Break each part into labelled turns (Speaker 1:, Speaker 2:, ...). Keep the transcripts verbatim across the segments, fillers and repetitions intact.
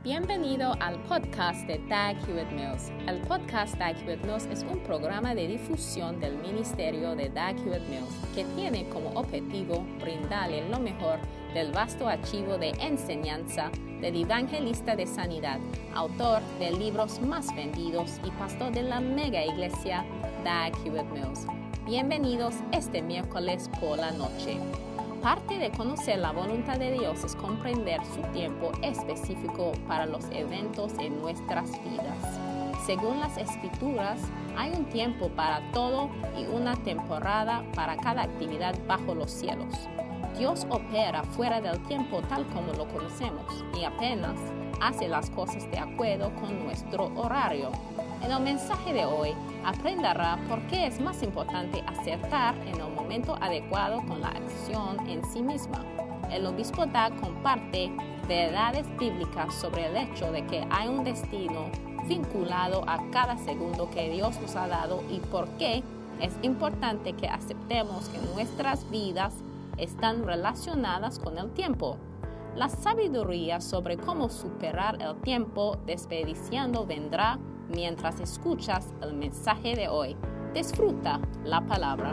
Speaker 1: Bienvenido al podcast de Dag Hewlett-Mills. El podcast Dag Hewlett-Mills es un programa de difusión del ministerio de Dag Hewlett-Mills que tiene como objetivo brindarle lo mejor del vasto archivo de enseñanza del evangelista de sanidad, autor de libros más vendidos y pastor de la mega iglesia Dag Hewlett-Mills. Bienvenidos este miércoles por la noche. Parte de conocer la voluntad de Dios es comprender su tiempo específico para los eventos en nuestras vidas. Según las Escrituras, hay un tiempo para todo y una temporada para cada actividad bajo los cielos. Dios opera fuera del tiempo tal como lo conocemos y apenas hace las cosas de acuerdo con nuestro horario. En el mensaje de hoy aprenderá por qué es más importante acertar en el momento adecuado con la acción en sí misma. El obispo Dag comparte verdades bíblicas sobre el hecho de que hay un destino vinculado a cada segundo que Dios nos ha dado y por qué es importante que aceptemos que nuestras vidas están relacionadas con el tiempo. La sabiduría sobre cómo superar el tiempo desperdiciando vendrá mientras escuchas el mensaje de hoy. Disfruta la palabra.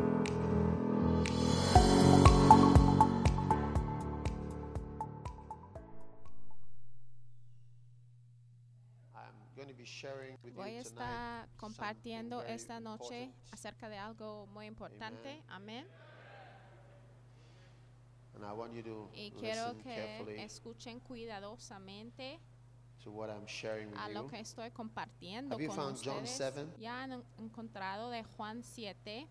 Speaker 2: Voy a estar compartiendo esta noche acerca de algo muy importante. Amén. Y quiero que escuchen cuidadosamente a lo que estoy compartiendo con ustedes. ¿Ya han encontrado de Juan siete?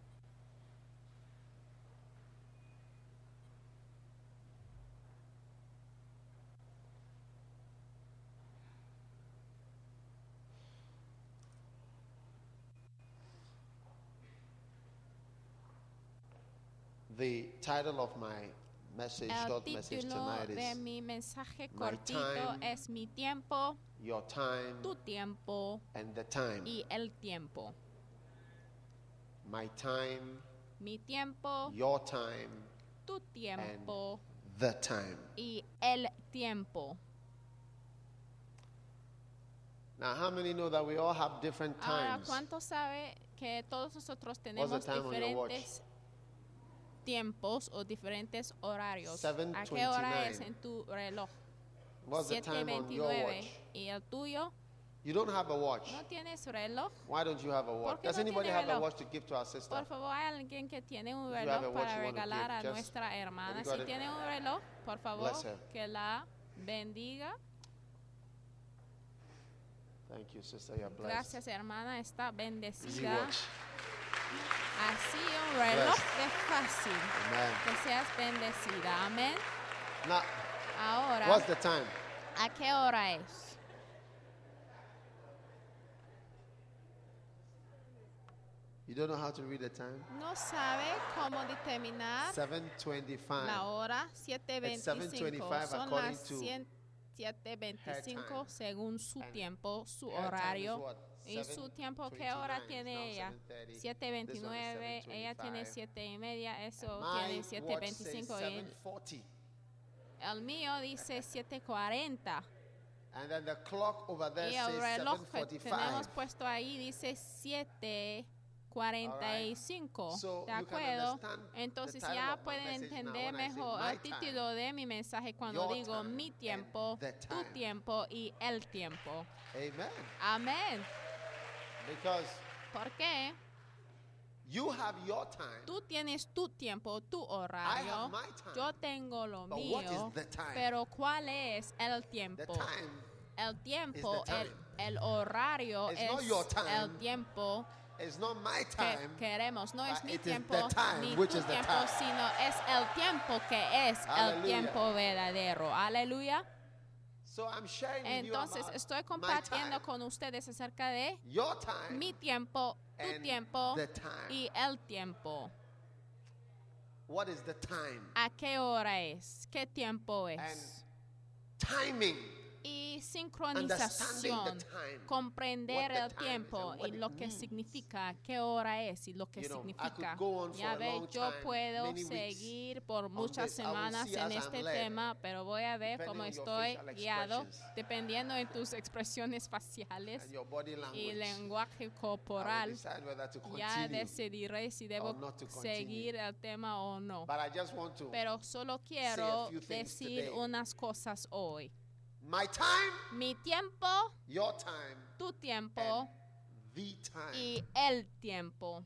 Speaker 3: The title of my message, short
Speaker 2: El
Speaker 3: message
Speaker 2: título
Speaker 3: tonight
Speaker 2: de
Speaker 3: is
Speaker 2: mi mensaje
Speaker 3: My
Speaker 2: cortito
Speaker 3: Time,
Speaker 2: es Mi tiempo,
Speaker 3: Your Time
Speaker 2: tu tiempo
Speaker 3: and the Time.
Speaker 2: y el tiempo.
Speaker 3: My time,
Speaker 2: Mi tiempo,
Speaker 3: your time,
Speaker 2: tu tiempo
Speaker 3: the time.
Speaker 2: y el tiempo.
Speaker 3: Now, how many know that we all have different
Speaker 2: Ahora,
Speaker 3: times?
Speaker 2: ¿cuántos sabe que todos nosotros
Speaker 3: What's
Speaker 2: tenemos
Speaker 3: the time on your watch?
Speaker 2: diferentes tiempos o diferentes horarios?
Speaker 3: seven
Speaker 2: ¿A qué hora
Speaker 3: twenty-nine.
Speaker 2: es en tu reloj?
Speaker 3: What's the
Speaker 2: siete
Speaker 3: time on your
Speaker 2: veintinueve.
Speaker 3: watch?
Speaker 2: ¿Y el tuyo?
Speaker 3: You don't have a watch.
Speaker 2: ¿No tienes reloj?
Speaker 3: Why don't you have a watch?
Speaker 2: ¿Por qué
Speaker 3: Does
Speaker 2: no
Speaker 3: anybody
Speaker 2: tiene
Speaker 3: have a
Speaker 2: reloj?
Speaker 3: watch to give to our sister?
Speaker 2: Por favor, hay alguien que tiene un
Speaker 3: If you have a
Speaker 2: reloj
Speaker 3: watch
Speaker 2: para
Speaker 3: you wanna
Speaker 2: regalar a
Speaker 3: give, just
Speaker 2: nuestra hermana.
Speaker 3: have you got
Speaker 2: Si
Speaker 3: it?
Speaker 2: tiene un reloj, por favor,
Speaker 3: Bless her.
Speaker 2: que la bendiga.
Speaker 3: Thank you, sister. You're blessed.
Speaker 2: Gracias, hermana, está
Speaker 3: Easy
Speaker 2: bendecida.
Speaker 3: watch.
Speaker 2: Así un reloj
Speaker 3: Blessed.
Speaker 2: de fácil.
Speaker 3: Amen.
Speaker 2: Que seas bendecida. Amén.
Speaker 3: Now,
Speaker 2: Ahora,
Speaker 3: what's the time?
Speaker 2: ¿a qué hora es?
Speaker 3: You don't know how to read the time?
Speaker 2: No sabe cómo determinar
Speaker 3: seven twenty-five.
Speaker 2: la hora. siete
Speaker 3: It's seven
Speaker 2: veinticinco.
Speaker 3: twenty-five
Speaker 2: Son
Speaker 3: according
Speaker 2: las
Speaker 3: to
Speaker 2: siete veinticinco
Speaker 3: time.
Speaker 2: según su
Speaker 3: And
Speaker 2: tiempo, su
Speaker 3: Her time is
Speaker 2: horario.
Speaker 3: what?
Speaker 2: ¿Y su tiempo qué hora
Speaker 3: seven twenty-nine.
Speaker 2: tiene
Speaker 3: Now
Speaker 2: ella?
Speaker 3: seven thirty.
Speaker 2: siete veintinueve.
Speaker 3: This one is
Speaker 2: Ella tiene
Speaker 3: seven twenty-five.
Speaker 2: siete y media. Eso
Speaker 3: My
Speaker 2: tiene siete
Speaker 3: watch says
Speaker 2: veinticinco. Y
Speaker 3: seven forty.
Speaker 2: el mío dice siete cuarenta.
Speaker 3: And then the clock over there
Speaker 2: Y el
Speaker 3: says
Speaker 2: reloj
Speaker 3: seven
Speaker 2: que
Speaker 3: forty-five.
Speaker 2: tenemos puesto ahí dice siete cuarenta y cinco.
Speaker 3: So
Speaker 2: ¿De
Speaker 3: you can
Speaker 2: acuerdo?
Speaker 3: understand the
Speaker 2: Entonces
Speaker 3: title
Speaker 2: ya
Speaker 3: of my
Speaker 2: pueden
Speaker 3: message now
Speaker 2: entender
Speaker 3: when I say
Speaker 2: mejor
Speaker 3: my
Speaker 2: el título de mi mensaje cuando
Speaker 3: your
Speaker 2: digo
Speaker 3: time
Speaker 2: mi
Speaker 3: and
Speaker 2: tiempo,
Speaker 3: the
Speaker 2: tu
Speaker 3: time.
Speaker 2: tiempo y el tiempo.
Speaker 3: Amen.
Speaker 2: Amén.
Speaker 3: Because
Speaker 2: ¿Por qué?
Speaker 3: you have your time.
Speaker 2: Tú tienes tu tiempo, tu
Speaker 3: I
Speaker 2: horario.
Speaker 3: have my time.
Speaker 2: Yo tengo lo
Speaker 3: But what
Speaker 2: mío.
Speaker 3: is the time?
Speaker 2: Pero ¿cuál es el
Speaker 3: The
Speaker 2: tiempo?
Speaker 3: time
Speaker 2: El tiempo,
Speaker 3: is the
Speaker 2: el,
Speaker 3: time.
Speaker 2: el horario
Speaker 3: It's
Speaker 2: es
Speaker 3: not your time.
Speaker 2: el tiempo
Speaker 3: is not my
Speaker 2: que
Speaker 3: time.
Speaker 2: queremos. No es
Speaker 3: but
Speaker 2: mi
Speaker 3: it is
Speaker 2: tiempo
Speaker 3: the time,
Speaker 2: ni
Speaker 3: which
Speaker 2: tu
Speaker 3: is the
Speaker 2: tiempo,
Speaker 3: time.
Speaker 2: sino es el tiempo que es el
Speaker 3: Hallelujah.
Speaker 2: tiempo verdadero. Aleluya.
Speaker 3: So I'm sharing with you
Speaker 2: Entonces
Speaker 3: about
Speaker 2: estoy
Speaker 3: my
Speaker 2: compartiendo
Speaker 3: time,
Speaker 2: con ustedes acerca de
Speaker 3: your time,
Speaker 2: mi tiempo, tu
Speaker 3: and
Speaker 2: tiempo
Speaker 3: the time.
Speaker 2: y el tiempo.
Speaker 3: What is the time?
Speaker 2: ¿A qué hora es? ¿Qué tiempo es?
Speaker 3: And timing
Speaker 2: Y y sincronización, comprender el tiempo y lo que significa, qué hora es y lo que significa. Ya ve, yo puedo seguir por muchas semanas en este tema, pero voy a ver cómo estoy guiado dependiendo de tus expresiones faciales y lenguaje corporal. Ya decidiré si debo seguir el tema o no. Pero solo quiero decir unas cosas hoy.
Speaker 3: My time,
Speaker 2: mi tiempo,
Speaker 3: your time,
Speaker 2: tu tiempo
Speaker 3: the time.
Speaker 2: Y el tiempo.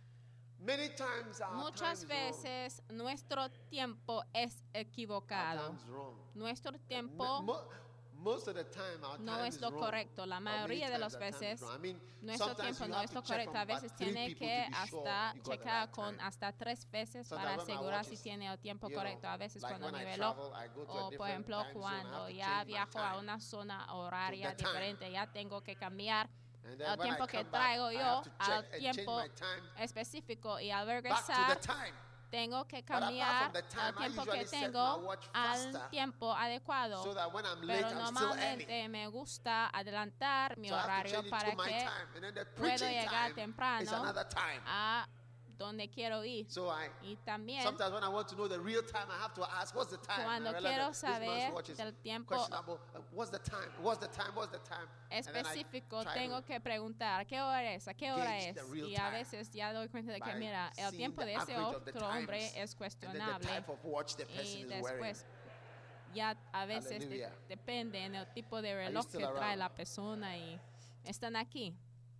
Speaker 3: Many times our
Speaker 2: Muchas
Speaker 3: time is
Speaker 2: veces wrong. Nuestro tiempo es equivocado.
Speaker 3: Our time is wrong.
Speaker 2: Nuestro tiempo
Speaker 3: Mo most of the time, our
Speaker 2: no
Speaker 3: time
Speaker 2: es
Speaker 3: is
Speaker 2: lo
Speaker 3: wrong.
Speaker 2: correcto. La mayoría de las veces
Speaker 3: I mean,
Speaker 2: nuestro tiempo no es lo correcto. A veces tiene que hasta
Speaker 3: sure
Speaker 2: checar
Speaker 3: right
Speaker 2: con
Speaker 3: time.
Speaker 2: hasta tres veces
Speaker 3: So
Speaker 2: para
Speaker 3: that when my
Speaker 2: asegurar
Speaker 3: watch
Speaker 2: si
Speaker 3: is,
Speaker 2: tiene el tiempo
Speaker 3: you
Speaker 2: correcto.
Speaker 3: know,
Speaker 2: A veces
Speaker 3: like
Speaker 2: cuando
Speaker 3: when
Speaker 2: mi
Speaker 3: I
Speaker 2: reloj,
Speaker 3: travel, I go to a
Speaker 2: o por
Speaker 3: different
Speaker 2: ejemplo
Speaker 3: time zone, I
Speaker 2: cuando
Speaker 3: have to
Speaker 2: ya
Speaker 3: change my
Speaker 2: viajo a
Speaker 3: time
Speaker 2: una zona horaria
Speaker 3: to the time.
Speaker 2: diferente, ya tengo que cambiar
Speaker 3: And then
Speaker 2: el
Speaker 3: when I
Speaker 2: tiempo que
Speaker 3: come back,
Speaker 2: traigo
Speaker 3: I
Speaker 2: yo
Speaker 3: have to check
Speaker 2: al
Speaker 3: and change
Speaker 2: tiempo
Speaker 3: my time
Speaker 2: específico y al
Speaker 3: back to
Speaker 2: regresar
Speaker 3: the time.
Speaker 2: tengo que
Speaker 3: But apart
Speaker 2: cambiar
Speaker 3: from the time,
Speaker 2: el
Speaker 3: I
Speaker 2: tiempo
Speaker 3: usually
Speaker 2: que
Speaker 3: set my
Speaker 2: tengo
Speaker 3: watch
Speaker 2: al
Speaker 3: faster
Speaker 2: tiempo adecuado.
Speaker 3: So that when I'm late,
Speaker 2: Pero
Speaker 3: I'm still early.
Speaker 2: normalmente me gusta adelantar mi
Speaker 3: So I have to
Speaker 2: horario
Speaker 3: change it
Speaker 2: para
Speaker 3: to my
Speaker 2: que
Speaker 3: time. And then the
Speaker 2: puedo
Speaker 3: preaching
Speaker 2: llegar
Speaker 3: time is
Speaker 2: temprano
Speaker 3: another time.
Speaker 2: a donde quiero ir.
Speaker 3: So I,
Speaker 2: Y también
Speaker 3: sometimes when I want to know the real time, I have to ask, what's the time?
Speaker 2: cuando
Speaker 3: And I realize
Speaker 2: quiero
Speaker 3: that this man's
Speaker 2: saber
Speaker 3: watch is
Speaker 2: del tiempo
Speaker 3: questionable. Uh, What's the time? What's the time? What's the time? And then I
Speaker 2: específico,
Speaker 3: try
Speaker 2: tengo
Speaker 3: to
Speaker 2: que preguntar qué hora es, a qué hora
Speaker 3: gauge
Speaker 2: es.
Speaker 3: the real
Speaker 2: Y a
Speaker 3: time
Speaker 2: veces ya doy cuenta de que,
Speaker 3: by
Speaker 2: mira, el
Speaker 3: seeing
Speaker 2: tiempo
Speaker 3: the
Speaker 2: de ese
Speaker 3: average of the
Speaker 2: otro hombre
Speaker 3: times
Speaker 2: es
Speaker 3: and then the
Speaker 2: cuestionable.
Speaker 3: type of watch the person
Speaker 2: Y
Speaker 3: is wearing.
Speaker 2: después ya a veces de-
Speaker 3: Hallelujah.
Speaker 2: depende en el tipo de reloj
Speaker 3: still
Speaker 2: que trae
Speaker 3: around?
Speaker 2: la persona y están aquí.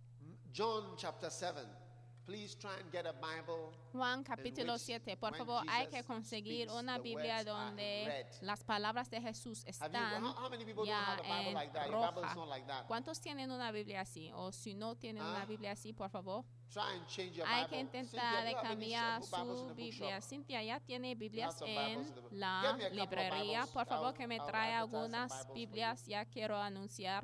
Speaker 3: John chapter seven. Please try and get a Bible.
Speaker 2: Juan capítulo
Speaker 3: which
Speaker 2: siete, por
Speaker 3: when
Speaker 2: favor, hay que
Speaker 3: Jesus
Speaker 2: conseguir
Speaker 3: speaks,
Speaker 2: una
Speaker 3: the
Speaker 2: Biblia
Speaker 3: words are in
Speaker 2: donde
Speaker 3: red.
Speaker 2: las palabras de Jesús
Speaker 3: Have you,
Speaker 2: están
Speaker 3: how, how many people don't
Speaker 2: ya
Speaker 3: have a Bible
Speaker 2: en
Speaker 3: like that? Your Bible is
Speaker 2: roja.
Speaker 3: not like that.
Speaker 2: ¿Cuántos tienen una Biblia así? O si no tienen una
Speaker 3: Ah.
Speaker 2: Biblia así, por favor.
Speaker 3: Try and change your
Speaker 2: Hay
Speaker 3: Bible.
Speaker 2: que intentar
Speaker 3: Cynthia,
Speaker 2: de
Speaker 3: do you have any
Speaker 2: cambiar
Speaker 3: sh- Bibles in
Speaker 2: su
Speaker 3: the
Speaker 2: Biblia.
Speaker 3: bookshop?
Speaker 2: Cintia ya tiene Biblias
Speaker 3: some
Speaker 2: en
Speaker 3: Bibles in the book-
Speaker 2: la
Speaker 3: Get me a couple of
Speaker 2: librería.
Speaker 3: Bibles.
Speaker 2: Por favor,
Speaker 3: I'll-
Speaker 2: que me
Speaker 3: I'll
Speaker 2: trae
Speaker 3: advertise some
Speaker 2: algunas
Speaker 3: Bibles for
Speaker 2: Biblias. Ya quiero anunciar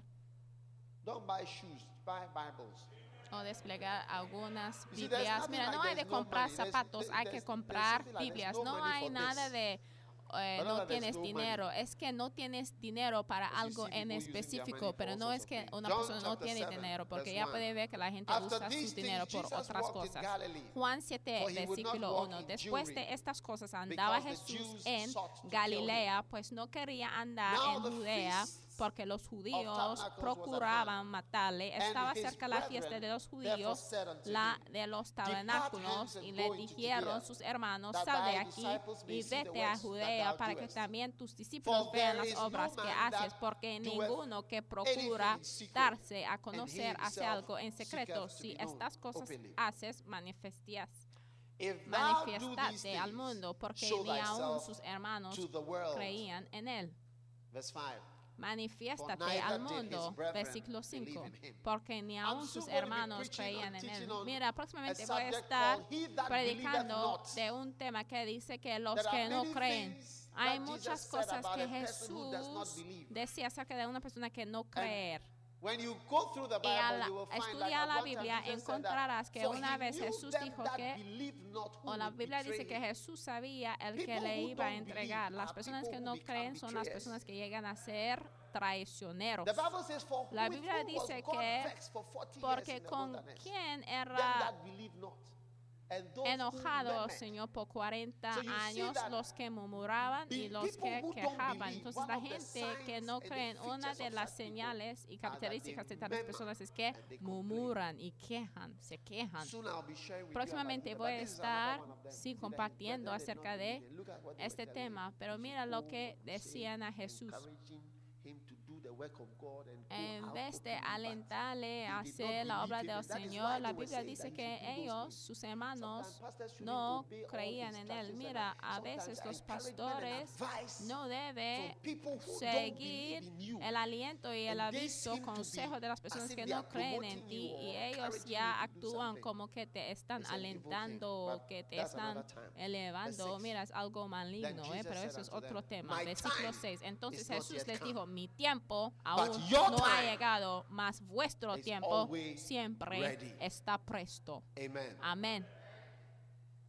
Speaker 3: Don't buy shoes, buy Bibles.
Speaker 2: o desplegar algunas
Speaker 3: You see, there's
Speaker 2: Biblias.
Speaker 3: nothing
Speaker 2: Mira,
Speaker 3: like
Speaker 2: no hay de
Speaker 3: there's no
Speaker 2: comprar
Speaker 3: money. There's-
Speaker 2: zapatos,
Speaker 3: there-
Speaker 2: hay que
Speaker 3: there's-
Speaker 2: comprar
Speaker 3: there's something like
Speaker 2: Biblias.
Speaker 3: there's no
Speaker 2: No
Speaker 3: money
Speaker 2: hay
Speaker 3: for
Speaker 2: nada
Speaker 3: this.
Speaker 2: de eh,
Speaker 3: But
Speaker 2: no
Speaker 3: no, there's
Speaker 2: tienes
Speaker 3: no
Speaker 2: dinero.
Speaker 3: money.
Speaker 2: Es que no tienes dinero para
Speaker 3: Because you
Speaker 2: algo
Speaker 3: see
Speaker 2: en
Speaker 3: people using their
Speaker 2: específico,
Speaker 3: money
Speaker 2: pero
Speaker 3: for
Speaker 2: no
Speaker 3: all
Speaker 2: es
Speaker 3: sorts of
Speaker 2: que
Speaker 3: things.
Speaker 2: una
Speaker 3: John
Speaker 2: persona no
Speaker 3: chapter
Speaker 2: tiene
Speaker 3: seven,
Speaker 2: dinero, porque
Speaker 3: verse
Speaker 2: ya
Speaker 3: one.
Speaker 2: puede ver que la gente
Speaker 3: After
Speaker 2: usa
Speaker 3: these
Speaker 2: su dinero
Speaker 3: things,
Speaker 2: por
Speaker 3: Jesus
Speaker 2: otras
Speaker 3: walked in
Speaker 2: cosas.
Speaker 3: Galilee,
Speaker 2: Juan siete,
Speaker 3: for he would not
Speaker 2: versículo
Speaker 3: walk
Speaker 2: uno.
Speaker 3: in
Speaker 2: Después
Speaker 3: Jewry,
Speaker 2: de estas cosas andaba
Speaker 3: because the
Speaker 2: Jesús
Speaker 3: Jews
Speaker 2: en
Speaker 3: sought to kill
Speaker 2: Galilea, pues no quería andar
Speaker 3: Now
Speaker 2: en
Speaker 3: the
Speaker 2: Judea,
Speaker 3: feast
Speaker 2: porque los judíos
Speaker 3: Tabernacles was at
Speaker 2: procuraban matarle.
Speaker 3: And
Speaker 2: Estaba
Speaker 3: his
Speaker 2: cerca la fiesta
Speaker 3: brethren
Speaker 2: de los
Speaker 3: therefore
Speaker 2: judíos,
Speaker 3: said unto
Speaker 2: la
Speaker 3: him,
Speaker 2: de los
Speaker 3: Depart
Speaker 2: tabernáculos,
Speaker 3: hence
Speaker 2: y
Speaker 3: and
Speaker 2: le
Speaker 3: go into
Speaker 2: dijeron
Speaker 3: Judea,
Speaker 2: sus hermanos,
Speaker 3: that
Speaker 2: sal de
Speaker 3: thy
Speaker 2: aquí
Speaker 3: disciples may
Speaker 2: y
Speaker 3: see the
Speaker 2: vete a
Speaker 3: works that
Speaker 2: Judea
Speaker 3: thou
Speaker 2: para que
Speaker 3: doest.
Speaker 2: también tus discípulos
Speaker 3: For
Speaker 2: vean
Speaker 3: there
Speaker 2: las
Speaker 3: is no
Speaker 2: obras que
Speaker 3: man
Speaker 2: haces,
Speaker 3: that
Speaker 2: porque
Speaker 3: doeth
Speaker 2: ninguno que procura
Speaker 3: anything in secret,
Speaker 2: darse a
Speaker 3: and
Speaker 2: conocer
Speaker 3: he
Speaker 2: hace
Speaker 3: himself
Speaker 2: algo en secreto.
Speaker 3: seeketh to
Speaker 2: Si
Speaker 3: be known
Speaker 2: estas cosas
Speaker 3: openly.
Speaker 2: haces, manifiestas.
Speaker 3: If thou do these
Speaker 2: Manifiestate al
Speaker 3: things,
Speaker 2: mundo, porque
Speaker 3: show
Speaker 2: ni aun
Speaker 3: thyself
Speaker 2: sus hermanos
Speaker 3: to the world.
Speaker 2: creían en él.
Speaker 3: Verse five.
Speaker 2: Manifiéstate
Speaker 3: For neither
Speaker 2: al
Speaker 3: did
Speaker 2: mundo,
Speaker 3: his brethren
Speaker 2: versículo cinco,
Speaker 3: believe in him.
Speaker 2: porque ni
Speaker 3: I'm
Speaker 2: aun
Speaker 3: soon
Speaker 2: sus
Speaker 3: going to be
Speaker 2: hermanos
Speaker 3: preaching
Speaker 2: creían
Speaker 3: and
Speaker 2: en él.
Speaker 3: teaching on
Speaker 2: Mira, próximamente
Speaker 3: a
Speaker 2: voy a
Speaker 3: subject
Speaker 2: estar
Speaker 3: called He that
Speaker 2: predicando
Speaker 3: believeth not.
Speaker 2: de un tema que dice que los
Speaker 3: There are
Speaker 2: que no
Speaker 3: many
Speaker 2: creen.
Speaker 3: things
Speaker 2: Hay
Speaker 3: that
Speaker 2: muchas
Speaker 3: Jesus said
Speaker 2: cosas
Speaker 3: about
Speaker 2: que
Speaker 3: a person who does not
Speaker 2: Jesús
Speaker 3: believe.
Speaker 2: decía acerca de una persona que no creer.
Speaker 3: When you go through the
Speaker 2: Y al
Speaker 3: Bible, you will find that
Speaker 2: estudiar
Speaker 3: at
Speaker 2: la
Speaker 3: one time
Speaker 2: Biblia
Speaker 3: Jesus said
Speaker 2: encontrarás
Speaker 3: that,
Speaker 2: que
Speaker 3: "For
Speaker 2: una
Speaker 3: he
Speaker 2: vez
Speaker 3: knew
Speaker 2: Jesús
Speaker 3: them
Speaker 2: dijo
Speaker 3: that
Speaker 2: que,
Speaker 3: believe not who
Speaker 2: o la
Speaker 3: would
Speaker 2: Biblia dice
Speaker 3: betray
Speaker 2: que
Speaker 3: him."
Speaker 2: Jesús sabía el que
Speaker 3: People
Speaker 2: le
Speaker 3: who
Speaker 2: iba a
Speaker 3: don't
Speaker 2: entregar.
Speaker 3: believe
Speaker 2: Las
Speaker 3: are
Speaker 2: personas
Speaker 3: people
Speaker 2: que
Speaker 3: who
Speaker 2: no
Speaker 3: become
Speaker 2: creen son las
Speaker 3: betrayers.
Speaker 2: personas que llegan a ser traicioneros.
Speaker 3: The Bible says, "For
Speaker 2: La
Speaker 3: with
Speaker 2: Biblia
Speaker 3: whom was
Speaker 2: dice
Speaker 3: God
Speaker 2: que
Speaker 3: vexed for forty years
Speaker 2: porque
Speaker 3: in the
Speaker 2: con
Speaker 3: wilderness?
Speaker 2: quién
Speaker 3: Them
Speaker 2: era
Speaker 3: that believe not, and those who
Speaker 2: enojado,
Speaker 3: murmured."
Speaker 2: Señor, por cuarenta
Speaker 3: So you see
Speaker 2: años,
Speaker 3: that
Speaker 2: los que murmuraban y
Speaker 3: the
Speaker 2: los
Speaker 3: people
Speaker 2: que
Speaker 3: who don't
Speaker 2: quejaban.
Speaker 3: believe,
Speaker 2: Entonces
Speaker 3: one
Speaker 2: la
Speaker 3: of the
Speaker 2: gente que
Speaker 3: signs
Speaker 2: no
Speaker 3: and the
Speaker 2: creen, una
Speaker 3: features
Speaker 2: de
Speaker 3: of
Speaker 2: las
Speaker 3: such people
Speaker 2: señales y
Speaker 3: are that
Speaker 2: características
Speaker 3: they
Speaker 2: de tales
Speaker 3: murmur
Speaker 2: personas es que
Speaker 3: and they complain.
Speaker 2: murmuran y quejan, se quejan.
Speaker 3: Soon I'll be sharing with you
Speaker 2: Próximamente
Speaker 3: about
Speaker 2: voy a
Speaker 3: it, but this is another
Speaker 2: estar
Speaker 3: one of them.
Speaker 2: sí
Speaker 3: See that
Speaker 2: compartiendo
Speaker 3: his brethren
Speaker 2: acerca
Speaker 3: did not
Speaker 2: de
Speaker 3: believe him. Look at what they
Speaker 2: este
Speaker 3: were telling
Speaker 2: tema,
Speaker 3: him.
Speaker 2: pero
Speaker 3: You
Speaker 2: mira
Speaker 3: should
Speaker 2: lo
Speaker 3: go
Speaker 2: que
Speaker 3: on saying,
Speaker 2: decían a Jesús.
Speaker 3: encouraging him to do the work of God and go
Speaker 2: En
Speaker 3: out
Speaker 2: vez de
Speaker 3: openly, but
Speaker 2: alentarle a
Speaker 3: they did
Speaker 2: hacer
Speaker 3: not
Speaker 2: la obra
Speaker 3: believe
Speaker 2: del
Speaker 3: him. That is
Speaker 2: Señor,
Speaker 3: why
Speaker 2: la
Speaker 3: they were
Speaker 2: Biblia
Speaker 3: saying
Speaker 2: dice
Speaker 3: that he
Speaker 2: que
Speaker 3: should do those
Speaker 2: ellos,
Speaker 3: things.
Speaker 2: sus hermanos,
Speaker 3: Sometimes pastors shouldn't
Speaker 2: no
Speaker 3: obey all
Speaker 2: creían
Speaker 3: the
Speaker 2: en él.
Speaker 3: instructions
Speaker 2: Mira,
Speaker 3: and
Speaker 2: a veces
Speaker 3: sometimes
Speaker 2: los
Speaker 3: encouragement and
Speaker 2: pastores
Speaker 3: advice
Speaker 2: no deben
Speaker 3: from people who don't
Speaker 2: seguir
Speaker 3: believe in you.
Speaker 2: el aliento y el
Speaker 3: And they
Speaker 2: aviso,
Speaker 3: seem to
Speaker 2: consejo
Speaker 3: be
Speaker 2: de las personas
Speaker 3: as if
Speaker 2: que
Speaker 3: they
Speaker 2: no
Speaker 3: are
Speaker 2: creen en
Speaker 3: promoting
Speaker 2: ti
Speaker 3: you
Speaker 2: y
Speaker 3: or
Speaker 2: ellos
Speaker 3: encouraging
Speaker 2: ya
Speaker 3: you to do
Speaker 2: actúan
Speaker 3: something.
Speaker 2: como que te están
Speaker 3: It's an evil thing,
Speaker 2: alentando o
Speaker 3: but
Speaker 2: que te
Speaker 3: that's
Speaker 2: están
Speaker 3: another time.
Speaker 2: elevando.
Speaker 3: Verse six.
Speaker 2: Mira, es algo maligno,
Speaker 3: Then
Speaker 2: eh,
Speaker 3: Jesus
Speaker 2: pero
Speaker 3: said
Speaker 2: eso es
Speaker 3: unto
Speaker 2: otro
Speaker 3: them,
Speaker 2: tema.
Speaker 3: "My
Speaker 2: Versículo
Speaker 3: time
Speaker 2: seis. Entonces
Speaker 3: is not
Speaker 2: Jesús
Speaker 3: yet
Speaker 2: les
Speaker 3: come,
Speaker 2: dijo, mi tiempo aún
Speaker 3: your
Speaker 2: no ha
Speaker 3: time
Speaker 2: llegado, mas vuestro
Speaker 3: is
Speaker 2: tiempo
Speaker 3: always
Speaker 2: siempre
Speaker 3: ready."
Speaker 2: está presto.
Speaker 3: Amen.
Speaker 2: Amén.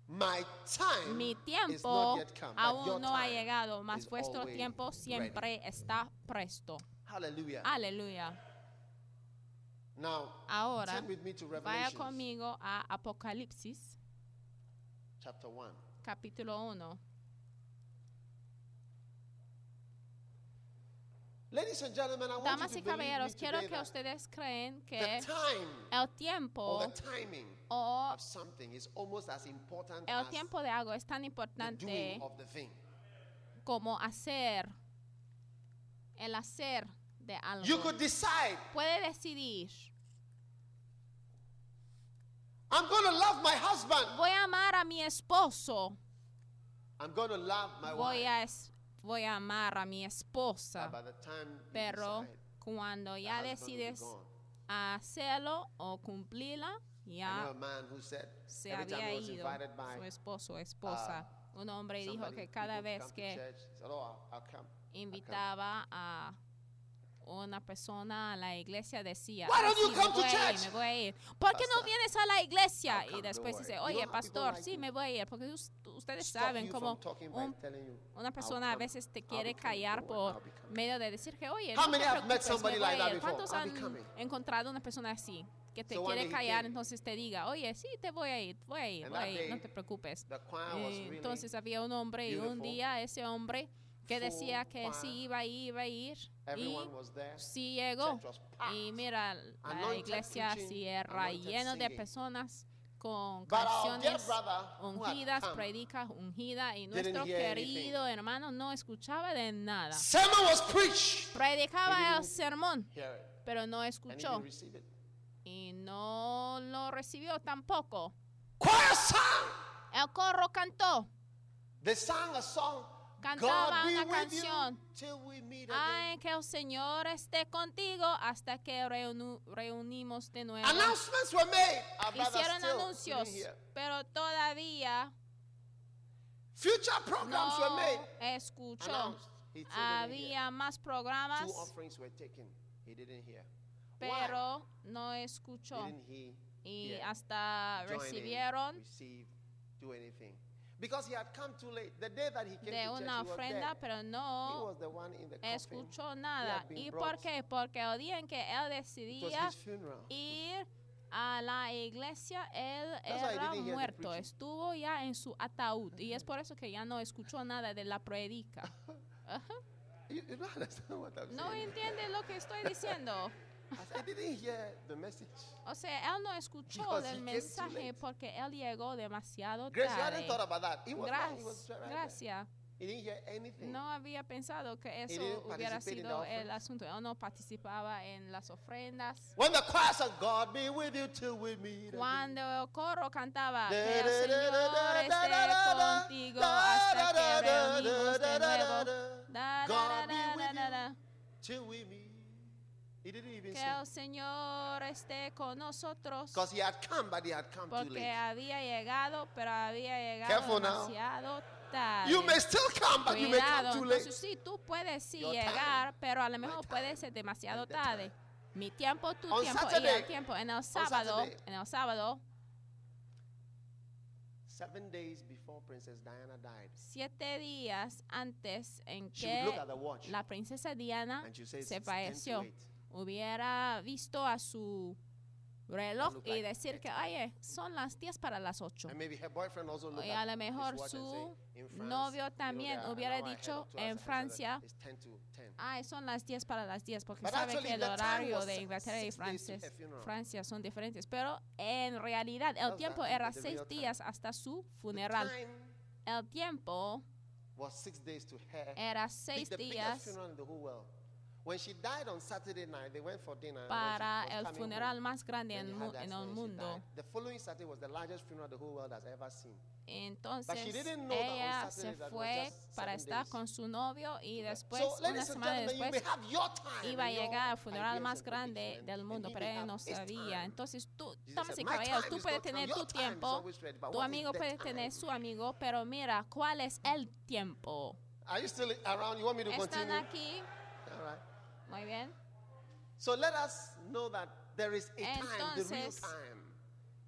Speaker 3: My time
Speaker 2: Mi tiempo
Speaker 3: is not yet come, but
Speaker 2: aún
Speaker 3: your
Speaker 2: no ha
Speaker 3: time
Speaker 2: llegado, mas
Speaker 3: is
Speaker 2: vuestro
Speaker 3: always
Speaker 2: tiempo siempre
Speaker 3: ready.
Speaker 2: está presto.
Speaker 3: Hallelujah.
Speaker 2: Aleluya.
Speaker 3: Now,
Speaker 2: Ahora,
Speaker 3: turn with me to
Speaker 2: vaya
Speaker 3: Revelation
Speaker 2: conmigo a Apocalipsis,
Speaker 3: chapter one.
Speaker 2: capítulo uno.
Speaker 3: Ladies and gentlemen, I want
Speaker 2: Damas
Speaker 3: you
Speaker 2: y
Speaker 3: to believe me
Speaker 2: caballeros, quiero
Speaker 3: today
Speaker 2: que
Speaker 3: that
Speaker 2: ustedes creen que
Speaker 3: the time
Speaker 2: el tiempo
Speaker 3: or the timing
Speaker 2: o
Speaker 3: of something is almost as important
Speaker 2: el
Speaker 3: as
Speaker 2: tiempo de algo es tan
Speaker 3: the
Speaker 2: importante
Speaker 3: doing of the thing.
Speaker 2: como hacer, el hacer de algo.
Speaker 3: You could decide,
Speaker 2: Puede decidir,
Speaker 3: I'm going to love my husband.
Speaker 2: voy a amar a mi esposo,
Speaker 3: I'm going to love my
Speaker 2: voy
Speaker 3: wife.
Speaker 2: a, es- voy a amar a mi esposa,
Speaker 3: But by the time you
Speaker 2: pero
Speaker 3: decide,
Speaker 2: cuando
Speaker 3: the
Speaker 2: ya
Speaker 3: husband will be
Speaker 2: decides
Speaker 3: gone.
Speaker 2: hacerlo o cumplirla,
Speaker 3: I know
Speaker 2: ya
Speaker 3: a man who said
Speaker 2: se
Speaker 3: every time
Speaker 2: había
Speaker 3: he was
Speaker 2: ido
Speaker 3: invited by
Speaker 2: su esposo o esposa. Un hombre dijo
Speaker 3: somebody,
Speaker 2: que cada
Speaker 3: people
Speaker 2: vez
Speaker 3: come to
Speaker 2: que
Speaker 3: church, he said, oh, I'll, I'll come.
Speaker 2: invitaba a una persona a la iglesia decía,
Speaker 3: Why
Speaker 2: "Ah,
Speaker 3: don't you
Speaker 2: sí,
Speaker 3: come
Speaker 2: me
Speaker 3: to
Speaker 2: voy a ir,
Speaker 3: church?"
Speaker 2: me voy a ir. ¿Por qué no
Speaker 3: Pastor,
Speaker 2: vienes a la iglesia?
Speaker 3: I'll come,
Speaker 2: Y después
Speaker 3: don't
Speaker 2: dice,
Speaker 3: worry. You
Speaker 2: oye,
Speaker 3: know how people
Speaker 2: pastor,
Speaker 3: like
Speaker 2: sí,
Speaker 3: to
Speaker 2: me voy a ir. Porque us- ustedes
Speaker 3: Stop
Speaker 2: saben
Speaker 3: you
Speaker 2: cómo
Speaker 3: from talking by
Speaker 2: un-
Speaker 3: telling you,
Speaker 2: una
Speaker 3: I'll
Speaker 2: persona a
Speaker 3: come.
Speaker 2: veces te
Speaker 3: I'll
Speaker 2: quiere
Speaker 3: be coming.
Speaker 2: callar
Speaker 3: Don't worry,
Speaker 2: por
Speaker 3: I'll be coming.
Speaker 2: medio de decir que, oye,
Speaker 3: How
Speaker 2: no te
Speaker 3: many have met
Speaker 2: preocupes,
Speaker 3: somebody
Speaker 2: me voy
Speaker 3: like
Speaker 2: a
Speaker 3: that
Speaker 2: ir.
Speaker 3: before?
Speaker 2: ¿Cuántos
Speaker 3: I'll be
Speaker 2: han
Speaker 3: coming.
Speaker 2: encontrado una persona así? Que te
Speaker 3: So one
Speaker 2: quiere
Speaker 3: day he
Speaker 2: callar,
Speaker 3: came.
Speaker 2: entonces te diga, oye, sí, te voy a ir, voy a ir,
Speaker 3: And
Speaker 2: voy a
Speaker 3: that
Speaker 2: ir,
Speaker 3: day,
Speaker 2: no te preocupes.
Speaker 3: The choir was
Speaker 2: Eh,
Speaker 3: really
Speaker 2: Entonces había un hombre y un
Speaker 3: beautiful,
Speaker 2: día ese hombre que
Speaker 3: full
Speaker 2: decía que
Speaker 3: choir.
Speaker 2: sí iba a ir, iba a ir. Y
Speaker 3: Everyone was there.
Speaker 2: sí llegó.
Speaker 3: Church was packed.
Speaker 2: Y mira, la
Speaker 3: Anointed
Speaker 2: iglesia
Speaker 3: preaching,
Speaker 2: sí era
Speaker 3: anointed
Speaker 2: lleno de
Speaker 3: singing.
Speaker 2: personas con
Speaker 3: But our dear
Speaker 2: canciones
Speaker 3: brother who had
Speaker 2: ungidas,
Speaker 3: come
Speaker 2: predicas ungidas, y
Speaker 3: didn't
Speaker 2: nuestro
Speaker 3: hear
Speaker 2: querido hermano no escuchaba de nada.
Speaker 3: Sermon was preached. He
Speaker 2: Predicaba el
Speaker 3: didn't
Speaker 2: sermón,
Speaker 3: hear it.
Speaker 2: pero no
Speaker 3: And he
Speaker 2: escuchó
Speaker 3: didn't receive it.
Speaker 2: y no lo recibió tampoco.
Speaker 3: Choir sang.
Speaker 2: El corro cantó,
Speaker 3: They sang a song.
Speaker 2: cantaba
Speaker 3: God be
Speaker 2: una
Speaker 3: with
Speaker 2: canción.
Speaker 3: you till we meet
Speaker 2: Ay,
Speaker 3: again.
Speaker 2: que el Señor esté contigo hasta que reunu- reunimos de nuevo.
Speaker 3: Announcements were made. Our brother
Speaker 2: Hicieron
Speaker 3: still
Speaker 2: anuncios,
Speaker 3: couldn't hear.
Speaker 2: pero todavía
Speaker 3: Future programs were
Speaker 2: no
Speaker 3: made.
Speaker 2: escuchó.
Speaker 3: Announced. He still didn't hear.
Speaker 2: Había más programas,
Speaker 3: Two offerings were taken. He didn't hear. Why?
Speaker 2: pero no escuchó.
Speaker 3: Didn't he
Speaker 2: Y
Speaker 3: hear,
Speaker 2: hasta
Speaker 3: join in,
Speaker 2: recibieron
Speaker 3: receive, do anything? Because he had come too late. The day that he came
Speaker 2: de
Speaker 3: to church,
Speaker 2: una
Speaker 3: he was
Speaker 2: ofrenda,
Speaker 3: dead.
Speaker 2: pero
Speaker 3: He
Speaker 2: no
Speaker 3: was the one in the coffin.
Speaker 2: escuchó
Speaker 3: He
Speaker 2: nada.
Speaker 3: had been
Speaker 2: ¿Y
Speaker 3: brought.
Speaker 2: por qué? Porque el día en que él
Speaker 3: It was
Speaker 2: decidía
Speaker 3: his funeral.
Speaker 2: ir a la iglesia, él
Speaker 3: That's why he
Speaker 2: era
Speaker 3: didn't hear the
Speaker 2: muerto,
Speaker 3: preaching.
Speaker 2: estuvo ya en su ataúd y es por eso que ya no escuchó nada de la predica. Ajá.
Speaker 3: You, you don't understand what I'm
Speaker 2: No
Speaker 3: saying.
Speaker 2: entiende lo que estoy diciendo.
Speaker 3: I said, I didn't hear the message.
Speaker 2: O sea, él no escuchó
Speaker 3: Because
Speaker 2: del
Speaker 3: he came too
Speaker 2: mensaje
Speaker 3: late.
Speaker 2: porque él llegó demasiado
Speaker 3: Grace, you
Speaker 2: tarde.
Speaker 3: hadn't thought about that. He was, right, he was
Speaker 2: Gracias.
Speaker 3: right there.
Speaker 2: Gracias.
Speaker 3: He didn't hear anything.
Speaker 2: No había pensado que eso
Speaker 3: didn't
Speaker 2: hubiera
Speaker 3: participate in the
Speaker 2: sido el
Speaker 3: offerings.
Speaker 2: asunto. Él no participaba en las ofrendas.
Speaker 3: When the choir sang, God be with you till we meet again.
Speaker 2: Cuando el coro cantaba,
Speaker 3: Da,
Speaker 2: que el
Speaker 3: da, da,
Speaker 2: Señor
Speaker 3: da, da,
Speaker 2: esté
Speaker 3: da, da, da,
Speaker 2: contigo
Speaker 3: da,
Speaker 2: hasta
Speaker 3: da,
Speaker 2: que
Speaker 3: da, da,
Speaker 2: reunimos
Speaker 3: da,
Speaker 2: de
Speaker 3: da, da,
Speaker 2: nuevo.
Speaker 3: da.
Speaker 2: Da, da,
Speaker 3: God
Speaker 2: da,
Speaker 3: be
Speaker 2: da,
Speaker 3: with
Speaker 2: da, da.
Speaker 3: Till we meet. He didn't even
Speaker 2: Que
Speaker 3: sing.
Speaker 2: el Señor esté con nosotros.
Speaker 3: Because he had come, but he had come too
Speaker 2: Porque
Speaker 3: late.
Speaker 2: había llegado, pero había llegado
Speaker 3: Careful now.
Speaker 2: demasiado tarde.
Speaker 3: You may still come, but you may
Speaker 2: Cuidado,
Speaker 3: come too late.
Speaker 2: entonces sí, tú puedes sí
Speaker 3: Your
Speaker 2: llegar,
Speaker 3: time,
Speaker 2: pero a lo
Speaker 3: my
Speaker 2: mejor
Speaker 3: time,
Speaker 2: puede ser demasiado
Speaker 3: and the
Speaker 2: tarde.
Speaker 3: time.
Speaker 2: Mi tiempo, tu
Speaker 3: On
Speaker 2: tiempo y
Speaker 3: Saturday,
Speaker 2: el tiempo. En el sábado,
Speaker 3: Saturday.
Speaker 2: en el sábado,
Speaker 3: Seven days before Princess Diana died,
Speaker 2: siete días antes en
Speaker 3: she would look
Speaker 2: que
Speaker 3: at the watch
Speaker 2: la princesa Diana
Speaker 3: and she says,
Speaker 2: se
Speaker 3: "It's ten to
Speaker 2: falleció,
Speaker 3: eight."
Speaker 2: hubiera visto a su reloj
Speaker 3: look
Speaker 2: y
Speaker 3: like
Speaker 2: decir que, oye, son las diez para las ocho.
Speaker 3: And maybe her boyfriend also looked
Speaker 2: Y a
Speaker 3: at
Speaker 2: lo
Speaker 3: his
Speaker 2: mejor
Speaker 3: watch and
Speaker 2: su
Speaker 3: say, "In France,
Speaker 2: novio
Speaker 3: you know,
Speaker 2: también
Speaker 3: they are
Speaker 2: hubiera
Speaker 3: an hour ahead
Speaker 2: dicho
Speaker 3: of us,
Speaker 2: en
Speaker 3: and so
Speaker 2: Francia,
Speaker 3: it's ten to ten.
Speaker 2: ay, son las diez para las diez, porque
Speaker 3: But
Speaker 2: saben
Speaker 3: actually,
Speaker 2: que el
Speaker 3: the time
Speaker 2: horario
Speaker 3: was
Speaker 2: de
Speaker 3: six
Speaker 2: Inglaterra y
Speaker 3: days to
Speaker 2: Francia,
Speaker 3: her funeral.
Speaker 2: Francia son diferentes. Pero en realidad el
Speaker 3: That's
Speaker 2: tiempo
Speaker 3: that-
Speaker 2: era
Speaker 3: the
Speaker 2: seis
Speaker 3: real time.
Speaker 2: días hasta su
Speaker 3: The
Speaker 2: funeral.
Speaker 3: time
Speaker 2: El tiempo
Speaker 3: was six days to her.
Speaker 2: era
Speaker 3: Big-
Speaker 2: seis
Speaker 3: the biggest
Speaker 2: días
Speaker 3: funeral in the whole world. When she died on Saturday night, they went for dinner. and when
Speaker 2: para
Speaker 3: she was
Speaker 2: el
Speaker 3: coming
Speaker 2: funeral
Speaker 3: home,
Speaker 2: más grande
Speaker 3: then
Speaker 2: en,
Speaker 3: they
Speaker 2: mu-
Speaker 3: had the
Speaker 2: en el
Speaker 3: accident and she
Speaker 2: mundo.
Speaker 3: died. The following Saturday was the largest funeral the whole world has ever seen.
Speaker 2: Entonces
Speaker 3: didn't know that on
Speaker 2: ella
Speaker 3: Saturday
Speaker 2: se
Speaker 3: that was
Speaker 2: fue
Speaker 3: just
Speaker 2: para
Speaker 3: seven
Speaker 2: estar
Speaker 3: days
Speaker 2: con su novio y después,
Speaker 3: so,
Speaker 2: una
Speaker 3: ladies and
Speaker 2: semana
Speaker 3: gentlemen, you may
Speaker 2: después,
Speaker 3: have your time
Speaker 2: iba a
Speaker 3: and your
Speaker 2: llegar al funeral
Speaker 3: ideas
Speaker 2: más
Speaker 3: and
Speaker 2: grande
Speaker 3: predictions,
Speaker 2: del
Speaker 3: and
Speaker 2: mundo,
Speaker 3: he
Speaker 2: pero
Speaker 3: may
Speaker 2: él no
Speaker 3: have his
Speaker 2: sabía.
Speaker 3: time.
Speaker 2: Entonces tú,
Speaker 3: Jesus
Speaker 2: damas
Speaker 3: said,
Speaker 2: y
Speaker 3: "My
Speaker 2: caballeros,
Speaker 3: time
Speaker 2: tú
Speaker 3: is
Speaker 2: puedes
Speaker 3: not come.
Speaker 2: tener
Speaker 3: Your
Speaker 2: tu
Speaker 3: time is
Speaker 2: tiempo,
Speaker 3: always ready, but
Speaker 2: tu
Speaker 3: what is
Speaker 2: amigo
Speaker 3: the
Speaker 2: puede
Speaker 3: time?"
Speaker 2: tener su amigo, pero mira, ¿cuál es el tiempo?
Speaker 3: Are you still around? You want me to
Speaker 2: ¿Están
Speaker 3: continue?
Speaker 2: aquí?
Speaker 3: All right.
Speaker 2: Muy bien.
Speaker 3: So let us know that there is a time, the real
Speaker 2: Entonces,
Speaker 3: time.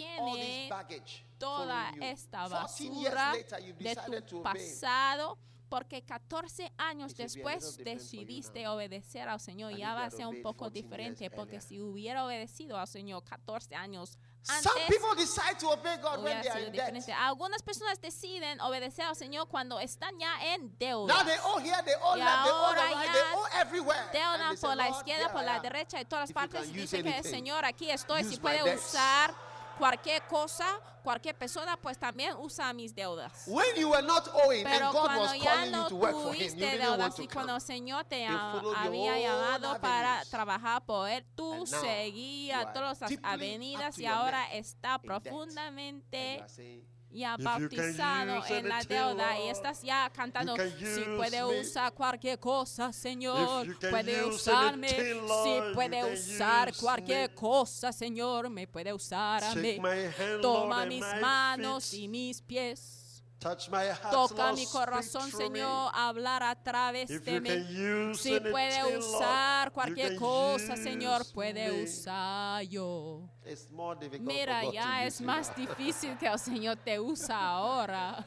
Speaker 2: tiene toda esta basura de tu pasado Porque catorce años después decidiste obedecer al Señor. Ya va a ser un poco diferente, porque si hubiera obedecido al Señor catorce años antes,
Speaker 3: some people decide to obey God when
Speaker 2: hubiera
Speaker 3: they are
Speaker 2: sido
Speaker 3: in debt.
Speaker 2: diferente. Algunas personas deciden obedecer al Señor cuando están ya en deuda.
Speaker 3: Now they owe here, they owe
Speaker 2: Y
Speaker 3: left, they owe
Speaker 2: ahora
Speaker 3: the right,
Speaker 2: ya
Speaker 3: they owe everywhere. And
Speaker 2: Deudan
Speaker 3: they say,
Speaker 2: por la
Speaker 3: "Lord,
Speaker 2: izquierda,
Speaker 3: here
Speaker 2: por
Speaker 3: I
Speaker 2: la
Speaker 3: am.
Speaker 2: derecha y todas
Speaker 3: If you
Speaker 2: partes.
Speaker 3: can
Speaker 2: Y
Speaker 3: use
Speaker 2: dice que
Speaker 3: anything,
Speaker 2: Señor, aquí estoy.
Speaker 3: use
Speaker 2: Si
Speaker 3: my
Speaker 2: puede
Speaker 3: debts."
Speaker 2: usar cualquier cosa, cualquier persona, pues también usa mis deudas.
Speaker 3: When you were not owing
Speaker 2: Pero
Speaker 3: and God
Speaker 2: cuando
Speaker 3: was
Speaker 2: ya
Speaker 3: calling
Speaker 2: no
Speaker 3: you to work for Him, you
Speaker 2: tuviste
Speaker 3: didn't
Speaker 2: deudas
Speaker 3: want to
Speaker 2: y cuando
Speaker 3: come.
Speaker 2: el Señor te
Speaker 3: You
Speaker 2: ha-
Speaker 3: followed your
Speaker 2: había
Speaker 3: own
Speaker 2: llamado para
Speaker 3: avenues.
Speaker 2: trabajar por Él, tú
Speaker 3: And now you
Speaker 2: seguías
Speaker 3: are
Speaker 2: todas las
Speaker 3: deeply
Speaker 2: avenidas
Speaker 3: up to
Speaker 2: y
Speaker 3: your
Speaker 2: ahora
Speaker 3: neck
Speaker 2: está
Speaker 3: in debt. And you
Speaker 2: profundamente
Speaker 3: are saying,
Speaker 2: ya
Speaker 4: If you can
Speaker 2: bautizado
Speaker 4: use
Speaker 2: en la
Speaker 4: anything,
Speaker 2: deuda y
Speaker 4: Lord,
Speaker 2: estás ya cantando,
Speaker 4: you can
Speaker 2: si
Speaker 4: use
Speaker 2: puede
Speaker 4: me.
Speaker 2: usar cualquier cosa, Señor,
Speaker 4: If you can
Speaker 2: puede
Speaker 4: use
Speaker 2: usarme,
Speaker 4: anything,
Speaker 2: si
Speaker 4: Lord,
Speaker 2: puede
Speaker 4: you can
Speaker 2: usar
Speaker 4: use
Speaker 2: cualquier
Speaker 4: me.
Speaker 2: cosa, Señor, me puede usar a mí.
Speaker 4: Take my hand,
Speaker 2: Toma
Speaker 4: Lord, and
Speaker 2: mis
Speaker 4: my
Speaker 2: manos
Speaker 4: feet.
Speaker 2: y mis pies.
Speaker 4: Touch my heart,
Speaker 2: Toca
Speaker 4: Lord,
Speaker 2: mi
Speaker 4: speak
Speaker 2: corazón,
Speaker 4: through me.
Speaker 2: Señor, hablar a través
Speaker 4: If
Speaker 2: de
Speaker 4: you
Speaker 2: mí.
Speaker 4: can use
Speaker 2: Si puede
Speaker 4: anything,
Speaker 2: usar
Speaker 4: Lord,
Speaker 2: cualquier
Speaker 4: you can
Speaker 2: cosa,
Speaker 4: use
Speaker 2: Señor, puede
Speaker 4: me.
Speaker 2: usar yo.
Speaker 3: it's more difficult
Speaker 2: Mira,
Speaker 3: for God
Speaker 2: ya
Speaker 3: to
Speaker 2: es
Speaker 3: use you
Speaker 2: más
Speaker 3: now.
Speaker 2: difícil que el Señor te usa ahora.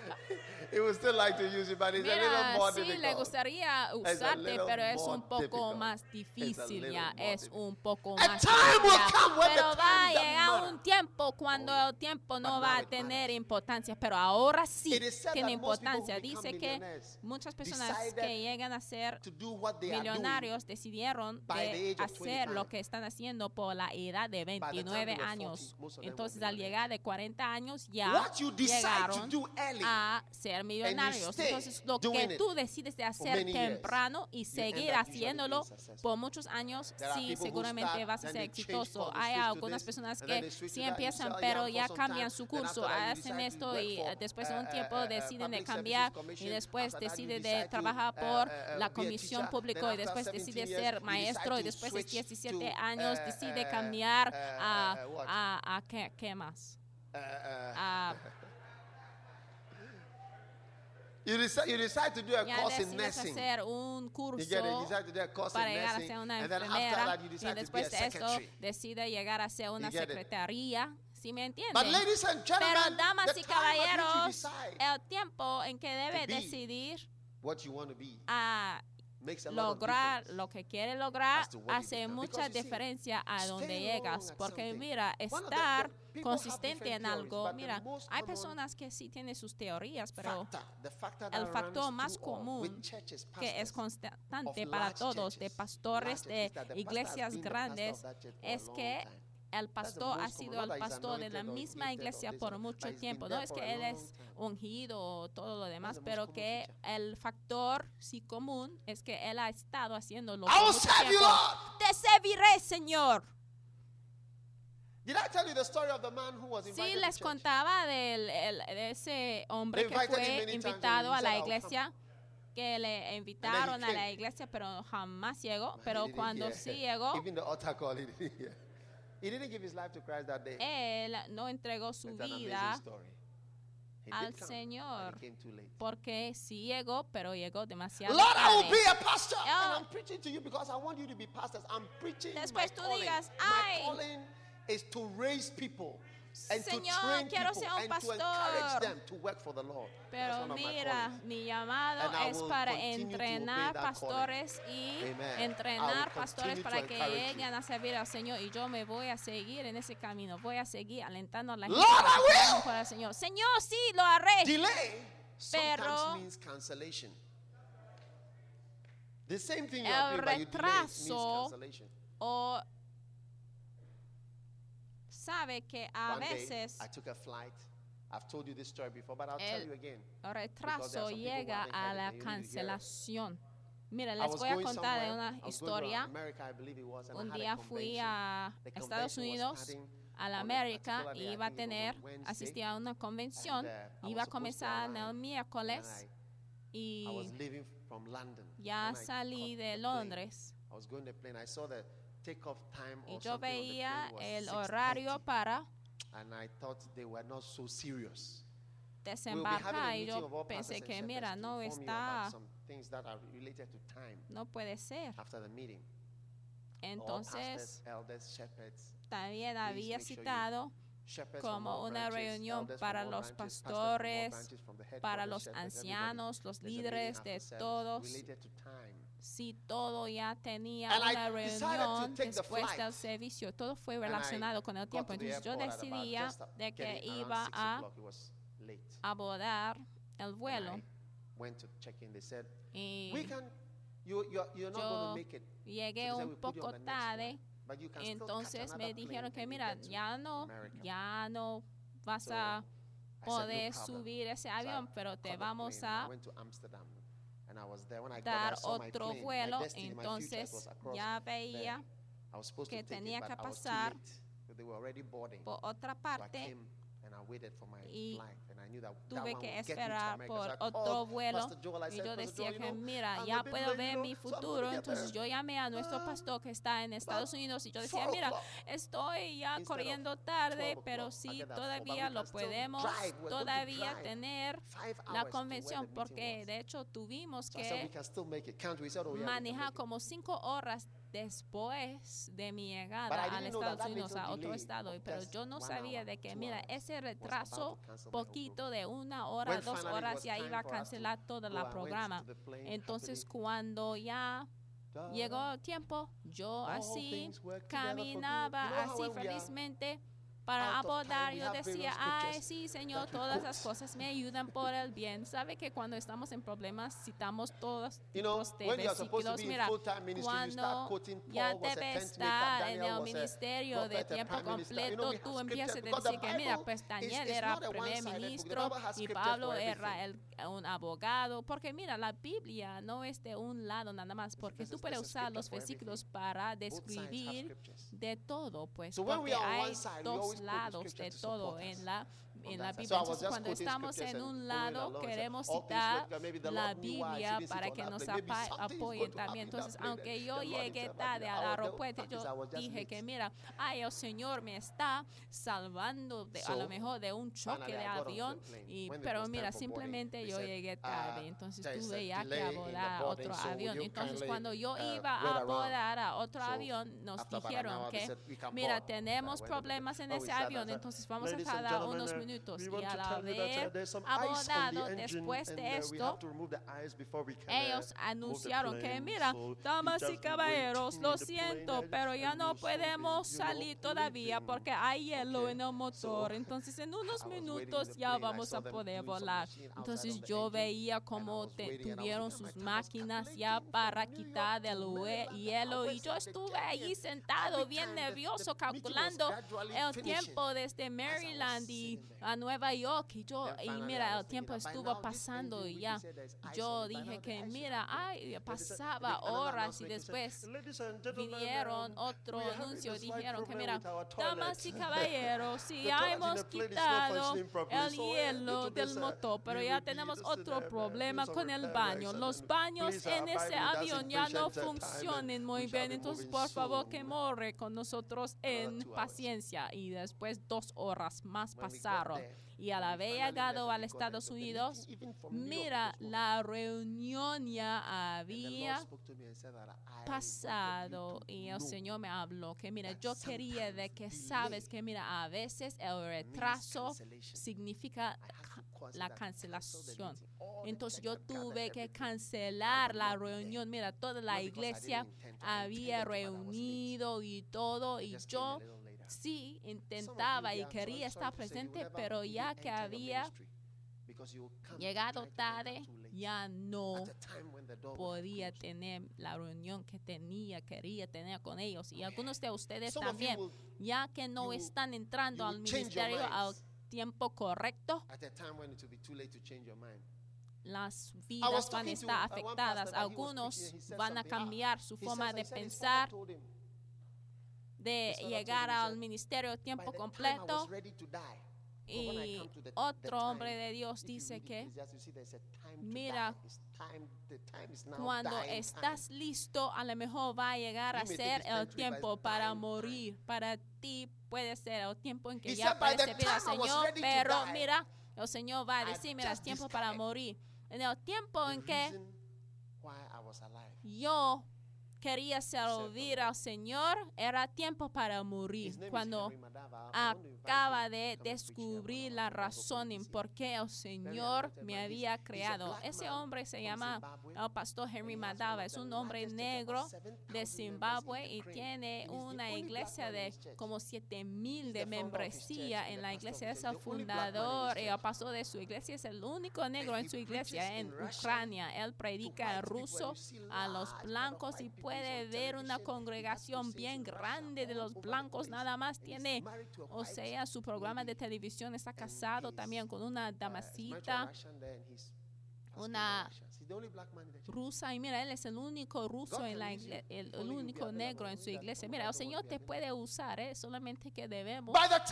Speaker 3: He would still like to use you, but it's a little
Speaker 2: Mira,
Speaker 3: more
Speaker 2: sí, le
Speaker 3: difficult.
Speaker 2: gustaría
Speaker 3: a
Speaker 2: usarte,
Speaker 3: little
Speaker 2: pero es
Speaker 3: more
Speaker 2: un poco
Speaker 3: difficult.
Speaker 2: más
Speaker 3: It's a
Speaker 2: difícil
Speaker 3: little
Speaker 2: ya,
Speaker 3: more
Speaker 2: es
Speaker 3: difficult.
Speaker 2: un poco
Speaker 3: A
Speaker 2: más
Speaker 3: time
Speaker 2: difícil
Speaker 3: will
Speaker 2: ya.
Speaker 3: come when the
Speaker 2: Pero va a
Speaker 3: time doesn't
Speaker 2: llegar
Speaker 3: matter.
Speaker 2: un tiempo cuando
Speaker 3: Oh, yeah.
Speaker 2: el tiempo
Speaker 3: But
Speaker 2: no
Speaker 3: now
Speaker 2: va a
Speaker 3: it
Speaker 2: tener
Speaker 3: matters.
Speaker 2: importancia, pero ahora sí
Speaker 3: It is said
Speaker 2: tiene
Speaker 3: that most people who
Speaker 2: importancia.
Speaker 3: become
Speaker 2: Dice que
Speaker 3: millionaires
Speaker 2: muchas personas
Speaker 3: decided
Speaker 2: que llegan a ser
Speaker 3: to do what they are doing
Speaker 2: millonarios decidieron
Speaker 3: by the
Speaker 2: de
Speaker 3: age of
Speaker 2: hacer lo
Speaker 3: twenty-five.
Speaker 2: que están haciendo por la edad de
Speaker 3: By the time
Speaker 2: veintinueve
Speaker 3: they were
Speaker 2: años.
Speaker 3: forty, most of them were
Speaker 2: Entonces, al
Speaker 3: millionaires.
Speaker 2: llegar de cuarenta años ya
Speaker 3: What you decide to
Speaker 2: llegaron
Speaker 3: do early
Speaker 2: a ser millonarios.
Speaker 3: stay
Speaker 2: Entonces, lo
Speaker 3: doing
Speaker 2: que
Speaker 3: it
Speaker 2: tú decides de hacer
Speaker 3: many years,
Speaker 2: temprano y
Speaker 3: you
Speaker 2: seguir
Speaker 3: end up usually
Speaker 2: haciéndolo
Speaker 3: being successful.
Speaker 2: por muchos años,
Speaker 3: There are
Speaker 2: sí,
Speaker 3: people who
Speaker 2: seguramente
Speaker 3: start,
Speaker 2: vas a
Speaker 3: then
Speaker 2: ser
Speaker 3: they change
Speaker 2: exitoso.
Speaker 3: course, they
Speaker 2: Hay
Speaker 3: switch to
Speaker 2: algunas
Speaker 3: this,
Speaker 2: personas
Speaker 3: and then
Speaker 2: que
Speaker 3: they switch
Speaker 2: sí
Speaker 3: to that, you
Speaker 2: empiezan,
Speaker 3: sell,
Speaker 2: pero
Speaker 3: yeah,
Speaker 2: ya
Speaker 3: for some
Speaker 2: cambian
Speaker 3: time,
Speaker 2: su
Speaker 3: then
Speaker 2: curso,
Speaker 3: after that you
Speaker 2: hacen
Speaker 3: decide to
Speaker 2: esto
Speaker 3: work
Speaker 2: y
Speaker 3: for,
Speaker 2: eh, después de
Speaker 3: uh,
Speaker 2: un tiempo
Speaker 3: uh, uh,
Speaker 2: deciden de
Speaker 3: Public
Speaker 2: cambiar
Speaker 3: Services
Speaker 2: y
Speaker 3: Commission.
Speaker 2: después
Speaker 3: After that, you
Speaker 2: decide
Speaker 3: decide
Speaker 2: de
Speaker 3: to,
Speaker 2: trabajar
Speaker 3: uh,
Speaker 2: por
Speaker 3: uh,
Speaker 2: la
Speaker 3: be a
Speaker 2: comisión
Speaker 3: teacher.
Speaker 2: pública
Speaker 3: Then
Speaker 2: y
Speaker 3: after
Speaker 2: después
Speaker 3: seventeen
Speaker 2: decide
Speaker 3: years,
Speaker 2: ser
Speaker 3: you
Speaker 2: maestro
Speaker 3: decide
Speaker 2: y
Speaker 3: to
Speaker 2: después de
Speaker 3: switch
Speaker 2: diecisiete
Speaker 3: to,
Speaker 2: años
Speaker 3: uh,
Speaker 2: decide
Speaker 3: uh,
Speaker 2: cambiar
Speaker 3: uh,
Speaker 2: a,
Speaker 3: uh, what?
Speaker 2: a, a ¿qué, qué más?
Speaker 3: Uh, uh,
Speaker 2: A
Speaker 3: You decide, you decide to do a
Speaker 2: ya
Speaker 3: course in
Speaker 2: decides
Speaker 3: nursing.
Speaker 2: hacer un
Speaker 3: You
Speaker 2: curso
Speaker 3: get it? You decide to do a course
Speaker 2: para
Speaker 3: in
Speaker 2: llegar a
Speaker 3: nursing,
Speaker 2: ser una
Speaker 3: and then after
Speaker 2: enfermera
Speaker 3: that, you
Speaker 2: y
Speaker 3: decide to be a
Speaker 2: después de esto
Speaker 3: secretary.
Speaker 2: decide llegar a ser una
Speaker 3: You get it?
Speaker 2: secretaría. ¿Sí me entienden?
Speaker 3: But ladies and
Speaker 2: Pero
Speaker 3: gentlemen,
Speaker 2: damas
Speaker 3: the
Speaker 2: y
Speaker 3: time at which you
Speaker 2: caballeros,
Speaker 3: decide
Speaker 2: el tiempo en que debe
Speaker 3: be
Speaker 2: decidir
Speaker 3: what you want to be
Speaker 2: a
Speaker 3: makes a lot of
Speaker 2: lograr
Speaker 3: difference.
Speaker 2: lo que quiere lograr
Speaker 3: as to what you
Speaker 2: hace
Speaker 3: become.
Speaker 2: mucha
Speaker 3: Because you see,
Speaker 2: diferencia a donde
Speaker 3: staying
Speaker 2: llegas.
Speaker 3: long at
Speaker 2: Porque
Speaker 3: something,
Speaker 2: mira,
Speaker 3: one of the-
Speaker 2: estar
Speaker 3: the people have
Speaker 2: consistente
Speaker 3: different
Speaker 2: en
Speaker 3: theories,
Speaker 2: algo,
Speaker 3: but the
Speaker 2: mira,
Speaker 3: most
Speaker 2: hay
Speaker 3: common
Speaker 2: personas que sí tienen sus teorías, pero
Speaker 3: factor, the factor
Speaker 2: el
Speaker 3: that
Speaker 2: factor
Speaker 3: runs
Speaker 2: más
Speaker 3: through all
Speaker 2: común
Speaker 3: with churches,
Speaker 2: que es
Speaker 3: pastors,
Speaker 2: constante
Speaker 3: of
Speaker 2: para
Speaker 3: large
Speaker 2: todos, de
Speaker 3: churches,
Speaker 2: pastores
Speaker 3: large
Speaker 2: de
Speaker 3: churches, that the pastor has
Speaker 2: iglesias
Speaker 3: been the pastor
Speaker 2: grandes,
Speaker 3: of that church for a
Speaker 2: es
Speaker 3: long
Speaker 2: que
Speaker 3: time.
Speaker 2: el pastor ha
Speaker 3: most
Speaker 2: sido
Speaker 3: common,
Speaker 2: el
Speaker 3: not that he's
Speaker 2: pastor de la
Speaker 3: anointed or
Speaker 2: misma
Speaker 3: gifted or
Speaker 2: iglesia
Speaker 3: this
Speaker 2: por
Speaker 3: or-
Speaker 2: mucho
Speaker 3: but he's
Speaker 2: tiempo.
Speaker 3: been
Speaker 2: No
Speaker 3: there
Speaker 2: es
Speaker 3: for
Speaker 2: que
Speaker 3: a
Speaker 2: él
Speaker 3: long
Speaker 2: es
Speaker 3: time.
Speaker 2: ungido o todo lo demás,
Speaker 3: the most
Speaker 2: pero
Speaker 3: common
Speaker 2: que
Speaker 3: feature.
Speaker 2: el factor sí común es que él ha estado haciéndolo
Speaker 3: I
Speaker 2: por
Speaker 3: will
Speaker 2: mucho
Speaker 3: serve you,
Speaker 2: tiempo.
Speaker 3: Lord.
Speaker 2: Te serviré, Señor.
Speaker 3: Did I tell you the story of the man who was invited
Speaker 2: Sí,
Speaker 3: to
Speaker 2: les
Speaker 3: church?
Speaker 2: contaba del, el- de ese hombre
Speaker 3: They
Speaker 2: que
Speaker 3: invited him
Speaker 2: fue
Speaker 3: many times
Speaker 2: invitado
Speaker 3: and he
Speaker 2: a la
Speaker 3: said, "I'll
Speaker 2: iglesia, que le invitaron a la
Speaker 3: came.
Speaker 2: iglesia, pero jamás llegó.
Speaker 3: He
Speaker 2: Pero
Speaker 3: didn't
Speaker 2: cuando
Speaker 3: hear.
Speaker 2: sí llegó,
Speaker 3: Even the altar call, he didn't hear. He didn't give his life to Christ that day.
Speaker 2: él no entregó su
Speaker 3: It's an amazing
Speaker 2: vida
Speaker 3: story. He
Speaker 2: al
Speaker 3: did come,
Speaker 2: Señor,
Speaker 3: but he came too late.
Speaker 2: porque sí llegó, pero llegó demasiado
Speaker 3: Lord, I will
Speaker 2: tarde.
Speaker 3: be a pastor.
Speaker 2: Oh.
Speaker 3: And I'm preaching to you because I want you to be pastors. I'm preaching
Speaker 2: Después
Speaker 3: my
Speaker 2: tú
Speaker 3: calling.
Speaker 2: digas,
Speaker 3: my
Speaker 2: "Ay,
Speaker 3: calling is to raise people and to
Speaker 2: Señor,
Speaker 3: train
Speaker 2: quiero
Speaker 3: people
Speaker 2: ser un
Speaker 3: and
Speaker 2: pastor."
Speaker 3: to encourage them to work for the Lord. That's
Speaker 2: Pero
Speaker 3: one of my
Speaker 2: mira,
Speaker 3: callings.
Speaker 2: mi llamado
Speaker 3: And I
Speaker 2: es
Speaker 3: will
Speaker 2: para
Speaker 3: continue to obey
Speaker 2: entrenar
Speaker 3: that
Speaker 2: pastores y
Speaker 3: Amen. I
Speaker 2: entrenar
Speaker 3: will
Speaker 2: pastores
Speaker 3: continue
Speaker 2: para
Speaker 3: to
Speaker 2: que
Speaker 3: encourage you.
Speaker 2: lleguen a servir al Señor. Y yo me voy a seguir en ese camino. Voy a seguir alentando a la gente
Speaker 3: Lord,
Speaker 2: para
Speaker 3: I
Speaker 2: que trabajen
Speaker 3: will.
Speaker 2: para el Señor. Señor, sí, lo haré.
Speaker 3: Delay sometimes
Speaker 2: Pero
Speaker 3: means cancellation. The same thing you
Speaker 2: el
Speaker 3: are doing, but you delay it means
Speaker 2: retraso
Speaker 3: cancellation.
Speaker 2: O sabe que a
Speaker 3: One day,
Speaker 2: veces
Speaker 3: I took a flight. I've told you this story before, but I'll tell
Speaker 2: el
Speaker 3: you again.
Speaker 2: el
Speaker 3: Because there are
Speaker 2: retraso
Speaker 3: some people who
Speaker 2: llega
Speaker 3: haven't
Speaker 2: a
Speaker 3: heard it,
Speaker 2: la
Speaker 3: and you need to hear it.
Speaker 2: cancelación. Mira,
Speaker 3: I
Speaker 2: les
Speaker 3: was
Speaker 2: voy a
Speaker 3: going
Speaker 2: contar de
Speaker 3: somewhere.
Speaker 2: una
Speaker 3: I was going to
Speaker 2: historia.
Speaker 3: America, I believe it was, and I
Speaker 2: Un
Speaker 3: had a
Speaker 2: día fui
Speaker 3: convention.
Speaker 2: a
Speaker 3: The
Speaker 2: Estados
Speaker 3: convention was
Speaker 2: Unidos,
Speaker 3: starting
Speaker 2: a la
Speaker 3: on a
Speaker 2: América,
Speaker 3: particular day,
Speaker 2: y
Speaker 3: I
Speaker 2: iba a
Speaker 3: think it was on
Speaker 2: tener,
Speaker 3: Wednesday,
Speaker 2: asistía a una convención,
Speaker 3: and, uh, I
Speaker 2: iba a
Speaker 3: was supposed to
Speaker 2: comenzar en el
Speaker 3: arrive,
Speaker 2: miércoles
Speaker 3: and I, I was
Speaker 2: y
Speaker 3: leaving from London.
Speaker 2: ya
Speaker 3: When I
Speaker 2: salí
Speaker 3: caught
Speaker 2: de
Speaker 3: the plane,
Speaker 2: Londres
Speaker 3: I was going to the plane. I saw the takeoff time
Speaker 2: y
Speaker 3: or
Speaker 2: yo
Speaker 3: something on the
Speaker 2: veía
Speaker 3: plane was
Speaker 2: el
Speaker 3: six
Speaker 2: horario
Speaker 3: thirty,
Speaker 2: para
Speaker 3: and I thought they were not so serious. We'll be having a
Speaker 2: desembarcar y
Speaker 3: meeting
Speaker 2: yo
Speaker 3: of all
Speaker 2: pensé
Speaker 3: pastors
Speaker 2: que
Speaker 3: and
Speaker 2: mira,
Speaker 3: shepherds to
Speaker 2: no
Speaker 3: inform you about
Speaker 2: está,
Speaker 3: some things that are related to time
Speaker 2: no puede ser.
Speaker 3: after the meeting. All
Speaker 2: Entonces
Speaker 3: pastors, elders, shepherds,
Speaker 2: también
Speaker 3: please
Speaker 2: había
Speaker 3: make sure you
Speaker 2: citado como una reunión para los pastores, para los ancianos, los líderes de todos. Si todo ya tenía una reunión después del servicio, todo fue relacionado con el tiempo. Entonces yo decidía de que iba a abordar el vuelo. Y yo llegué un poco tarde. Entonces me dijeron que mira, ya no, ya no vas a poder subir ese avión, pero te vamos a dar otro vuelo. Entonces ya veía que tenía que pasar por otra parte y tuve que esperar por otro vuelo. Y yo decía que mira, ya puedo ver mi futuro. Entonces yo llamé a nuestro pastor que está en Estados Unidos y yo decía, mira, estoy ya corriendo tarde, pero sí todavía lo podemos todavía tener la convención, porque de hecho tuvimos que manejar como cinco horas después de mi llegada a Estados Unidos, a otro estado, pero yo no sabía de que, mira, ese retraso poquito de una hora, dos horas, ya iba a cancelar todo el programa. Entonces, cuando ya llegó el tiempo, yo así caminaba así felizmente para abordar. Yo decía, ay, sí, Señor, todas las cosas me ayudan por el bien. ¿Sabe que cuando estamos en problemas citamos todos tipos de versículos? Mira, cuando ya debes estar en el ministerio de tiempo completo, tú empiezas a decir que, mira, pues Daniel era primer ministro y Pablo era el, un abogado. Porque, mira, la Biblia no es de un lado nada más, porque tú puedes usar los versículos para describir de todo, pues, porque hay dos lados de todo en la en la Biblia. Entonces, cuando estamos en un lado, queremos citar la Biblia para que nos apoyen también. Entonces, aunque yo llegué tarde al aeropuerto, yo dije que, mira, ay, el Señor me está salvando de, a lo mejor de un choque de avión, y, pero mira, simplemente yo llegué tarde. Entonces, tuve ya que abordar otro avión. Entonces, cuando yo iba a abordar a otro avión, nos dijeron que, mira, tenemos problemas en ese avión, entonces vamos a tardar unos minutos. Y al haber abordado después de esto, ellos anunciaron que, mira, damas y caballeros, lo siento, pero ya no podemos salir todavía porque hay hielo en el motor. Entonces, en unos minutos ya vamos a poder volar. Entonces, yo veía cómo te, tuvieron sus máquinas ya para quitar el hielo, y yo estuve ahí sentado bien nervioso calculando el tiempo desde Maryland y a Nueva York, y yo, y mira, el tiempo estuvo pasando y ya, yo dije que mira, ay, pasaba horas, y después vinieron otro anuncio y dijeron que mira, damas y caballeros, si ya hemos quitado el hielo del motor, pero ya tenemos otro problema con el baño. Los baños en ese avión ya no funcionan muy bien, entonces por favor que more con nosotros en paciencia. Y después dos horas más pasaron. Y al haber llegado a los Estados Unidos, mira, la reunión ya había pasado y el Señor me habló que, mira, yo quería de que sabes que, mira, a veces el retraso significa la cancelación. Entonces yo tuve que cancelar la reunión. Mira, toda la iglesia había reunido y todo, y yo sí intentaba y quería estar presente, pero ya que había llegado tarde, ya no podía tener la reunión que tenía, quería tener con ellos. Y algunos de ustedes también, ya que no están entrando al ministerio al tiempo correcto, las vidas van a estar afectadas. Algunos van a cambiar su forma de pensar, de llegar al ministerio a tiempo completo. Y otro hombre de Dios dice que, mira, cuando estás listo, a lo mejor va a llegar a ser el tiempo para morir. Para ti puede ser el tiempo en que ya puedes servir al Señor, pero mira, el Señor va a decir, mira, es tiempo para morir. En el tiempo en que yo quería servir al Señor, era tiempo para morir. Cuando acaba de descubrir la razón en por qué el Señor me había creado. Ese hombre se llama el pastor Henry Madava. Es un hombre negro de Zimbabue y tiene una iglesia de como siete mil de membresía en la iglesia. Es el fundador y el pastor de su iglesia. Es el único negro en su iglesia en Ucrania. Él predica en ruso a los blancos y puede ver una congregación bien grande de los blancos. Nada más tiene, o sea, su programa de televisión. Está casado también con una damasita, una rusa, y mira, él es el único ruso en la iglesia, el, el único negro en su iglesia. Mira, el Señor te puede usar, ¿eh? Solamente que debemos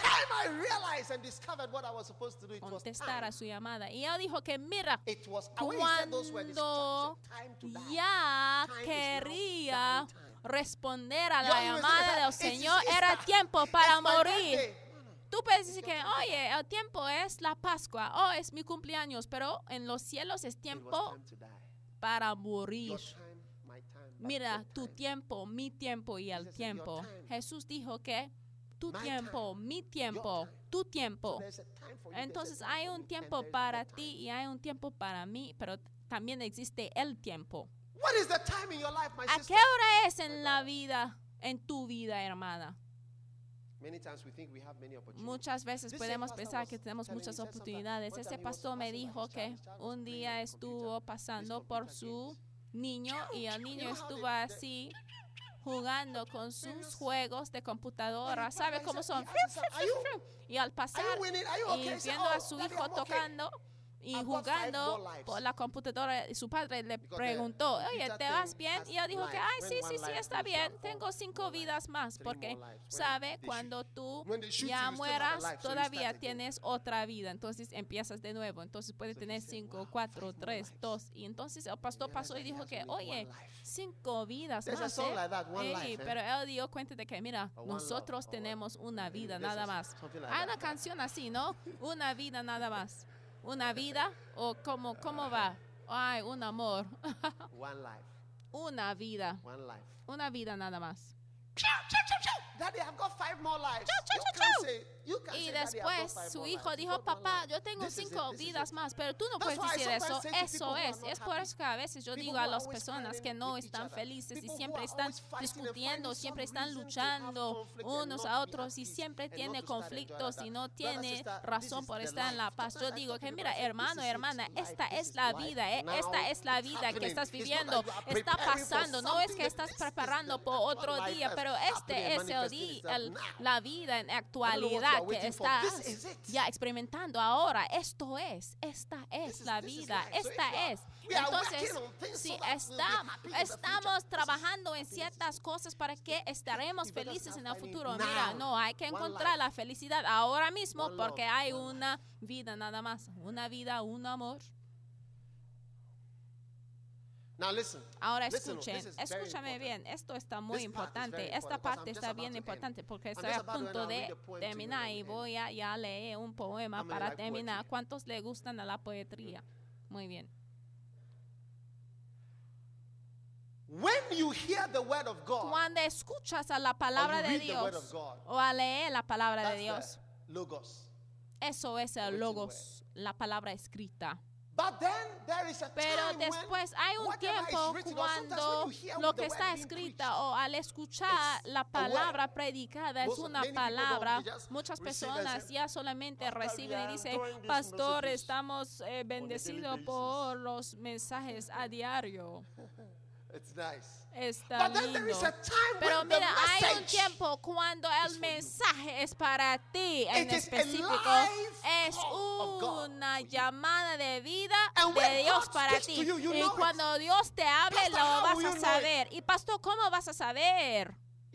Speaker 2: contestar a su llamada. Y él dijo que mira, cuando ya quería responder a la llamada del Señor, era tiempo para morir. Tú puedes decir que, oye, el tiempo es la Pascua, oh, es mi cumpleaños, pero en los cielos es tiempo para morir. Mira, tu tiempo, mi tiempo y el tiempo. Jesús dijo que tu tiempo, mi tiempo, tu tiempo. Entonces hay un tiempo para ti y hay un tiempo para mí, pero también existe el tiempo. ¿A qué hora es en la vida, en tu vida, hermana? Muchas veces podemos pensar que tenemos muchas oportunidades. Ese pastor me dijo que un día estuvo pasando por su niño y el niño estuvo así jugando con sus juegos de computadora. ¿Sabe cómo son? Y al pasar y viendo a su hijo tocando y jugando por la computadora, su padre le preguntó, oye, ¿te vas bien? Y él dijo que, ay, sí, sí, sí, está bien, tengo cinco vidas más, porque, ¿sabe? Cuando tú ya mueras, todavía tienes otra vida, entonces empiezas de nuevo, entonces puedes tener cinco, cuatro, tres, dos, y entonces el pastor pasó y dijo que, oye, cinco vidas más, ¿eh? Ey, pero él dio cuenta de que, mira, nosotros tenemos una vida nada más. Hay una canción así, ¿no? Una vida nada más. Una vida, o cómo, cómo va. Ay, un amor. Una vida. Una vida nada más.
Speaker 3: Daddy, I've got five more lives.
Speaker 2: Chau, chau, chau, chau. Y después su hijo dijo, papá, yo tengo cinco vidas más, pero tú no puedes decir eso. Eso es. Es por eso que a veces yo digo a las personas que no están felices y siempre están discutiendo, siempre están luchando unos a otros y siempre tiene conflictos y no tiene razón por estar en la paz. Yo digo que mira, hermano, hermana, esta es la vida, ¿eh? Esta es la vida que estás viviendo. Está pasando. No es que estás preparando por otro día, pero este es el día, el, la vida en actualidad que estás ya experimentando ahora. Esto es, esta es la vida, esta es. Entonces, si está, estamos trabajando en ciertas cosas para que estaremos felices en el futuro, mira, no, hay que encontrar la felicidad ahora mismo porque hay una vida nada más, una vida, un amor.
Speaker 3: Now listen,
Speaker 2: Ahora
Speaker 3: listen,
Speaker 2: escuchen,
Speaker 3: this is very
Speaker 2: escúchame
Speaker 3: important.
Speaker 2: bien, esto está muy
Speaker 3: This part is
Speaker 2: importante,
Speaker 3: very
Speaker 2: esta
Speaker 3: important,
Speaker 2: parte
Speaker 3: because I'm
Speaker 2: está
Speaker 3: just
Speaker 2: bien
Speaker 3: about to
Speaker 2: importante
Speaker 3: end.
Speaker 2: porque
Speaker 3: I'm
Speaker 2: estoy
Speaker 3: just
Speaker 2: a
Speaker 3: about to
Speaker 2: punto
Speaker 3: now
Speaker 2: de
Speaker 3: read a poem to
Speaker 2: terminar
Speaker 3: you
Speaker 2: y
Speaker 3: and
Speaker 2: voy a ya leer un poema
Speaker 3: How many
Speaker 2: para
Speaker 3: like
Speaker 2: terminar.
Speaker 3: poetry?
Speaker 2: ¿Cuántos le gustan a la poetría? Muy bien.
Speaker 3: When you hear the word of God,
Speaker 2: Cuando escuchas a la palabra
Speaker 3: you
Speaker 2: de
Speaker 3: read the word
Speaker 2: Dios
Speaker 3: of God,
Speaker 2: o a leer la palabra de
Speaker 3: that's
Speaker 2: Dios,
Speaker 3: the logos.
Speaker 2: eso es el
Speaker 3: written
Speaker 2: logos, la palabra escrita.
Speaker 3: But then there is a
Speaker 2: Pero
Speaker 3: time when
Speaker 2: después hay un
Speaker 3: whatever is
Speaker 2: tiempo
Speaker 3: written, or sometimes
Speaker 2: cuando
Speaker 3: when you hear
Speaker 2: lo
Speaker 3: the
Speaker 2: que
Speaker 3: word
Speaker 2: está
Speaker 3: being
Speaker 2: escrita
Speaker 3: preached,
Speaker 2: o al escuchar
Speaker 3: it's
Speaker 2: la
Speaker 3: a
Speaker 2: palabra
Speaker 3: word.
Speaker 2: predicada es
Speaker 3: Most-
Speaker 2: una
Speaker 3: many people don't,
Speaker 2: palabra.
Speaker 3: they just
Speaker 2: Muchas
Speaker 3: receive and
Speaker 2: personas
Speaker 3: say,
Speaker 2: ya solamente
Speaker 3: "Pastor, we
Speaker 2: reciben y
Speaker 3: are
Speaker 2: dicen,
Speaker 3: enjoying these
Speaker 2: pastor,
Speaker 3: messages
Speaker 2: estamos eh, bendecidos
Speaker 3: basis."
Speaker 2: por los mensajes a diario.
Speaker 3: It's nice.
Speaker 2: Está
Speaker 3: But then there
Speaker 2: lindo.
Speaker 3: is a time
Speaker 2: Pero
Speaker 3: when the
Speaker 2: mira, hay un
Speaker 3: message
Speaker 2: tiempo cuando el
Speaker 3: is for you.
Speaker 2: mensaje es para ti en
Speaker 3: It is a
Speaker 2: específico.
Speaker 3: live
Speaker 2: Es
Speaker 3: call of God
Speaker 2: una
Speaker 3: for you.
Speaker 2: llamada de vida
Speaker 3: And
Speaker 2: de
Speaker 3: when
Speaker 2: Dios
Speaker 3: God
Speaker 2: para
Speaker 3: speaks
Speaker 2: ti.
Speaker 3: to you, you
Speaker 2: Y
Speaker 3: know it.
Speaker 2: cuando Dios te hable,
Speaker 3: Pastor,
Speaker 2: lo
Speaker 3: how
Speaker 2: vas
Speaker 3: will
Speaker 2: a
Speaker 3: you know
Speaker 2: saber. Y pastor, ¿cómo vas a saber?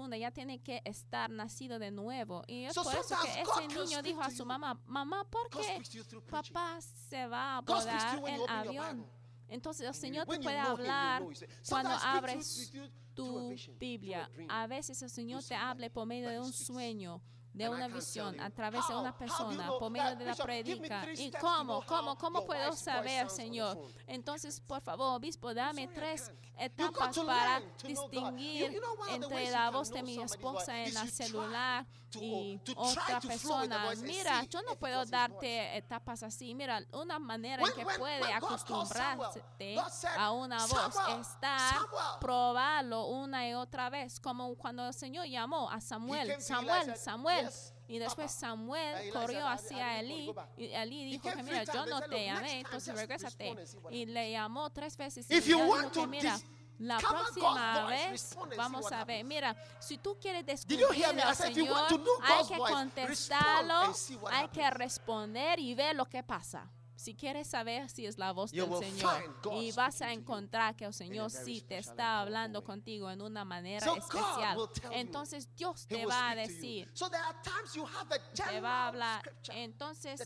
Speaker 2: profunda, ya tiene que estar nacido de nuevo. Y es so por eso que ese niño dijo a su mamá, mamá, ¿por qué papá se va a volar el avión? Entonces el Señor te puede hablar cuando abres tu Biblia. A veces el Señor te habla por medio de un sueño. de una visión a través de una persona por medio de la predica. ¿Y cómo? ¿Cómo? ¿Cómo puedo saber, Señor? Entonces, por favor, obispo, dame tres etapas para distinguir entre la voz de mi esposa en el celular y otra persona. Mira, yo no puedo darte etapas así. Mira, una manera en que puede acostumbrarse a una voz está probarlo una y otra vez, como cuando el Señor llamó a Samuel, Samuel, Samuel. Y después Samuel corrió hacia Elí y Elí dijo que mira, yo no te llamé, entonces regrésate. Y le llamó tres veces y dijo que mira, la próxima vez vamos a ver. Mira, si tú quieres descubrir al Señor, hay que contestarlo, hay que responder y ver lo que pasa. Si quieres saber si es la voz del Señor, y vas a encontrar que el Señor sí te está hablando contigo en una manera especial, entonces Dios te va a decir, te va a hablar. Entonces,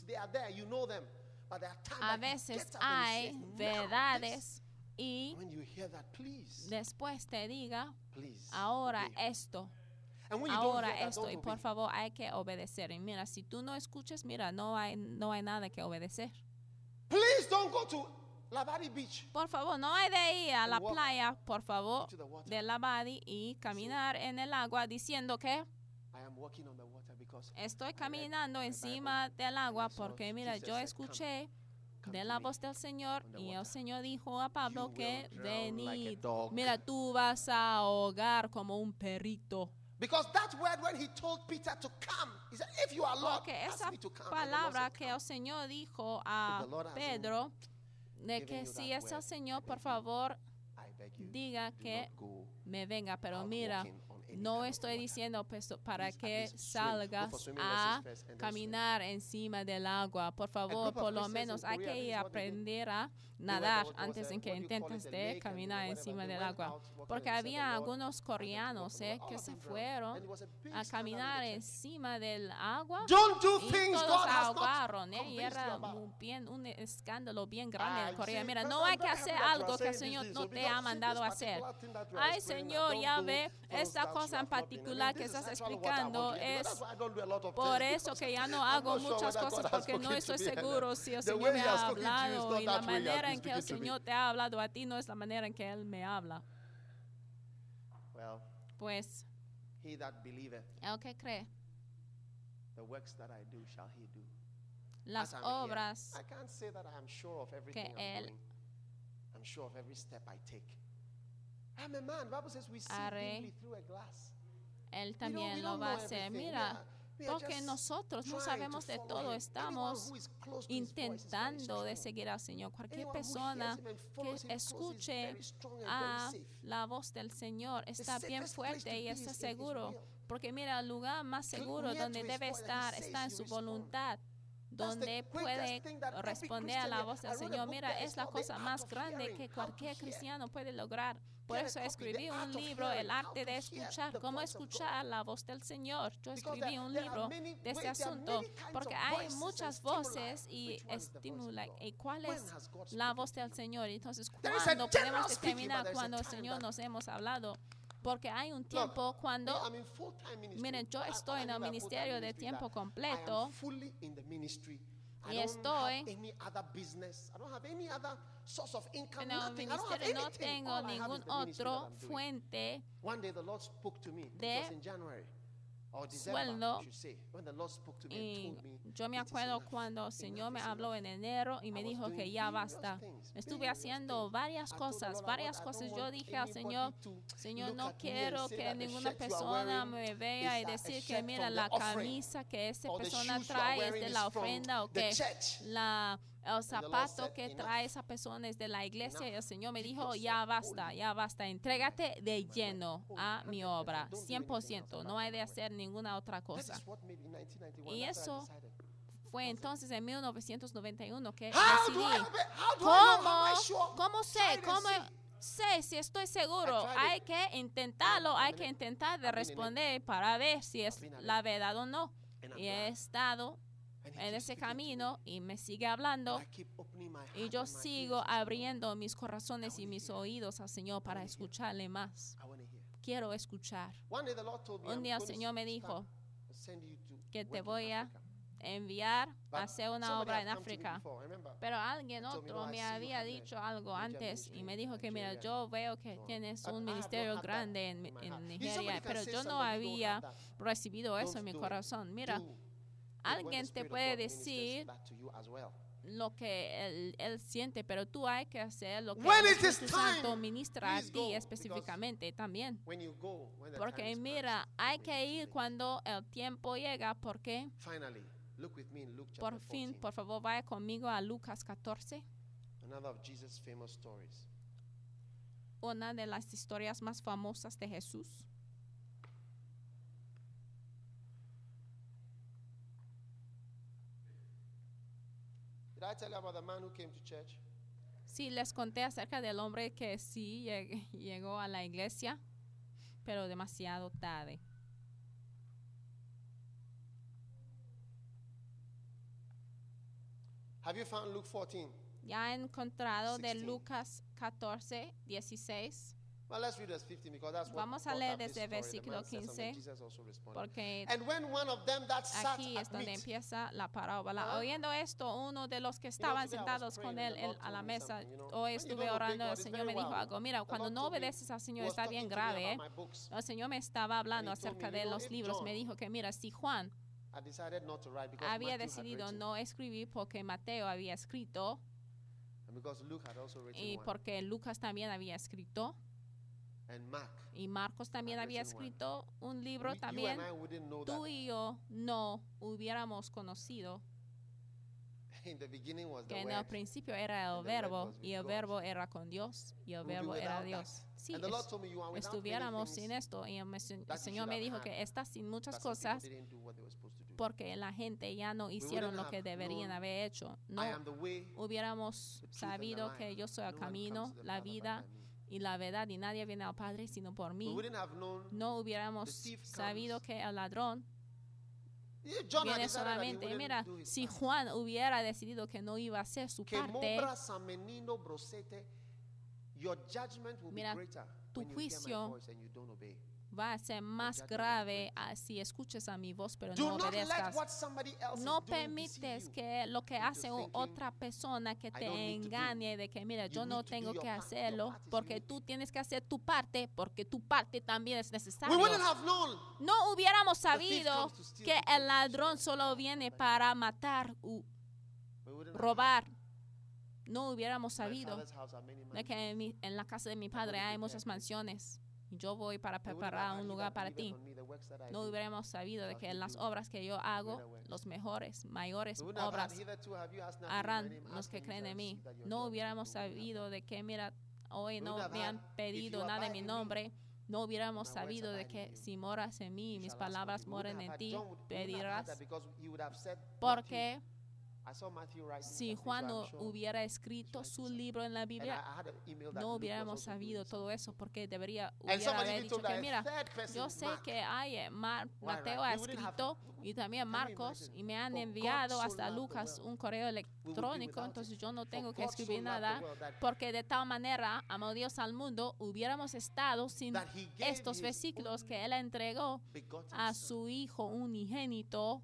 Speaker 2: a veces hay verdades y después te diga, ahora esto. Ahora esto, y por favor hay que obedecer. Y mira, si tú no escuchas, mira, no hay, no hay nada que obedecer.
Speaker 3: Please don't go to Labadi Beach.
Speaker 2: Por favor, no hay de ir a la playa, por favor, de Labadi y caminar en el agua diciendo que estoy caminando encima del agua porque mira, yo escuché de la voz del Señor y el Señor dijo a Pablo que venid. Mira, tú vas a ahogar como un perrito.
Speaker 3: Because that word when he told Peter to come, he said, if you are Lord,
Speaker 2: porque esa palabra que el Señor dijo a Pedro, de que si es el Señor, por favor, diga que me venga. Pero mira, no estoy diciendo para que salgas a caminar encima del agua. Por favor, por lo menos hay que ir a aprender a nadar antes de que intentes de caminar encima del agua. Porque había algunos coreanos eh, que se fueron a caminar encima del agua y todos ahogaron. Eh, y era un, bien, un escándalo bien grande en Corea. Mira, no hay que hacer algo que el Señor no te ha mandado a hacer. Ay, Señor, ya ve, esta cosa en particular que estás explicando es por eso que ya no hago muchas cosas porque no estoy seguro si el Señor me ha hablado y la manera en que el Señor te ha hablado a ti no es la manera en que Él me habla. Pues el que cree las obras que Él haré, Él también lo va a hacer. Mira, porque nosotros no sabemos de todo, estamos intentando de seguir al Señor. Cualquier persona que escuche a la voz del Señor está bien fuerte y está seguro. Porque mira, el lugar más seguro donde debe estar está en su voluntad, donde puede responder a la voz del Señor. Mira, es la cosa más grande que cualquier cristiano puede lograr. Por eso escribí un libro, El arte de escuchar, cómo escuchar la voz del Señor. Yo escribí un libro de este asunto, porque hay muchas voces y estimula. ¿Y cuál es la voz del Señor? Entonces, ¿cuándo podemos determinar cuando el Señor nos hemos hablado? Porque hay un tiempo cuando, miren, yo estoy en el ministerio de tiempo completo y estoy en el ministerio, no tengo ningún otro fuente de sueldo. Y yo me acuerdo cuando el Señor me habló en enero y me dijo que ya basta. Estuve haciendo varias cosas, varias cosas. Yo dije al Señor, Señor, no quiero que ninguna persona me vea y decir que mira, la camisa que esa persona trae es de la ofrenda o que la... el zapato que trae esa persona es de la iglesia. Y el Señor me dijo, ya basta, ya basta, entrégate de lleno a mi obra, cien por ciento, no hay de hacer ninguna otra cosa. Y eso fue entonces en mil novecientos noventa y uno que decidí, ¿cómo, cómo sé, cómo sé si estoy seguro? Hay que intentarlo, hay que intentar de responder para ver si es la verdad o no. Y he estado en ese camino y me sigue hablando y yo sigo abriendo mis corazones y mis oídos al Señor para escucharle más. Quiero escuchar. Un día el Señor me dijo, que te voy a enviar a hacer una obra en África. Pero alguien otro me había dicho algo antes y me dijo que mira, yo veo que tienes un ministerio grande en, en Nigeria, pero yo no había recibido eso en mi corazón. Mira, alguien te puede decir lo que él, él siente, pero tú hay que hacer lo que el Espíritu Santo ministra a ti específicamente también. Porque mira, hay que ir cuando el tiempo llega, porque por fin, por favor, vaya conmigo a Lucas catorce. Una de las historias más famosas de Jesús. Sí, les conté acerca del hombre que sí llegó a la iglesia, pero demasiado tarde.
Speaker 3: Have you found Luke fourteen?
Speaker 2: Ya he encontrado de Lucas catorce, dieciséis.
Speaker 3: Well, let's read verse fifteen because that's what
Speaker 2: Vamos a leer desde el versículo quince, porque
Speaker 3: and when one of them that sat
Speaker 2: aquí es
Speaker 3: at
Speaker 2: donde
Speaker 3: meat,
Speaker 2: empieza la parábola.
Speaker 3: Uh-huh.
Speaker 2: Oyendo esto, uno de los que estaban sentados con él en- a la mesa, hoy estuve orando, el Señor me dijo algo. Mira, cuando no obedeces al Señor está bien grave. ¿eh? El Señor me estaba hablando acerca de los libros. Me dijo que mira, si Juan
Speaker 3: I decided not to write because
Speaker 2: había
Speaker 3: Matthew had
Speaker 2: decidido
Speaker 3: written,
Speaker 2: no escribir porque Mateo había escrito
Speaker 3: and because Luke had also written
Speaker 2: y
Speaker 3: one,
Speaker 2: porque Lucas también había escrito
Speaker 3: and Mark.
Speaker 2: y Marcos también
Speaker 3: had
Speaker 2: había
Speaker 3: written one.
Speaker 2: escrito un libro
Speaker 3: We- you
Speaker 2: también.
Speaker 3: and I wouldn't know
Speaker 2: Tú
Speaker 3: that
Speaker 2: y yo no hubiéramos conocido
Speaker 3: in the beginning was the
Speaker 2: que en el
Speaker 3: word.
Speaker 2: principio era el
Speaker 3: and the word
Speaker 2: verbo
Speaker 3: was with
Speaker 2: y el
Speaker 3: God.
Speaker 2: verbo era con Dios y el
Speaker 3: We'll be
Speaker 2: verbo era
Speaker 3: without
Speaker 2: Dios.
Speaker 3: that.
Speaker 2: Sí,
Speaker 3: And the Lord
Speaker 2: es-
Speaker 3: told me you are without many
Speaker 2: estuviéramos
Speaker 3: things
Speaker 2: sin esto y el, mes- el
Speaker 3: that you
Speaker 2: Señor
Speaker 3: should
Speaker 2: me
Speaker 3: have
Speaker 2: dijo
Speaker 3: had,
Speaker 2: que estás sin muchas
Speaker 3: that some people
Speaker 2: cosas
Speaker 3: didn't do what they were supposed to do.
Speaker 2: porque la gente ya no hicieron
Speaker 3: wouldn't
Speaker 2: lo que
Speaker 3: have
Speaker 2: deberían
Speaker 3: known
Speaker 2: haber hecho. No
Speaker 3: I am the way,
Speaker 2: hubiéramos
Speaker 3: the truth and the
Speaker 2: sabido
Speaker 3: life.
Speaker 2: que yo soy el
Speaker 3: No one
Speaker 2: camino,
Speaker 3: comes to the
Speaker 2: la
Speaker 3: Father but
Speaker 2: vida
Speaker 3: by me.
Speaker 2: y la verdad, y nadie viene al Padre sino por
Speaker 3: We
Speaker 2: mí.
Speaker 3: wouldn't have known.
Speaker 2: No hubiéramos
Speaker 3: The thief
Speaker 2: sabido
Speaker 3: comes.
Speaker 2: que el ladrón
Speaker 3: Yeah, John had
Speaker 2: viene
Speaker 3: decided that he
Speaker 2: solamente.
Speaker 3: wouldn't
Speaker 2: Mira,
Speaker 3: do his
Speaker 2: si
Speaker 3: part.
Speaker 2: Juan hubiera decidido que no iba a hacer su
Speaker 3: Que
Speaker 2: parte,
Speaker 3: mobra samenino brosete, your judgment will
Speaker 2: Mira,
Speaker 3: be greater
Speaker 2: tu
Speaker 3: when you hear my
Speaker 2: juicio
Speaker 3: voice and you don't obey.
Speaker 2: va a ser más
Speaker 3: judgment will be
Speaker 2: grave
Speaker 3: great.
Speaker 2: ah, si escuches a mi voz pero
Speaker 3: Do
Speaker 2: no
Speaker 3: not let
Speaker 2: obedezcas.
Speaker 3: what somebody else
Speaker 2: No
Speaker 3: is doing deceive
Speaker 2: permites
Speaker 3: you.
Speaker 2: que lo que
Speaker 3: into
Speaker 2: hace u-
Speaker 3: thinking,
Speaker 2: otra persona que te
Speaker 3: don't need to do.
Speaker 2: engañe de que mira,
Speaker 3: You
Speaker 2: yo no
Speaker 3: need to do
Speaker 2: tengo
Speaker 3: your
Speaker 2: que
Speaker 3: part. Your
Speaker 2: hacerlo
Speaker 3: part is
Speaker 2: porque
Speaker 3: unique.
Speaker 2: tú tienes que hacer tu parte porque tu parte también es
Speaker 3: We
Speaker 2: necesaria.
Speaker 3: wouldn't have known.
Speaker 2: No hubiéramos
Speaker 3: thief
Speaker 2: sabido
Speaker 3: comes to steal,
Speaker 2: que
Speaker 3: to kill,
Speaker 2: el
Speaker 3: to
Speaker 2: ladrón
Speaker 3: destroy.
Speaker 2: solo viene para matar u
Speaker 3: We wouldn't have
Speaker 2: robar. No hubiéramos
Speaker 3: had- My
Speaker 2: sabido
Speaker 3: father's house are many
Speaker 2: de que en, mi- en la casa de mi padre hay muchas mansiones y yo voy para
Speaker 3: We wouldn't
Speaker 2: preparar
Speaker 3: have
Speaker 2: un
Speaker 3: had
Speaker 2: lugar
Speaker 3: he that
Speaker 2: para ti.
Speaker 3: believeth on me, the works that I
Speaker 2: No
Speaker 3: do.
Speaker 2: hubiéramos sabido de
Speaker 3: shall
Speaker 2: que
Speaker 3: he
Speaker 2: en las
Speaker 3: do
Speaker 2: obras que yo hago,
Speaker 3: greater works.
Speaker 2: los mejores, mayores
Speaker 3: We wouldn't have had
Speaker 2: obras
Speaker 3: hitherto have you asked nothing in my
Speaker 2: harán
Speaker 3: name,
Speaker 2: los
Speaker 3: ask
Speaker 2: que
Speaker 3: and you
Speaker 2: creen
Speaker 3: shall
Speaker 2: en mí.
Speaker 3: receive that your
Speaker 2: No
Speaker 3: joy is
Speaker 2: hubiéramos
Speaker 3: full. We wouldn't have
Speaker 2: sabido de que, mira, hoy
Speaker 3: We
Speaker 2: no
Speaker 3: wouldn't
Speaker 2: me
Speaker 3: have
Speaker 2: han
Speaker 3: had, if
Speaker 2: pedido
Speaker 3: you
Speaker 2: nada en
Speaker 3: abide
Speaker 2: mi
Speaker 3: in me,
Speaker 2: nombre. No hubiéramos
Speaker 3: my words
Speaker 2: sabido de
Speaker 3: abide in
Speaker 2: que
Speaker 3: you.
Speaker 2: si moras en mí y
Speaker 3: you
Speaker 2: mis
Speaker 3: shall ask
Speaker 2: palabras
Speaker 3: of me. We wouldn't
Speaker 2: moren en
Speaker 3: have had-
Speaker 2: ti,
Speaker 3: John would- we wouldn't have had
Speaker 2: pedirás.
Speaker 3: that because he would have said, Matthew,
Speaker 2: Porque
Speaker 3: I saw Matthew writing
Speaker 2: si
Speaker 3: that,
Speaker 2: Juan
Speaker 3: so
Speaker 2: no
Speaker 3: I'm sure-
Speaker 2: hubiera escrito
Speaker 3: writing
Speaker 2: su
Speaker 3: something.
Speaker 2: libro en la
Speaker 3: And I,
Speaker 2: Biblia,
Speaker 3: I had an email that
Speaker 2: no
Speaker 3: Luke was
Speaker 2: hubiéramos
Speaker 3: also doing
Speaker 2: sabido todo
Speaker 3: something.
Speaker 2: eso porque debería
Speaker 3: And
Speaker 2: hubiera
Speaker 3: somebody
Speaker 2: haber
Speaker 3: even
Speaker 2: dicho
Speaker 3: told
Speaker 2: que
Speaker 3: that
Speaker 2: mira,
Speaker 3: a third person,
Speaker 2: yo sé
Speaker 3: Mark,
Speaker 2: que hay eh, Mar-
Speaker 3: Why,
Speaker 2: Mateo
Speaker 3: right?
Speaker 2: ha
Speaker 3: We wouldn't have-
Speaker 2: escrito y también
Speaker 3: Can you
Speaker 2: Marcos
Speaker 3: imagine?
Speaker 2: y me han
Speaker 3: For God
Speaker 2: enviado
Speaker 3: so
Speaker 2: hasta
Speaker 3: loved the
Speaker 2: Lucas
Speaker 3: world,
Speaker 2: un correo
Speaker 3: we would be
Speaker 2: electrónico,
Speaker 3: without
Speaker 2: entonces
Speaker 3: it.
Speaker 2: yo no
Speaker 3: For
Speaker 2: tengo que
Speaker 3: God so
Speaker 2: escribir
Speaker 3: loved the
Speaker 2: nada
Speaker 3: world that-
Speaker 2: porque de tal manera amó Dios al mundo, hubiéramos estado sin
Speaker 3: that he gave
Speaker 2: estos
Speaker 3: his
Speaker 2: versículos
Speaker 3: only
Speaker 2: que él entregó
Speaker 3: begotten
Speaker 2: a
Speaker 3: son.
Speaker 2: su hijo unigénito.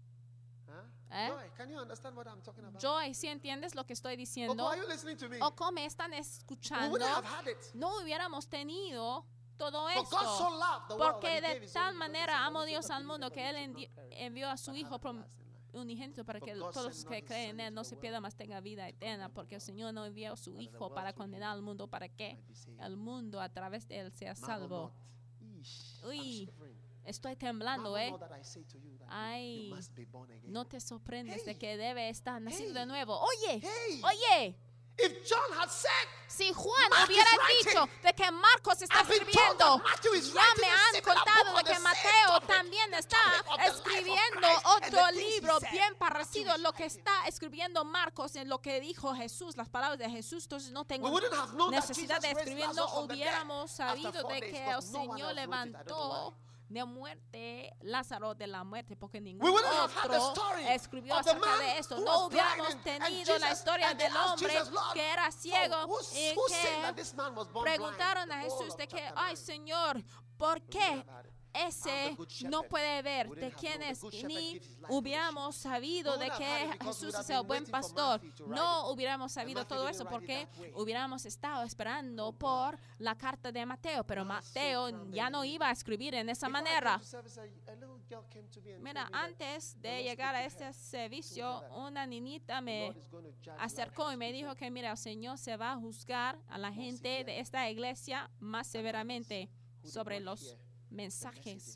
Speaker 3: Huh?
Speaker 2: ¿Eh?
Speaker 3: Joy, can you understand what I'm talking about?
Speaker 2: Joy, ¿sí entiendes lo que estoy
Speaker 3: Oko,
Speaker 2: diciendo?
Speaker 3: are you listening to me?
Speaker 2: ¿O cómo me están
Speaker 3: We
Speaker 2: escuchando?
Speaker 3: wouldn't have had it.
Speaker 2: No hubiéramos tenido todo
Speaker 3: For God so
Speaker 2: esto.
Speaker 3: loved the world that
Speaker 2: Porque
Speaker 3: he gave
Speaker 2: de
Speaker 3: his
Speaker 2: tal
Speaker 3: only begotten
Speaker 2: manera
Speaker 3: son,
Speaker 2: amó
Speaker 3: that
Speaker 2: Dios
Speaker 3: whosoever
Speaker 2: al mundo
Speaker 3: believeth
Speaker 2: que
Speaker 3: on
Speaker 2: Él
Speaker 3: him should
Speaker 2: endi-
Speaker 3: not perish,
Speaker 2: envió a su
Speaker 3: but
Speaker 2: Hijo
Speaker 3: have
Speaker 2: prom-
Speaker 3: everlasting life.
Speaker 2: unigénito para
Speaker 3: For
Speaker 2: que
Speaker 3: God
Speaker 2: todos los
Speaker 3: sent
Speaker 2: que
Speaker 3: not his
Speaker 2: creen
Speaker 3: Son
Speaker 2: en Él
Speaker 3: into
Speaker 2: no
Speaker 3: the
Speaker 2: se
Speaker 3: world
Speaker 2: pierdan, mas tengan vida
Speaker 3: to
Speaker 2: eterna.
Speaker 3: condemn the
Speaker 2: Porque el
Speaker 3: world,
Speaker 2: Señor no envió a su
Speaker 3: but that the
Speaker 2: Hijo
Speaker 3: world
Speaker 2: para
Speaker 3: through him
Speaker 2: condenar al mundo para que
Speaker 3: might be saved.
Speaker 2: el mundo a través de Él sea
Speaker 3: Marvel
Speaker 2: salvo.
Speaker 3: not. Eesh, I'm
Speaker 2: Uy,
Speaker 3: shivering.
Speaker 2: estoy temblando,
Speaker 3: Marvel
Speaker 2: ¿eh?
Speaker 3: not that I say to you that
Speaker 2: Ay,
Speaker 3: you must be born again.
Speaker 2: No te sorprendes de
Speaker 3: Hey.
Speaker 2: que debe estar nacido
Speaker 3: Hey.
Speaker 2: de nuevo. Oye,
Speaker 3: Hey.
Speaker 2: oye.
Speaker 3: If John had said,
Speaker 2: Si Juan
Speaker 3: Mark
Speaker 2: hubiera
Speaker 3: is writing,
Speaker 2: dicho de que Marcos está
Speaker 3: I've been told
Speaker 2: escribiendo,
Speaker 3: that Matthew is
Speaker 2: ya
Speaker 3: writing
Speaker 2: me
Speaker 3: a
Speaker 2: han
Speaker 3: similar
Speaker 2: contado
Speaker 3: book
Speaker 2: de
Speaker 3: on
Speaker 2: que
Speaker 3: the same
Speaker 2: Mateo
Speaker 3: topic,
Speaker 2: también
Speaker 3: the
Speaker 2: está
Speaker 3: topic of the life of
Speaker 2: escribiendo
Speaker 3: Christ and
Speaker 2: otro
Speaker 3: the things he
Speaker 2: libro
Speaker 3: said.
Speaker 2: bien
Speaker 3: Matthew
Speaker 2: parecido a
Speaker 3: is
Speaker 2: lo que
Speaker 3: writing.
Speaker 2: está escribiendo Marcos en lo que dijo Jesús, las palabras de Jesús. Entonces no
Speaker 3: we
Speaker 2: tengo
Speaker 3: wouldn't have known that
Speaker 2: necesidad
Speaker 3: Jesus
Speaker 2: de
Speaker 3: raised
Speaker 2: escribir,
Speaker 3: Lazarus
Speaker 2: no
Speaker 3: from the dead
Speaker 2: hubiéramos
Speaker 3: after
Speaker 2: sabido
Speaker 3: four
Speaker 2: de
Speaker 3: days,
Speaker 2: que el
Speaker 3: because no one
Speaker 2: Señor
Speaker 3: else wrote it. I don't know
Speaker 2: levantó
Speaker 3: why.
Speaker 2: de muerte Lázaro de la muerte, porque
Speaker 3: We
Speaker 2: ningún
Speaker 3: wouldn't have had the
Speaker 2: otro
Speaker 3: story
Speaker 2: escribió
Speaker 3: of the
Speaker 2: acerca
Speaker 3: man
Speaker 2: de esto.
Speaker 3: who
Speaker 2: No
Speaker 3: was blind
Speaker 2: hubiéramos
Speaker 3: and- and
Speaker 2: tenido la
Speaker 3: Jesus-
Speaker 2: historia
Speaker 3: and they
Speaker 2: del
Speaker 3: asked
Speaker 2: hombre
Speaker 3: Jesus, "Lord,
Speaker 2: que era
Speaker 3: so
Speaker 2: ciego
Speaker 3: who's-
Speaker 2: y
Speaker 3: who said
Speaker 2: que
Speaker 3: that this man was born blind?"
Speaker 2: preguntaron a
Speaker 3: The whole
Speaker 2: Jesús
Speaker 3: of
Speaker 2: de que,
Speaker 3: chapter
Speaker 2: ay
Speaker 3: nine.
Speaker 2: Señor, ¿por
Speaker 3: We
Speaker 2: qué
Speaker 3: wouldn't have had it.
Speaker 2: ese no puede ver de quién es, ni hubiéramos sabido de que Jesús es el buen pastor. No hubiéramos sabido todo eso porque hubiéramos estado esperando por la carta de Mateo, pero Mateo ya no iba a escribir en esa manera. Mira, antes de llegar a este servicio, una niñita me acercó y me dijo que, mira, el Señor se va a juzgar a la gente de esta iglesia más severamente sobre los mensajes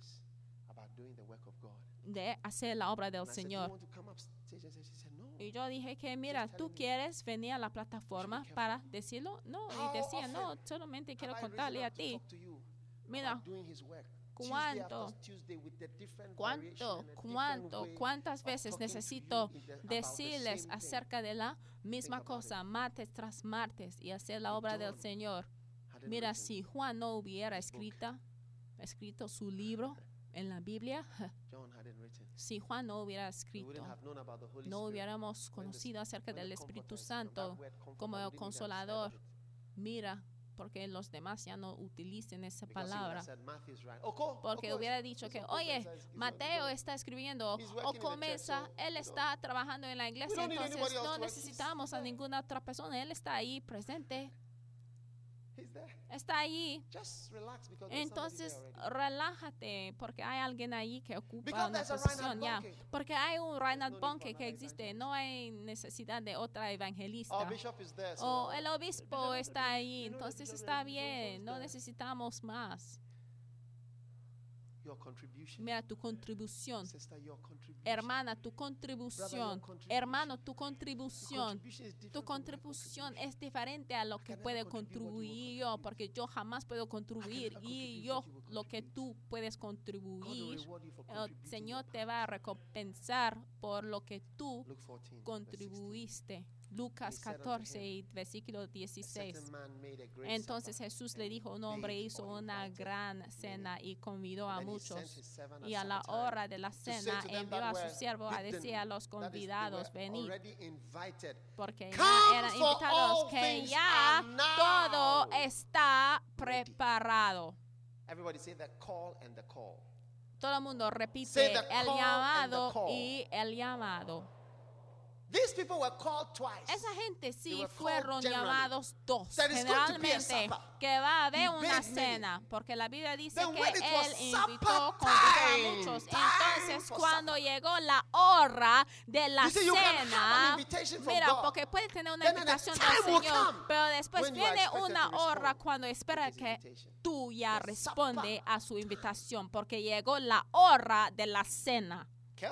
Speaker 2: de hacer la obra del Señor. Y yo dije que, mira, ¿tú quieres venir a la plataforma para decirlo? No, y decía, no, solamente quiero contarle a ti. Mira, ¿cuánto, cuánto, cuánto, cuántas veces necesito decirles acerca de la misma cosa, martes tras martes, y hacer la obra del Señor? Mira, si Juan no hubiera escrito, escrito su libro en la Biblia, si Juan no hubiera escrito, no hubiéramos conocido acerca del Espíritu Santo como el Consolador. Mira, porque los demás ya no utilicen esa palabra. Porque hubiera dicho que, oye, Mateo está escribiendo, o comienza, él está trabajando en la iglesia, entonces no necesitamos a ninguna otra persona, él está ahí presente. Está ahí. Entonces relájate porque hay alguien ahí que ocupa una posición ya. Porque hay un Reinhard Bonnke que existe. No hay necesidad de otra evangelista. O el obispo está ahí. Entonces está bien. No necesitamos más. Mira tu contribución. Hermana, tu contribución. Hermano, tu contribución. Tu contribución es diferente a lo que puede contribuir yo, porque yo jamás puedo contribuir y yo lo que tú puedes contribuir, el Señor te va a recompensar por lo que tú contribuiste. Lucas catorce, versículo dieciséis. Entonces Jesús le dijo, un hombre hizo una gran cena y convidó a muchos. Y a la hora de la cena envió a su siervo a decir a los convidados, venid, porque ya eran invitados, que ya todo está preparado. Todo el mundo repite el llamado y el llamado.
Speaker 3: These people were called twice.
Speaker 2: Esa gente sí fueron llamados dos. Generalmente que va a haber una cena, porque la Biblia dice que él invitó, convidó a muchos. Entonces cuando llegó la hora de la cena, mira, porque puede tener una invitación del Señor, pero después viene una hora cuando espera que tú ya responde a su invitación, porque llegó la hora de la cena.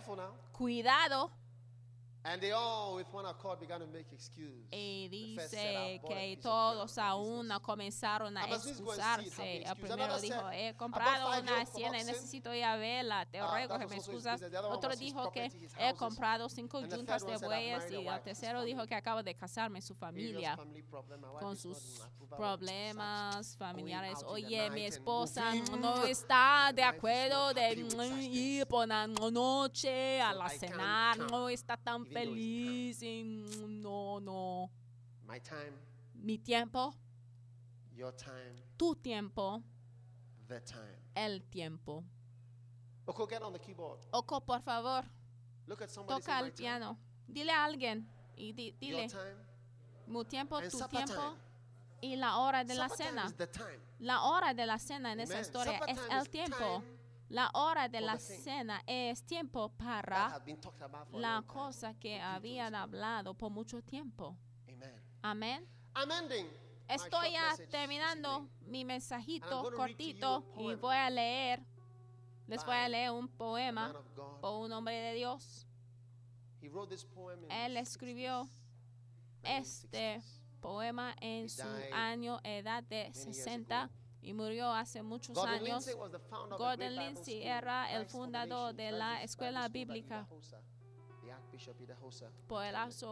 Speaker 2: Cuidado.
Speaker 3: And they all with one accord began to make excuse.
Speaker 2: Y dice que todos a una comenzaron a excusarse. El primero dijo, he comprado una cena y necesito ir a verla, te ruego que me excusas. Otro dijo que he comprado cinco yuntas de bueyes, y el tercero dijo que acabo de casarme, su familia, con sus problemas familiares. Oye, mi esposa no está de acuerdo de ir por la noche a la cenar, no está tan feliz, y no, no.
Speaker 3: My time,
Speaker 2: mi tiempo,
Speaker 3: your time,
Speaker 2: tu tiempo,
Speaker 3: the time.
Speaker 2: El tiempo.
Speaker 3: Oko, get on the keyboard.
Speaker 2: Oko, por favor,
Speaker 3: Look at somebody,
Speaker 2: toca el piano. Dile a alguien y di, dile,
Speaker 3: your time,
Speaker 2: mi tiempo, tu tiempo,
Speaker 3: time.
Speaker 2: Y la hora de la
Speaker 3: supper
Speaker 2: cena.
Speaker 3: time is the time.
Speaker 2: La hora de la cena en
Speaker 3: Amen.
Speaker 2: esa historia
Speaker 3: Supper
Speaker 2: es
Speaker 3: time
Speaker 2: el
Speaker 3: is
Speaker 2: tiempo.
Speaker 3: time.
Speaker 2: La hora de
Speaker 3: for
Speaker 2: la
Speaker 3: the thing
Speaker 2: cena es tiempo
Speaker 3: That
Speaker 2: para
Speaker 3: had been talked about for a
Speaker 2: la
Speaker 3: long time.
Speaker 2: cosa que
Speaker 3: For you to
Speaker 2: habían
Speaker 3: respond.
Speaker 2: hablado por mucho tiempo.
Speaker 3: Amen.
Speaker 2: Amén.
Speaker 3: I'm ending. my
Speaker 2: Estoy
Speaker 3: short
Speaker 2: ya
Speaker 3: message
Speaker 2: terminando
Speaker 3: this evening.
Speaker 2: mi
Speaker 3: And I'm
Speaker 2: mensajito
Speaker 3: going to read to
Speaker 2: cortito
Speaker 3: you a
Speaker 2: y
Speaker 3: poem
Speaker 2: voy a leer, les voy a
Speaker 3: by
Speaker 2: leer un
Speaker 3: Man
Speaker 2: poema
Speaker 3: of God.
Speaker 2: por un hombre de Dios.
Speaker 3: He wrote this poem in
Speaker 2: Él
Speaker 3: the
Speaker 2: escribió
Speaker 3: sixties,
Speaker 2: este
Speaker 3: nineteen sixties.
Speaker 2: poema en
Speaker 3: He
Speaker 2: su
Speaker 3: died
Speaker 2: año edad de
Speaker 3: years
Speaker 2: sesenta
Speaker 3: ago.
Speaker 2: y murió hace muchos
Speaker 3: Gordon
Speaker 2: años.
Speaker 3: Lindsay was the founder of the
Speaker 2: Gordon
Speaker 3: Great Bible
Speaker 2: Lindsay
Speaker 3: School,
Speaker 2: era el
Speaker 3: Christ
Speaker 2: fundador
Speaker 3: Foundation,
Speaker 2: de la
Speaker 3: Francis
Speaker 2: escuela
Speaker 3: Bible School
Speaker 2: bíblica
Speaker 3: that Idahosa, the Archbishop Idahosa
Speaker 2: por el
Speaker 3: attended.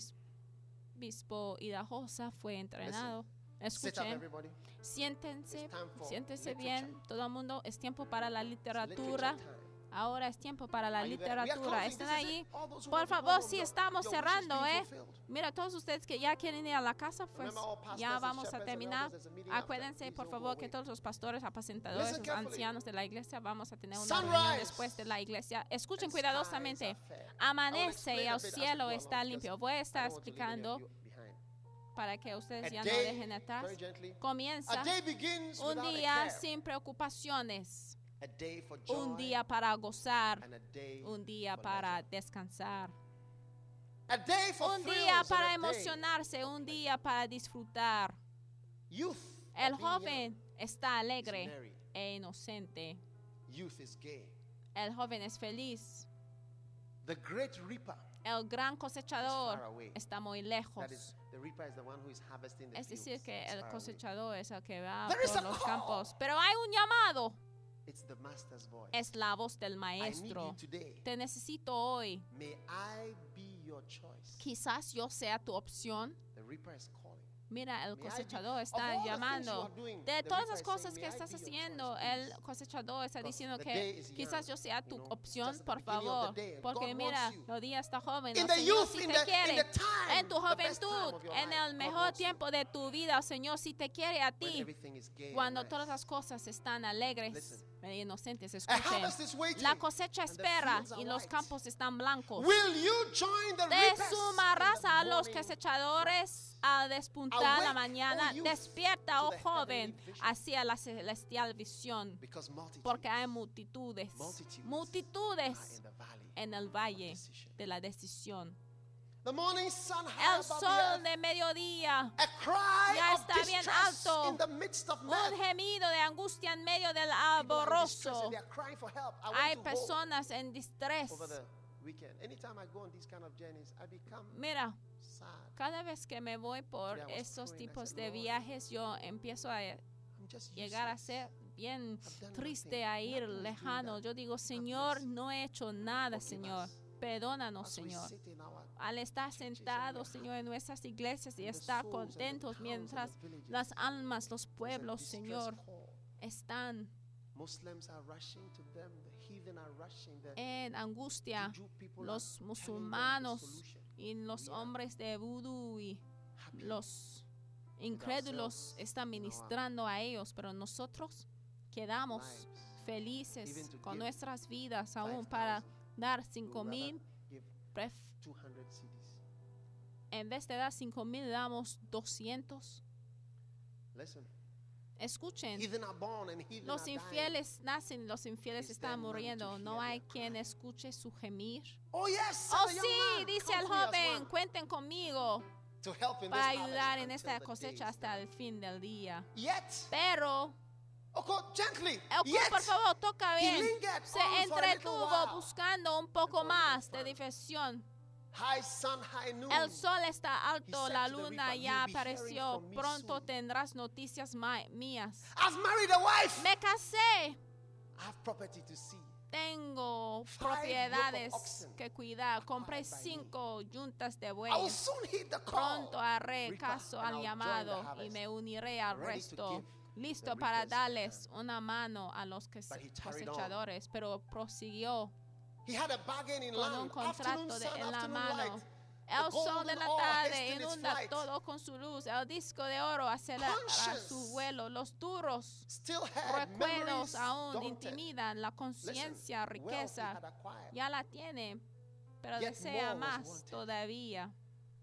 Speaker 2: arzobispo Idahosa, fue entrenado.
Speaker 3: Sit up,
Speaker 2: Escuchen,
Speaker 3: everybody.
Speaker 2: siéntense,
Speaker 3: It's time for
Speaker 2: siéntense
Speaker 3: literature.
Speaker 2: bien, todo el mundo, es tiempo para la
Speaker 3: It's
Speaker 2: literatura.
Speaker 3: literature time.
Speaker 2: Ahora es tiempo para la literatura. ¿Están ahí? Por favor, sí, estamos cerrando, ¿eh? Mira, todos ustedes que ya quieren ir a la casa, pues ya vamos a terminar. Acuérdense, por favor, que todos los pastores, apacentadores, los ancianos de la iglesia, vamos a tener una reunión después de la iglesia. Escuchen cuidadosamente. Amanece y el cielo está limpio. Voy a estar explicando para que ustedes ya no dejen atrás. Comienza un día sin preocupaciones. Un día para gozar, un día para descansar, un día para emocionarse, un día para disfrutar. El joven está alegre e inocente. El joven es feliz. El gran cosechador está muy lejos. Es decir, que el cosechador es el que va por los campos. Pero hay un llamado.
Speaker 3: It's the master's voice.
Speaker 2: Es la voz del maestro. Te necesito hoy.
Speaker 3: May I be your choice.
Speaker 2: Quizás yo sea tu opción.
Speaker 3: The reaper is calling.
Speaker 2: Mira, el cosechador está llamando. De todas las cosas que estás haciendo, el cosechador está diciendo que quizás yo sea tu opción, por favor. Porque mira, el día está joven. El Señor sí te quiere. En tu juventud, en el mejor tiempo de tu vida, el Señor sí te quiere a ti. Cuando todas las cosas están alegres e inocentes, escuchen. La cosecha espera y los campos están blancos. Te sumarás a los cosechadores al despuntar la mañana. Despierta, oh joven, hacia la celestial visión, porque hay multitudes, multitudes en el valle de la decisión. El sol de mediodía ya está bien alto. Un gemido de angustia en medio del alborozo. Hay personas en distrés. Mira, cada vez que me voy por estos tipos de viajes, yo empiezo a llegar a ser bien triste, a ir lejano. Yo digo, Señor, no he hecho nada, Señor. Perdónanos, Señor. Al estar sentados, Señor, en nuestras iglesias y estar contentos mientras las almas, los pueblos, Señor, están en angustia. Los musulmanos y los hombres de vudú y los incrédulos están ministrando a ellos, pero nosotros quedamos felices con nuestras vidas aún para dar cinco mil. En vez de dar cinco mil, damos doscientos. Escuchen, los infieles nacen, los infieles están muriendo. No hay quien escuche su gemir.
Speaker 3: Oh, yes,
Speaker 2: oh sí, dice el joven, cuenten conmigo para ayudar en esta cosecha hasta el fin del día. Pero el por favor, toca bien. Se entretuvo buscando un poco más de diversión. El sol está alto, la luna ya apareció. Pronto tendrás noticias mías. Me casé. Tengo propiedades que cuidar. Compré cinco yuntas de bueyes. Pronto haré caso al llamado y me uniré al resto. Listo para darles una mano a los cosechadores, pero prosiguió con un contrato de, en la mano. El sol de la tarde inunda todo con su luz. El disco de oro acelera su vuelo. Los duros recuerdos aún intimidan. La conciencia, riqueza, ya la tiene, pero desea más todavía.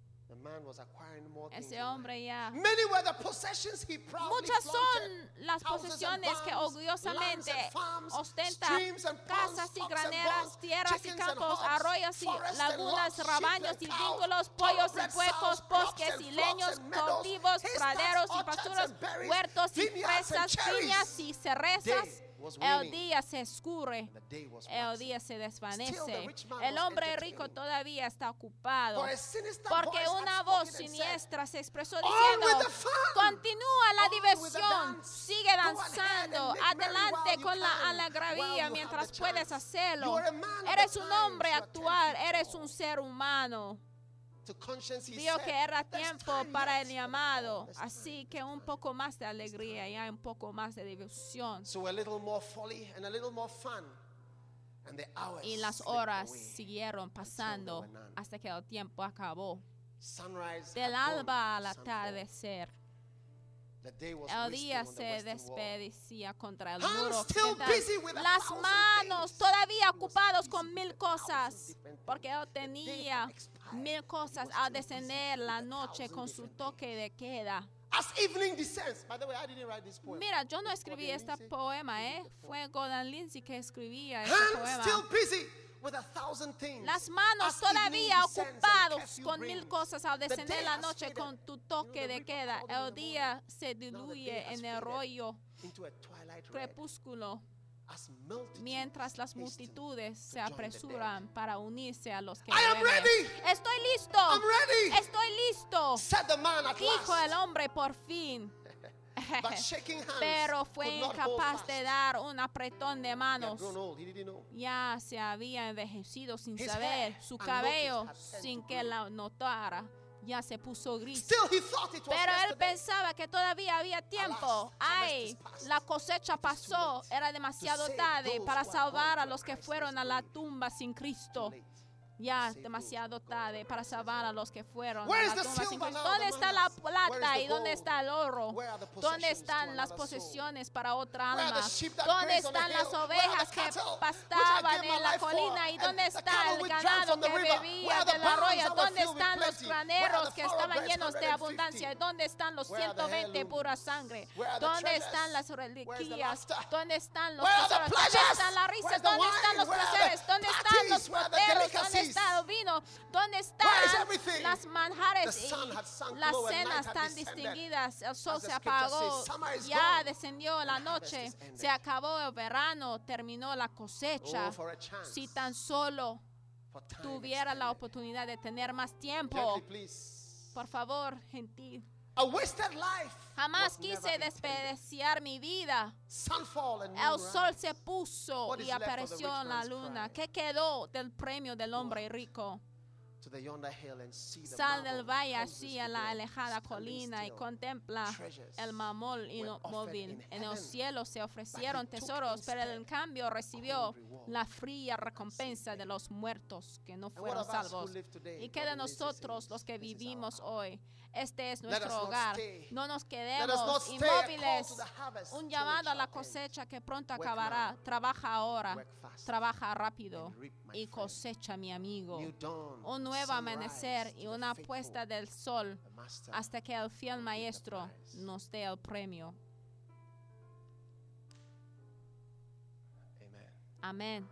Speaker 2: Ese hombre ya. Muchas son las posesiones que orgullosamente ostenta: casas y graneras, tierras y campos, arroyos y lagunas, rebaños y vínculos, pollos y puercos, bosques y leños, cultivos, praderos y pasturos, huertos y fresas, viñas y cerezas. El día se escurre, el día se desvanece. El hombre rico todavía está ocupado, porque una voz siniestra se expresó diciendo: continúa la diversión, sigue danzando, adelante con la alegría mientras puedes hacerlo. Eres un hombre actual, eres un ser humano. Vio que era tiempo para el llamado, así que un poco más de alegría y un poco más de diversión. Y las horas siguieron pasando hasta que el tiempo acabó. Del alba al atardecer, el día se despedía contra el muro. Las manos todavía ocupados con mil cosas, porque él tenía mil cosas al descender la noche con su toque de queda.
Speaker 3: As evening descends. By the way, I didn't write this poem.
Speaker 2: Mira, yo no escribí este poema, ¿eh? Fue Gordon Lindsay que escribía este
Speaker 3: Hands
Speaker 2: poema.
Speaker 3: still busy with a thousand things.
Speaker 2: Las manos
Speaker 3: As
Speaker 2: todavía
Speaker 3: evening descends and
Speaker 2: ocupados
Speaker 3: curfew
Speaker 2: con mil
Speaker 3: brings.
Speaker 2: cosas al
Speaker 3: The
Speaker 2: descender
Speaker 3: day
Speaker 2: la
Speaker 3: has
Speaker 2: noche
Speaker 3: faded.
Speaker 2: con tu
Speaker 3: You know,
Speaker 2: toque
Speaker 3: the
Speaker 2: de
Speaker 3: river
Speaker 2: queda.
Speaker 3: crawling in
Speaker 2: El
Speaker 3: the
Speaker 2: día
Speaker 3: morning.
Speaker 2: se
Speaker 3: Now the day
Speaker 2: diluye
Speaker 3: has
Speaker 2: en el
Speaker 3: faded
Speaker 2: rollo
Speaker 3: into a twilight red.
Speaker 2: crepúsculo,
Speaker 3: As multitudes
Speaker 2: mientras las
Speaker 3: hasten
Speaker 2: multitudes
Speaker 3: to
Speaker 2: se
Speaker 3: join the
Speaker 2: apresuran para unirse a los que
Speaker 3: I am
Speaker 2: duermen.
Speaker 3: ready.
Speaker 2: Estoy listo.
Speaker 3: I'm ready.
Speaker 2: Estoy listo.
Speaker 3: Said the man at
Speaker 2: Dijo
Speaker 3: last.
Speaker 2: el hombre por fin.
Speaker 3: But shaking hands
Speaker 2: Pero fue
Speaker 3: could not hold
Speaker 2: incapaz
Speaker 3: fast.
Speaker 2: de dar un apretón de
Speaker 3: He had
Speaker 2: manos.
Speaker 3: grown old. He didn't know.
Speaker 2: Ya se había envejecido sin
Speaker 3: His
Speaker 2: saber.
Speaker 3: hair
Speaker 2: Su
Speaker 3: and
Speaker 2: cabello,
Speaker 3: notice had
Speaker 2: sin
Speaker 3: turned to
Speaker 2: que
Speaker 3: grey.
Speaker 2: la notara, ya se puso gris.
Speaker 3: Still he thought it was
Speaker 2: Pero él
Speaker 3: yesterday.
Speaker 2: pensaba que todavía había tiempo. Ay, la cosecha pasó. Era demasiado tarde para salvar a los que fueron a la tumba sin Cristo. Ya demasiado tarde para salvar a los que fueron a
Speaker 3: Where
Speaker 2: la
Speaker 3: is the
Speaker 2: tumba sin
Speaker 3: silver
Speaker 2: Cristo.
Speaker 3: now,
Speaker 2: ¿Dónde
Speaker 3: the
Speaker 2: está
Speaker 3: man
Speaker 2: la
Speaker 3: asked? Where is
Speaker 2: plata
Speaker 3: the
Speaker 2: y dónde
Speaker 3: gold?
Speaker 2: está el oro?
Speaker 3: Where are the
Speaker 2: ¿Dónde
Speaker 3: possessions to
Speaker 2: están las
Speaker 3: another soul?
Speaker 2: posesiones para otra
Speaker 3: Where are the
Speaker 2: alma?
Speaker 3: sheep that
Speaker 2: ¿Dónde
Speaker 3: graze on the
Speaker 2: están las
Speaker 3: hill? Where are
Speaker 2: ovejas
Speaker 3: the
Speaker 2: que
Speaker 3: cattle which I
Speaker 2: pastaban
Speaker 3: gave my
Speaker 2: en la
Speaker 3: life for?
Speaker 2: colina? ¿Y
Speaker 3: And
Speaker 2: dónde
Speaker 3: the
Speaker 2: está
Speaker 3: cattle
Speaker 2: el
Speaker 3: which drank
Speaker 2: ganado
Speaker 3: from the
Speaker 2: que
Speaker 3: river? Where
Speaker 2: bebía
Speaker 3: are the
Speaker 2: del
Speaker 3: barns
Speaker 2: arroyo?
Speaker 3: that were
Speaker 2: ¿Dónde
Speaker 3: filled with
Speaker 2: están los
Speaker 3: plenty?
Speaker 2: graneros
Speaker 3: Where are the
Speaker 2: que estaban
Speaker 3: thoroughbreds,
Speaker 2: llenos de
Speaker 3: one hundred fifty?
Speaker 2: abundancia? ¿Dónde están los
Speaker 3: Where are the
Speaker 2: ciento veinte
Speaker 3: heirlooms?
Speaker 2: pura sangre?
Speaker 3: Where are the
Speaker 2: ¿Dónde
Speaker 3: treasures?
Speaker 2: están las
Speaker 3: Where's the
Speaker 2: reliquias?
Speaker 3: laughter?
Speaker 2: ¿Dónde están los
Speaker 3: Where are the
Speaker 2: tesoros? ¿Dónde
Speaker 3: pleasures?
Speaker 2: están las risas?
Speaker 3: Where's the
Speaker 2: ¿Dónde están
Speaker 3: wine?
Speaker 2: los
Speaker 3: Where are the
Speaker 2: placeres? ¿Dónde están los
Speaker 3: parties? Where are the
Speaker 2: poteros? ¿Dónde
Speaker 3: delicacies?
Speaker 2: está el vino? ¿Dónde
Speaker 3: Where is
Speaker 2: están
Speaker 3: everything?
Speaker 2: las manjares
Speaker 3: The sun
Speaker 2: y
Speaker 3: had sunk
Speaker 2: las
Speaker 3: low and night
Speaker 2: cenas
Speaker 3: had
Speaker 2: tan
Speaker 3: descended.
Speaker 2: distinguidas? El sol
Speaker 3: As the
Speaker 2: se
Speaker 3: scripture
Speaker 2: apagó,
Speaker 3: says, summer is
Speaker 2: ya
Speaker 3: gone
Speaker 2: descendió la
Speaker 3: and the harvest
Speaker 2: noche,
Speaker 3: is ended.
Speaker 2: se acabó el verano, terminó la cosecha.
Speaker 3: Oh, for a chance.
Speaker 2: Si tan solo
Speaker 3: For time
Speaker 2: tuviera la
Speaker 3: extended.
Speaker 2: oportunidad de tener más tiempo.
Speaker 3: Gently, please.
Speaker 2: Por favor, gentil.
Speaker 3: A wasted life
Speaker 2: Jamás
Speaker 3: was never
Speaker 2: quise
Speaker 3: intended.
Speaker 2: desperdiciar mi vida.
Speaker 3: Sunfall and
Speaker 2: El
Speaker 3: moon
Speaker 2: sol
Speaker 3: rise.
Speaker 2: se puso
Speaker 3: What is
Speaker 2: y
Speaker 3: left of the
Speaker 2: apareció
Speaker 3: rich
Speaker 2: en la
Speaker 3: man's
Speaker 2: luna.
Speaker 3: pride?
Speaker 2: ¿Qué quedó del premio del hombre rico?
Speaker 3: To the yonder hill and see the
Speaker 2: Sal del
Speaker 3: marble
Speaker 2: valle
Speaker 3: houses
Speaker 2: así a
Speaker 3: with
Speaker 2: la
Speaker 3: their
Speaker 2: alejada
Speaker 3: standing
Speaker 2: colina y
Speaker 3: still.
Speaker 2: contempla
Speaker 3: Treasures
Speaker 2: el mamol
Speaker 3: were
Speaker 2: inmóvil.
Speaker 3: offered in
Speaker 2: En el
Speaker 3: heaven,
Speaker 2: cielo se ofrecieron
Speaker 3: but he took
Speaker 2: tesoros, pero
Speaker 3: instead
Speaker 2: en cambio recibió
Speaker 3: cold reward.
Speaker 2: la fría recompensa de los muertos que no
Speaker 3: And what
Speaker 2: fueron
Speaker 3: of us who
Speaker 2: salvos.
Speaker 3: live today,
Speaker 2: ¿Y qué de
Speaker 3: Brother Lindsay
Speaker 2: nosotros,
Speaker 3: says,
Speaker 2: los que
Speaker 3: this is our
Speaker 2: vivimos
Speaker 3: hour.
Speaker 2: hoy? Este es
Speaker 3: Let us
Speaker 2: nuestro
Speaker 3: not
Speaker 2: hogar.
Speaker 3: stay.
Speaker 2: No nos
Speaker 3: Let us not
Speaker 2: quedemos
Speaker 3: stay. A call
Speaker 2: inmóviles.
Speaker 3: to the harvest
Speaker 2: Un
Speaker 3: till the
Speaker 2: llamado a la
Speaker 3: drought ends.
Speaker 2: cosecha que pronto
Speaker 3: Work
Speaker 2: acabará.
Speaker 3: now.
Speaker 2: Trabaja ahora.
Speaker 3: Work fast.
Speaker 2: Trabaja rápido.
Speaker 3: And reap, my
Speaker 2: Y
Speaker 3: friend.
Speaker 2: cosecha, mi amigo.
Speaker 3: New dawn,
Speaker 2: Un nuevo
Speaker 3: sunrise
Speaker 2: amanecer
Speaker 3: to
Speaker 2: y
Speaker 3: the
Speaker 2: una
Speaker 3: faithful.
Speaker 2: puesta del sol
Speaker 3: The master
Speaker 2: hasta que el fiel
Speaker 3: will give the
Speaker 2: maestro
Speaker 3: prize.
Speaker 2: nos dé el premio.
Speaker 3: Amen.
Speaker 2: Amén.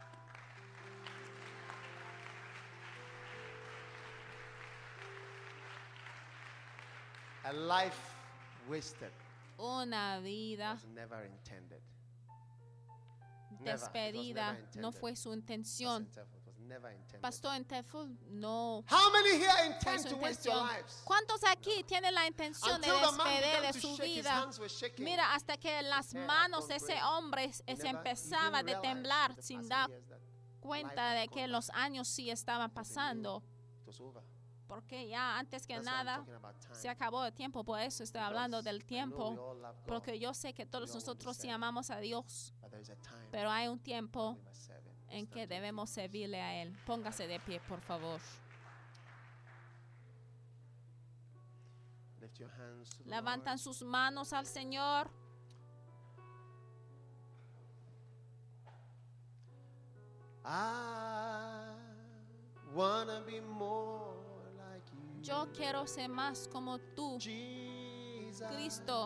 Speaker 3: A life wasted
Speaker 2: Una vida
Speaker 3: was never intended. Never. It was
Speaker 2: despedida
Speaker 3: never
Speaker 2: no
Speaker 3: intended.
Speaker 2: fue su intención.
Speaker 3: Pastor Interful, it was never intended.
Speaker 2: Pastor Enteful, no
Speaker 3: How many here
Speaker 2: fue
Speaker 3: intend
Speaker 2: su
Speaker 3: to waste your
Speaker 2: intención.
Speaker 3: lives?
Speaker 2: ¿Cuántos aquí tienen la intención de
Speaker 3: Until the man
Speaker 2: despedir
Speaker 3: began
Speaker 2: de
Speaker 3: to
Speaker 2: su
Speaker 3: shake, his
Speaker 2: vida?
Speaker 3: hands were shaking.
Speaker 2: Mira, hasta que las
Speaker 3: hair had
Speaker 2: manos de
Speaker 3: gone
Speaker 2: ese
Speaker 3: gray.
Speaker 2: hombre
Speaker 3: He
Speaker 2: se
Speaker 3: never- he
Speaker 2: empezaba
Speaker 3: didn't
Speaker 2: de
Speaker 3: realize
Speaker 2: temblar
Speaker 3: the
Speaker 2: sin
Speaker 3: passing
Speaker 2: dar
Speaker 3: years that
Speaker 2: cuenta
Speaker 3: life
Speaker 2: de
Speaker 3: had
Speaker 2: que
Speaker 3: gone
Speaker 2: los
Speaker 3: by.
Speaker 2: años sí estaban
Speaker 3: Because he knew
Speaker 2: pasando.
Speaker 3: it was over.
Speaker 2: Porque ya antes que
Speaker 3: That's why I'm
Speaker 2: nada
Speaker 3: talking about time.
Speaker 2: se acabó el tiempo. Por eso estoy hablando
Speaker 3: Because
Speaker 2: del
Speaker 3: I know we
Speaker 2: tiempo.
Speaker 3: all love God,
Speaker 2: Porque yo sé que todos
Speaker 3: we all want to
Speaker 2: nosotros sí
Speaker 3: serve.
Speaker 2: amamos a Dios.
Speaker 3: but there is a time
Speaker 2: Pero hay un tiempo
Speaker 3: we must serve him.
Speaker 2: en
Speaker 3: Stand
Speaker 2: que
Speaker 3: to your
Speaker 2: debemos
Speaker 3: feet.
Speaker 2: servirle a Él. Póngase de pie, por favor.
Speaker 3: Lift your hands to the
Speaker 2: Levantan
Speaker 3: Lord.
Speaker 2: sus manos al Señor.
Speaker 3: I wanna be more like you.
Speaker 2: Yo quiero ser más como tú,
Speaker 3: Jesus.
Speaker 2: Cristo.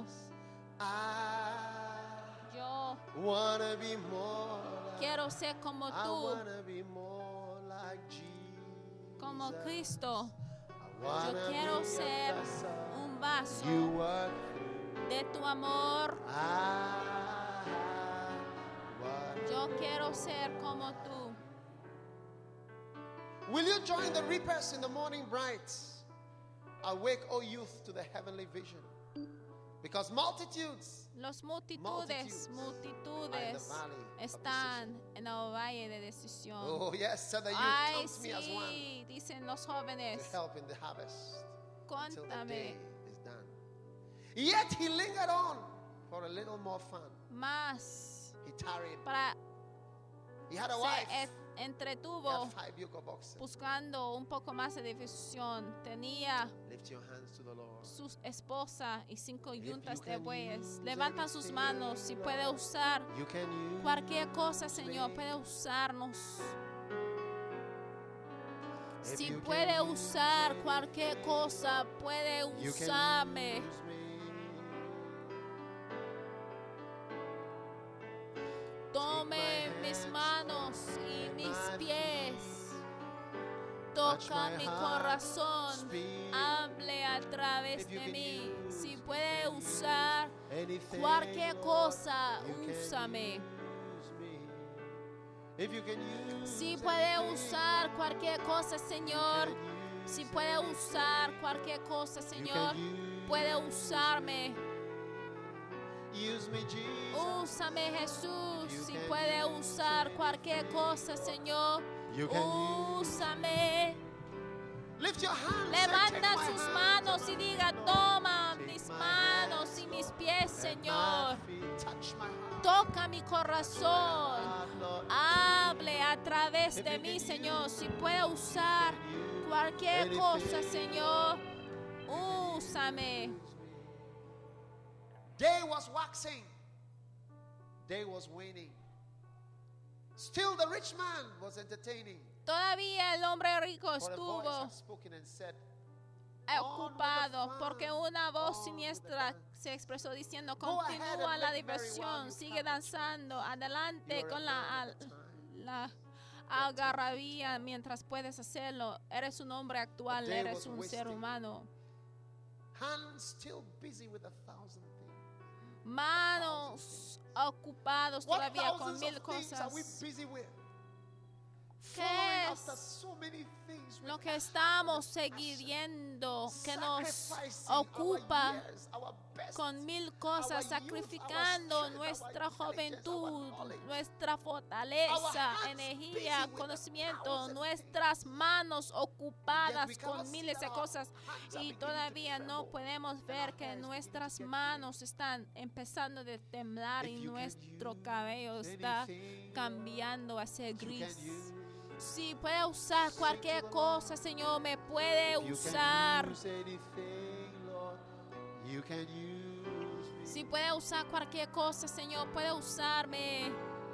Speaker 3: I
Speaker 2: Yo
Speaker 3: wanna be more like
Speaker 2: quiero ser como
Speaker 3: I
Speaker 2: tú,
Speaker 3: wanna be more like Jesus.
Speaker 2: como Cristo.
Speaker 3: I
Speaker 2: Yo
Speaker 3: wanna
Speaker 2: quiero
Speaker 3: be a
Speaker 2: ser
Speaker 3: vessel
Speaker 2: un vaso
Speaker 3: you work through.
Speaker 2: de tu amor.
Speaker 3: I wanna-
Speaker 2: Yo quiero ser como tú.
Speaker 3: Will you join the reapers in the morning bright? Awake, O youth, to the heavenly vision. Because multitudes
Speaker 2: Los multitudes,
Speaker 3: Multitudes are in
Speaker 2: multitudes
Speaker 3: the valley of
Speaker 2: están en el valle de decisión.
Speaker 3: Oh, yes, said the youth,
Speaker 2: Ay,
Speaker 3: come to me as one
Speaker 2: sí, dicen los
Speaker 3: to
Speaker 2: jóvenes.
Speaker 3: help in the harvest until the
Speaker 2: Cuéntame
Speaker 3: day is done. Yet he lingered on for a little more fun.
Speaker 2: más
Speaker 3: He tarried
Speaker 2: para
Speaker 3: He had a wife.
Speaker 2: Se entretuvo buscando un poco más de difusión. Tenía su esposa y cinco yuntas de bueyes. Levanta sus manos si puede usar cualquier cosa, Señor. Puede usarnos. Si puede usar cualquier cosa, puede usarme. Tome mis manos y mis pies. Toca mi corazón. Hable a través de mí. Si puede usar cualquier cosa, úsame. Si puede usar cualquier cosa, Señor. Si puede usar cualquier cosa, Señor, puede usarme. Úsame, Jesús. Si puede usar cualquier cosa, Señor, úsame. Levanta sus manos y diga: toma mis manos y mis pies, Señor. Toca mi corazón. Hable a través de mí, Señor. Si puede usar cualquier cosa, Señor, úsame.
Speaker 3: Day was waxing, day was waning. Still the rich man was entertaining.
Speaker 2: Todavía el hombre rico estuvo ocupado porque una voz siniestra se expresó diciendo: continúa la diversión, sigue danzando, adelante con la, la algarabía mientras puedes hacerlo. Eres un hombre actual, eres un ser humano. Manos ocupados todavía con mil cosas. ¿Qué es lo que estamos siguiendo que nos ocupa con mil cosas, sacrificando nuestra juventud, nuestra fortaleza, energía, conocimiento, nuestras manos ocupadas con miles de cosas, y todavía no podemos ver que nuestras manos están empezando a temblar y nuestro cabello está cambiando a ser gris? Si puede usar cualquier cosa, Señor, me puede usar. Si puede usar cualquier cosa, Señor, puede usarme.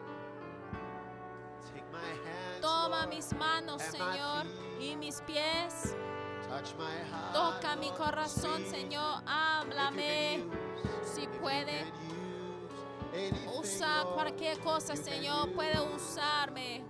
Speaker 2: Toma mis manos, Señor, y mis pies. Toca mi corazón, Señor, háblame. Si puede usar cualquier cosa, Señor, puede usarme.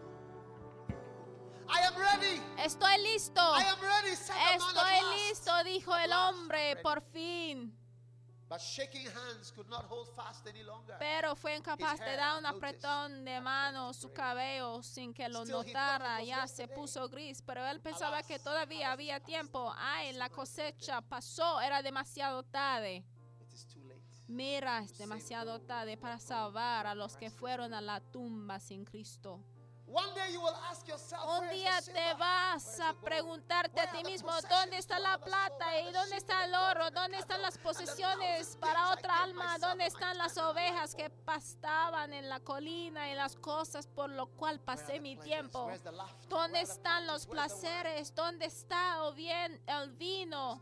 Speaker 3: I am ready.
Speaker 2: Estoy listo.
Speaker 3: I am ready, said the man
Speaker 2: Estoy
Speaker 3: at last.
Speaker 2: listo, dijo el hombre, por fin.
Speaker 3: But shaking hands could not hold fast any longer.
Speaker 2: Pero fue incapaz de dar un apretón de mano. Su cabello, sin que lo notara, ya se puso gris. Pero él pensaba que todavía había tiempo. Ay, la cosecha pasó, era demasiado tarde. Mira, es demasiado tarde para salvar a los que fueron a la tumba sin Cristo. Un día te vas a preguntarte a ti mismo: ¿dónde está la plata? ¿Y dónde está el oro? ¿Dónde están las posesiones para otra alma? ¿Dónde están las ovejas que pastaban en la colina y las cosas por lo cual pasé mi tiempo? ¿Dónde están los placeres? ¿Dónde está o bien el vino?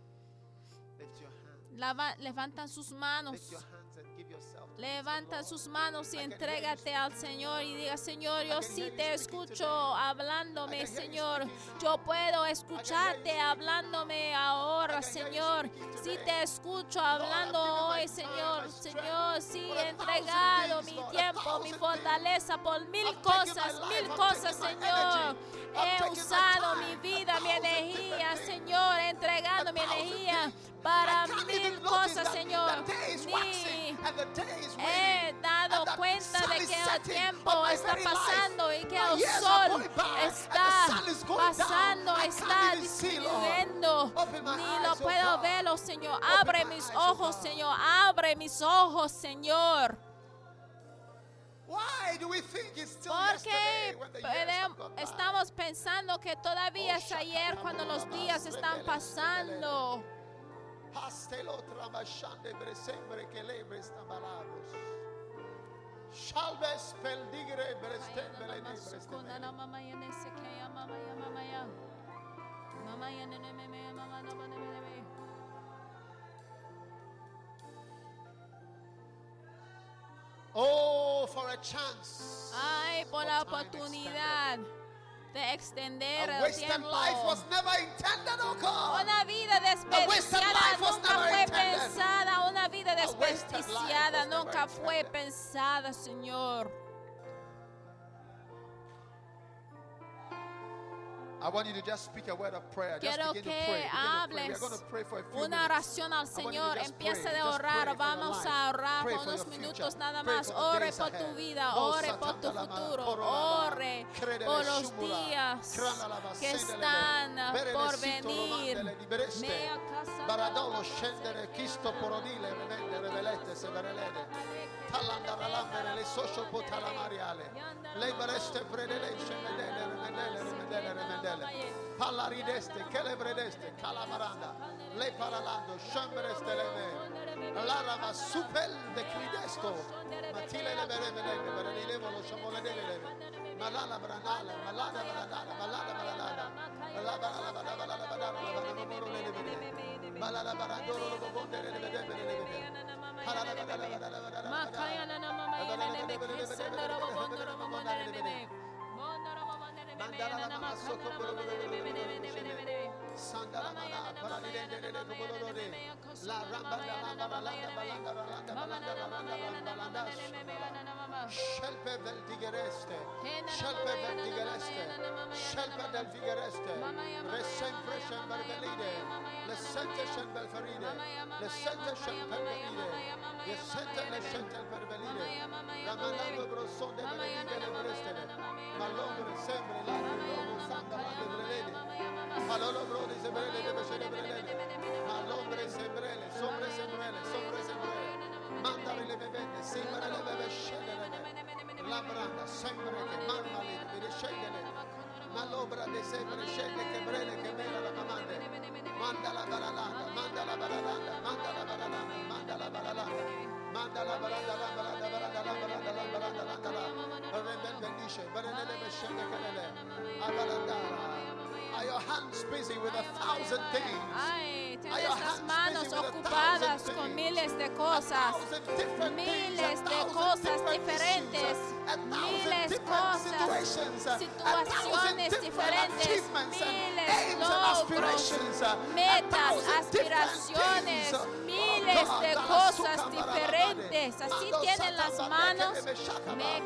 Speaker 2: Lava, levantan sus manos. Levanta sus manos y entrégate al Señor y diga: Señor, yo sí te escucho hablándome, Señor. Yo puedo escucharte hablándome ahora, Señor. Sí te escucho hablando hoy, Señor. Señor, sí he entregado mi tiempo, mi fortaleza por mil cosas, mil cosas, Señor. He usado mi vida, mi energía, Señor. He entregado mi energía para mil cosas, Señor. Ni he dado cuenta de que el tiempo está pasando y que el sol está pasando, está disminuyendo. Ni lo puedo verlo, Señor. Abre mis ojos, Señor. Abre mis ojos, Señor. ¿Por qué estamos pensando que todavía es ayer cuando los días están pasando?
Speaker 3: Shalve speldigre bresten belene bresten. Oh, for a chance.
Speaker 2: Ay, por la oportunidad de extender el tiempo. Una vida desperdiciada nunca fue pensada. Una vida desperdiciada nunca fue pensada, Señor.
Speaker 3: I want you to just speak a word of prayer. Just
Speaker 2: Quiero
Speaker 3: begin
Speaker 2: que
Speaker 3: to pray. Begin to pray.
Speaker 2: hables
Speaker 3: We're going to pray for a few
Speaker 2: una
Speaker 3: minutes.
Speaker 2: oración al Señor. Empieza de orar. Vamos a orar por unos minutos nada más. Ore por tu vida. Ore por tu futuro. Ore por los días que están por venir. Mea casa
Speaker 3: Baradolo scendere Cristo porodile vendere velete severelede. Talandara lambere le socio potala mariale. Lei bareste predele scendere remedele remedele remedele. Palarideste celebredeste calamaranda. Lei paralando scembereste leve. Lara va supel de cridesto. Matile le beremele berenile lo sciamoledele. Malala branala malala branala malala branala. Malala branala malala branala. Malala baradoro lo bondere le vedere le vedere.
Speaker 2: Makaya na na mama yana ne be sendara bo bondoro bo bondere ne be. Bondoro bo bondere ne be na na makana bo bondere ne be ne be ne be ne be.
Speaker 3: Sandala mana paradide de bolore. La ramba la ramba la ramba la ramba
Speaker 2: Mama na na mama yana na mama ne be na na mama.
Speaker 3: Scelpe del digereste. Scelpe del digereste. Scelpe del digereste. Le sempre sempre belide. Le sente sempre feride. Le sente sempre belide. Le sente le sente per belide. La manando brosso de belide le breste. Ma l'ombre sempre la l'ombre santa la belide. Ma l'ombre de sebrele de sebrele. Ma l'ombre sebrele, sombre sebrele, sombre sebrele. Mandare le bevende, sempre le beve scendere. La branda sempre che mamma le deve scendere. Ma l'obra de sempre scende che brele che mela la mamande. Manda la baralanda, manda la baralanda, manda la baralanda, manda la baralanda. Manda la baranda, la baranda, baranda, la baranda, la baranda, la baranda. Rebel bendice, barene le scende che le. A barandara. Are your hands busy with a thousand things?
Speaker 2: Ay, tienes las manos ocupadas con miles de cosas, miles de cosas diferentes, miles de cosas, situaciones diferentes, miles de logros, metas, aspiraciones, miles de cosas diferentes. Así tienen las manos. Me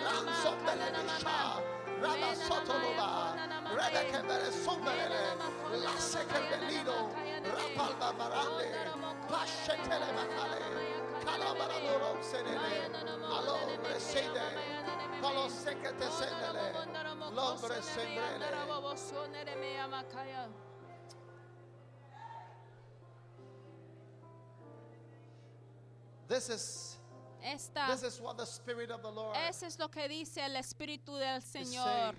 Speaker 3: Rada Sotolova, Rada Kebere Sombere, Lasse Kebelino, Rapalba Barande, Pashetele Macale, Calabaradoro Senele, Alombre Sede, Palo Secate Senele, Lombre Sembrele. This is
Speaker 2: Esta,
Speaker 3: This is what the Spirit of the Lord
Speaker 2: eso es lo que dice el Espíritu del
Speaker 3: is
Speaker 2: Señor.
Speaker 3: saying.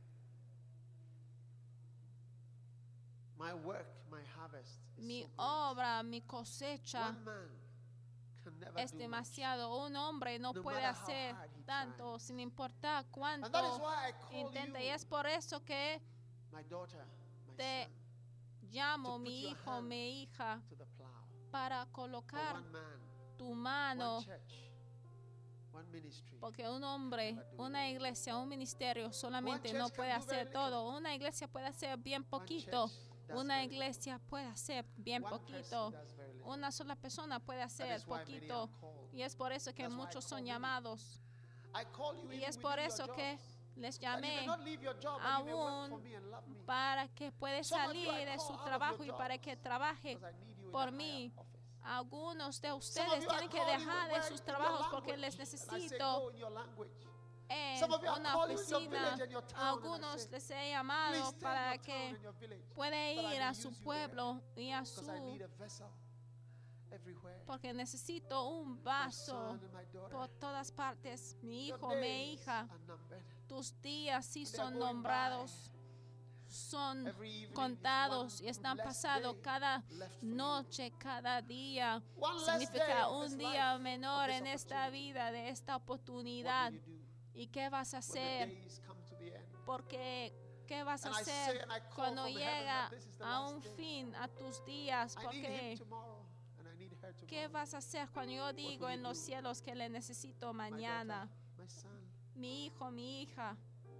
Speaker 3: My work, my harvest is
Speaker 2: Mi
Speaker 3: so great.
Speaker 2: obra, mi cosecha
Speaker 3: One man can never
Speaker 2: es
Speaker 3: do much.
Speaker 2: demasiado. Un hombre no
Speaker 3: No
Speaker 2: puede
Speaker 3: matter how
Speaker 2: hacer
Speaker 3: hard he
Speaker 2: tanto
Speaker 3: tries.
Speaker 2: sin importar
Speaker 3: And
Speaker 2: cuánto
Speaker 3: that is why I call
Speaker 2: intenta.
Speaker 3: you,
Speaker 2: Y es por eso que
Speaker 3: my daughter, my
Speaker 2: te
Speaker 3: son,
Speaker 2: llamo
Speaker 3: to
Speaker 2: mi
Speaker 3: put your
Speaker 2: hijo,
Speaker 3: hand
Speaker 2: mi hija,
Speaker 3: to the plow.
Speaker 2: para
Speaker 3: For
Speaker 2: colocar
Speaker 3: one man,
Speaker 2: tu mano,
Speaker 3: one church, one ministry.
Speaker 2: porque un hombre, una iglesia, un ministerio solamente
Speaker 3: One
Speaker 2: no
Speaker 3: church
Speaker 2: puede
Speaker 3: can do very
Speaker 2: hacer todo. Una iglesia puede hacer bien
Speaker 3: One
Speaker 2: poquito.
Speaker 3: church does
Speaker 2: Una
Speaker 3: very little.
Speaker 2: iglesia puede hacer bien
Speaker 3: One
Speaker 2: poquito.
Speaker 3: person does very little.
Speaker 2: Una sola persona puede
Speaker 3: That
Speaker 2: hacer
Speaker 3: is why many
Speaker 2: poquito.
Speaker 3: are called.
Speaker 2: Y es por eso que
Speaker 3: That's why I
Speaker 2: muchos
Speaker 3: call
Speaker 2: son
Speaker 3: many.
Speaker 2: llamados.
Speaker 3: I call you
Speaker 2: Y
Speaker 3: even
Speaker 2: es por
Speaker 3: within
Speaker 2: eso
Speaker 3: your
Speaker 2: que
Speaker 3: jobs.
Speaker 2: les
Speaker 3: That you may
Speaker 2: llamé
Speaker 3: not leave your job, but you may work for
Speaker 2: aún
Speaker 3: me and love me.
Speaker 2: para que pueda
Speaker 3: Some of you
Speaker 2: salir
Speaker 3: I
Speaker 2: de
Speaker 3: call
Speaker 2: su
Speaker 3: out of
Speaker 2: trabajo
Speaker 3: your
Speaker 2: y para
Speaker 3: jobs
Speaker 2: que trabaje
Speaker 3: because I need you in
Speaker 2: por
Speaker 3: a
Speaker 2: mí.
Speaker 3: higher office.
Speaker 2: Algunos de
Speaker 3: Some of
Speaker 2: ustedes
Speaker 3: you I
Speaker 2: tienen que
Speaker 3: call you
Speaker 2: dejar de
Speaker 3: where
Speaker 2: sus
Speaker 3: in your
Speaker 2: trabajos porque
Speaker 3: language,
Speaker 2: les
Speaker 3: and I say,
Speaker 2: necesito
Speaker 3: go in your language.
Speaker 2: en
Speaker 3: Some of you I
Speaker 2: una
Speaker 3: call you in your
Speaker 2: oficina.
Speaker 3: village and your town, and I
Speaker 2: Algunos
Speaker 3: say,
Speaker 2: les he
Speaker 3: please
Speaker 2: llamado
Speaker 3: stay in
Speaker 2: para
Speaker 3: your town
Speaker 2: que
Speaker 3: and your village,
Speaker 2: pueda
Speaker 3: but I
Speaker 2: ir
Speaker 3: may
Speaker 2: a
Speaker 3: use
Speaker 2: su
Speaker 3: you there
Speaker 2: pueblo y a
Speaker 3: because I need
Speaker 2: su...
Speaker 3: a vessel everywhere.
Speaker 2: Porque necesito un
Speaker 3: My
Speaker 2: vaso
Speaker 3: son and my daughter,
Speaker 2: por todas partes. Mi
Speaker 3: your
Speaker 2: hijo, mi
Speaker 3: days
Speaker 2: hija,
Speaker 3: are numbered.
Speaker 2: tus días sí
Speaker 3: They are
Speaker 2: son
Speaker 3: going
Speaker 2: nombrados. son contados y están pasados cada noche, cada día. Significa un día menor en esta vida, de esta oportunidad. ¿Y qué vas a hacer? Porque, ¿qué vas a hacer cuando llega a un fin a tus días? Porque, ¿qué vas a hacer cuando yo digo en los cielos que le necesito mañana? Mi hijo, mi hija.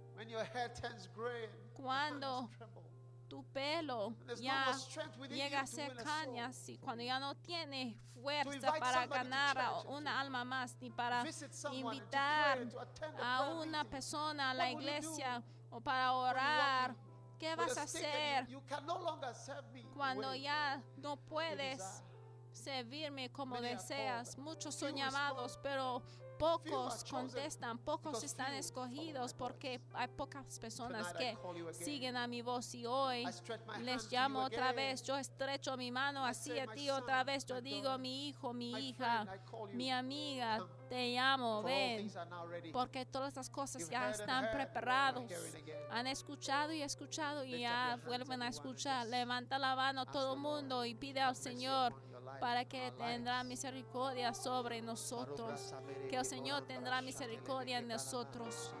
Speaker 2: Cuando tu pelo ya llega a ser cañas y cuando ya no tienes fuerza para ganar a una alma más ni para invitar a una persona a la iglesia o para orar, ¿qué vas a hacer cuando ya no puedes servirme como deseas? Muchos son llamados, pero pocos contestan, pocos están escogidos porque hay pocas personas que siguen a mi voz. Y hoy les llamo otra vez, yo estrecho mi mano hacia ti otra vez, yo digo mi hijo, mi hija, mi amiga, te llamo, ven, porque todas estas cosas ya están preparados. Han escuchado y escuchado y ya vuelven a escuchar. Levanta la mano todo el mundo y pide al Señor para que tendrá misericordia sobre nosotros, que el Señor tendrá misericordia en nosotros.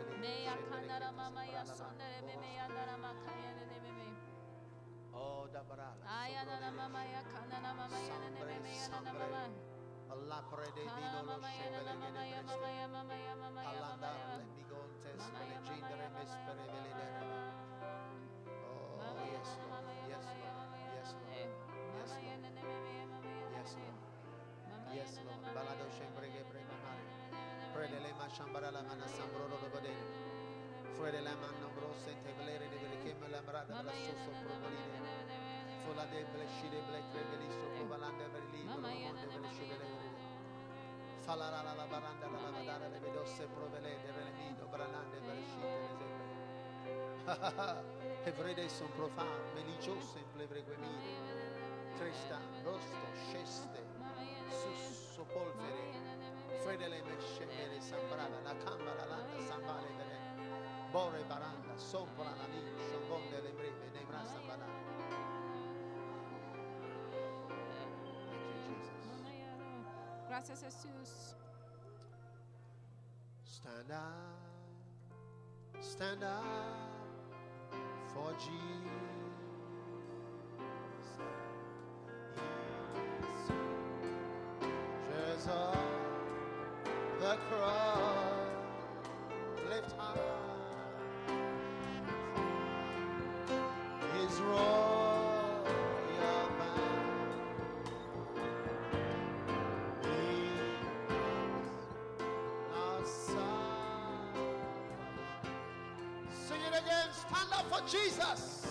Speaker 3: Yes, Lord. Balado shembrege bremamare. Frede le machambara la mana sambro lo bode. Frede la mano brose te blere de belke la brada la soso provolide. Fola de bleshide black reveli so provalande verli lo monde belshide. Fala la la baranda la badara le vedosse provele de relemido branande belshide le. Evrede son profan, meligiose in plevre guemide. Trista, rosto, sceste, sus polvere, fredele mescere, sambrada, la camera, landa, sambale, vere, bore, baranda, sopra la lì, sciambonde, le breve, ne brasa, bada. Thank you, Jesus.
Speaker 2: Gracias, Jesús.
Speaker 3: Stand up, stand up for Jesus. Of the cross, lift high His royal band. He our son. Sing it again. Stand up for Jesus.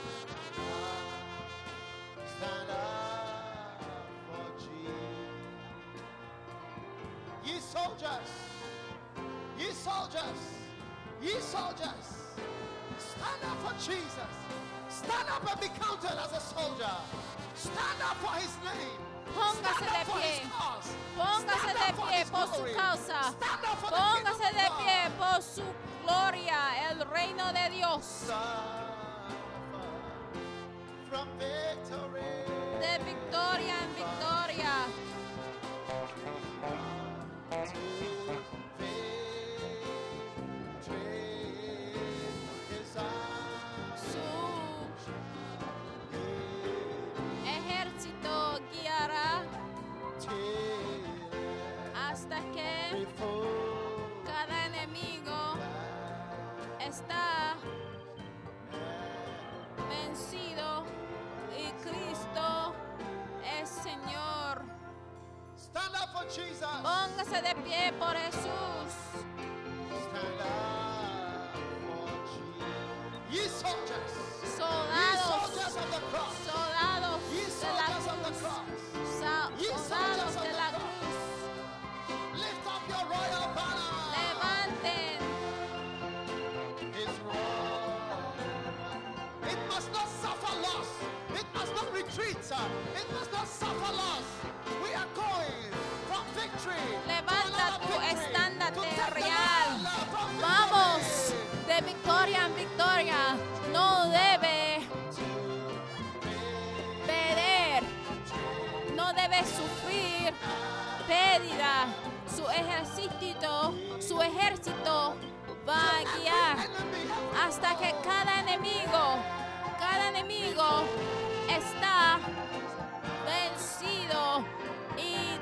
Speaker 3: Stand up for Jesus. Ye soldiers, ye soldiers, ye soldiers, stand up for Jesus. Stand up and be counted as a soldier. Stand up for His name.
Speaker 2: Póngase de pie. Póngase de pie por su causa. Póngase de pie por su gloria, el reino de Dios. De victoria en victoria. Hasta que cada enemigo está vencido y Cristo es Señor.
Speaker 3: Stand up for Jesus.
Speaker 2: Póngase de pie por Jesús.
Speaker 3: Stand up for Jesus. Ye soldiers.
Speaker 2: Soldados.
Speaker 3: Ye soldiers of the cross.
Speaker 2: Soldados
Speaker 3: Ye
Speaker 2: de la
Speaker 3: soldiers of the
Speaker 2: cruz.
Speaker 3: cross.
Speaker 2: Soldados de la cruz.
Speaker 3: Lift up your royal banner.
Speaker 2: Levanten.
Speaker 3: His royal. It must not suffer loss. It must not retreat. It must not suffer loss. We are going from victory.
Speaker 2: Levanta tu estandarte real. Vamos de victoria en victoria. No de debe sufrir pérdida. Su ejército, su ejército va a guiar hasta que cada enemigo, cada enemigo está vencido y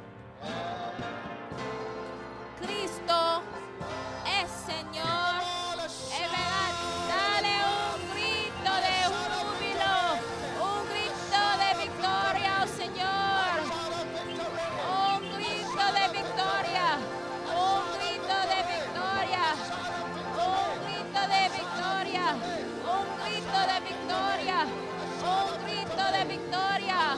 Speaker 2: Cristo es Señor. Es verdad. Dale un grito de júbilo, un grito de victoria al Señor, un grito de victoria, un grito de victoria, un grito de victoria, un grito de victoria, un grito de victoria.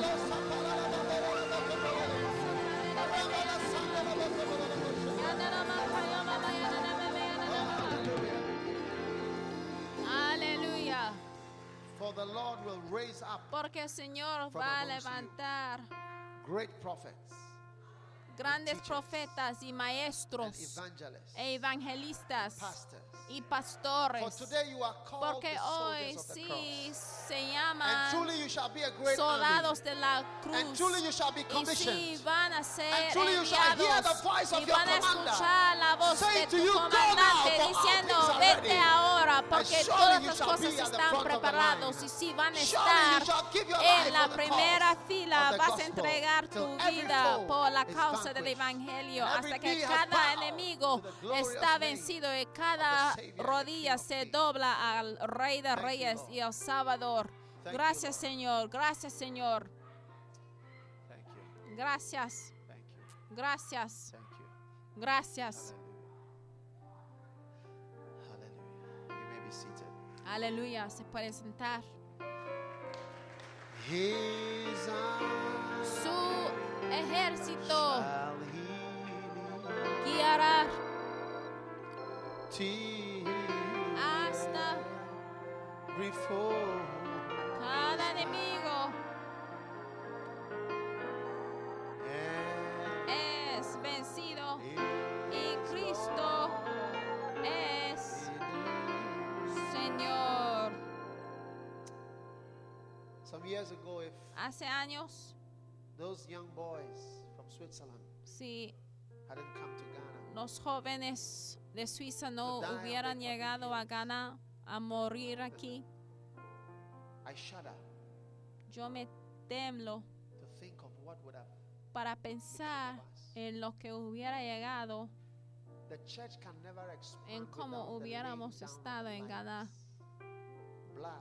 Speaker 2: Aleluya.
Speaker 3: For the Lord will raise up
Speaker 2: Porque el Señor va a levantar
Speaker 3: great prophets,
Speaker 2: grandes profetas y maestros
Speaker 3: evangelists,
Speaker 2: e evangelistas
Speaker 3: pastors.
Speaker 2: y pastores.
Speaker 3: For today you are called
Speaker 2: Porque
Speaker 3: the
Speaker 2: hoy
Speaker 3: soldiers of the
Speaker 2: sí
Speaker 3: cross.
Speaker 2: se
Speaker 3: And
Speaker 2: llaman
Speaker 3: truly you shall be a great
Speaker 2: soldados
Speaker 3: army.
Speaker 2: de la
Speaker 3: And
Speaker 2: cruz.
Speaker 3: truly you shall be
Speaker 2: Y sí
Speaker 3: commissioned.
Speaker 2: van a ser
Speaker 3: And truly you shall hear the
Speaker 2: enviados
Speaker 3: voice of
Speaker 2: y
Speaker 3: your
Speaker 2: van a
Speaker 3: commander
Speaker 2: escuchar la voz
Speaker 3: saying
Speaker 2: de
Speaker 3: to
Speaker 2: tu
Speaker 3: you, "Go now,
Speaker 2: comandante
Speaker 3: for all
Speaker 2: diciendo,
Speaker 3: things are
Speaker 2: vete
Speaker 3: ready."
Speaker 2: ahora porque
Speaker 3: surely
Speaker 2: todas
Speaker 3: you
Speaker 2: las
Speaker 3: shall
Speaker 2: cosas
Speaker 3: be at the
Speaker 2: están
Speaker 3: front of the
Speaker 2: preparados
Speaker 3: line.
Speaker 2: y si van a
Speaker 3: Surely you
Speaker 2: estar
Speaker 3: shall give your
Speaker 2: en
Speaker 3: life
Speaker 2: la
Speaker 3: for the
Speaker 2: primera
Speaker 3: cause
Speaker 2: fila,
Speaker 3: of the
Speaker 2: vas a
Speaker 3: gospel,
Speaker 2: entregar
Speaker 3: till
Speaker 2: tu
Speaker 3: every
Speaker 2: vida
Speaker 3: foe
Speaker 2: por la
Speaker 3: is
Speaker 2: causa del
Speaker 3: vanquished,
Speaker 2: evangelio
Speaker 3: and every
Speaker 2: hasta que
Speaker 3: knee has
Speaker 2: cada
Speaker 3: bowed
Speaker 2: enemigo
Speaker 3: to the glorious
Speaker 2: está
Speaker 3: name
Speaker 2: vencido y
Speaker 3: of
Speaker 2: cada
Speaker 3: the Savior and the
Speaker 2: rodilla
Speaker 3: King of
Speaker 2: se
Speaker 3: Kings.
Speaker 2: dobla al Rey de
Speaker 3: Thank you,
Speaker 2: Reyes
Speaker 3: Lord.
Speaker 2: y al Salvador.
Speaker 3: Thank you,
Speaker 2: Gracias,
Speaker 3: Lord.
Speaker 2: Señor. Gracias, Señor.
Speaker 3: Thank you.
Speaker 2: Gracias.
Speaker 3: Thank you.
Speaker 2: Gracias.
Speaker 3: Thank you.
Speaker 2: Gracias.
Speaker 3: Hallelujah. Hallelujah. You may be seated.
Speaker 2: Aleluya. Se puede sentar.
Speaker 3: His arms
Speaker 2: Su ejército
Speaker 3: shall he
Speaker 2: guiará
Speaker 3: till
Speaker 2: hasta
Speaker 3: before
Speaker 2: cada enemigo
Speaker 3: and
Speaker 2: es vencido y Cristo es Señor.
Speaker 3: Some years ago, if
Speaker 2: Hace años,
Speaker 3: those young boys from Switzerland
Speaker 2: si
Speaker 3: hadn't come to Ghana,
Speaker 2: los jóvenes de Suiza no hubieran llegado a Ghana a morir aquí,
Speaker 3: I shudder
Speaker 2: yo me temblo
Speaker 3: to think of what would have.
Speaker 2: para pensar en lo que hubiera llegado,
Speaker 3: The church can never expand
Speaker 2: en cómo
Speaker 3: without the
Speaker 2: hubiéramos
Speaker 3: laying down
Speaker 2: estado
Speaker 3: of
Speaker 2: en
Speaker 3: lives.
Speaker 2: Ghana.
Speaker 3: Blood,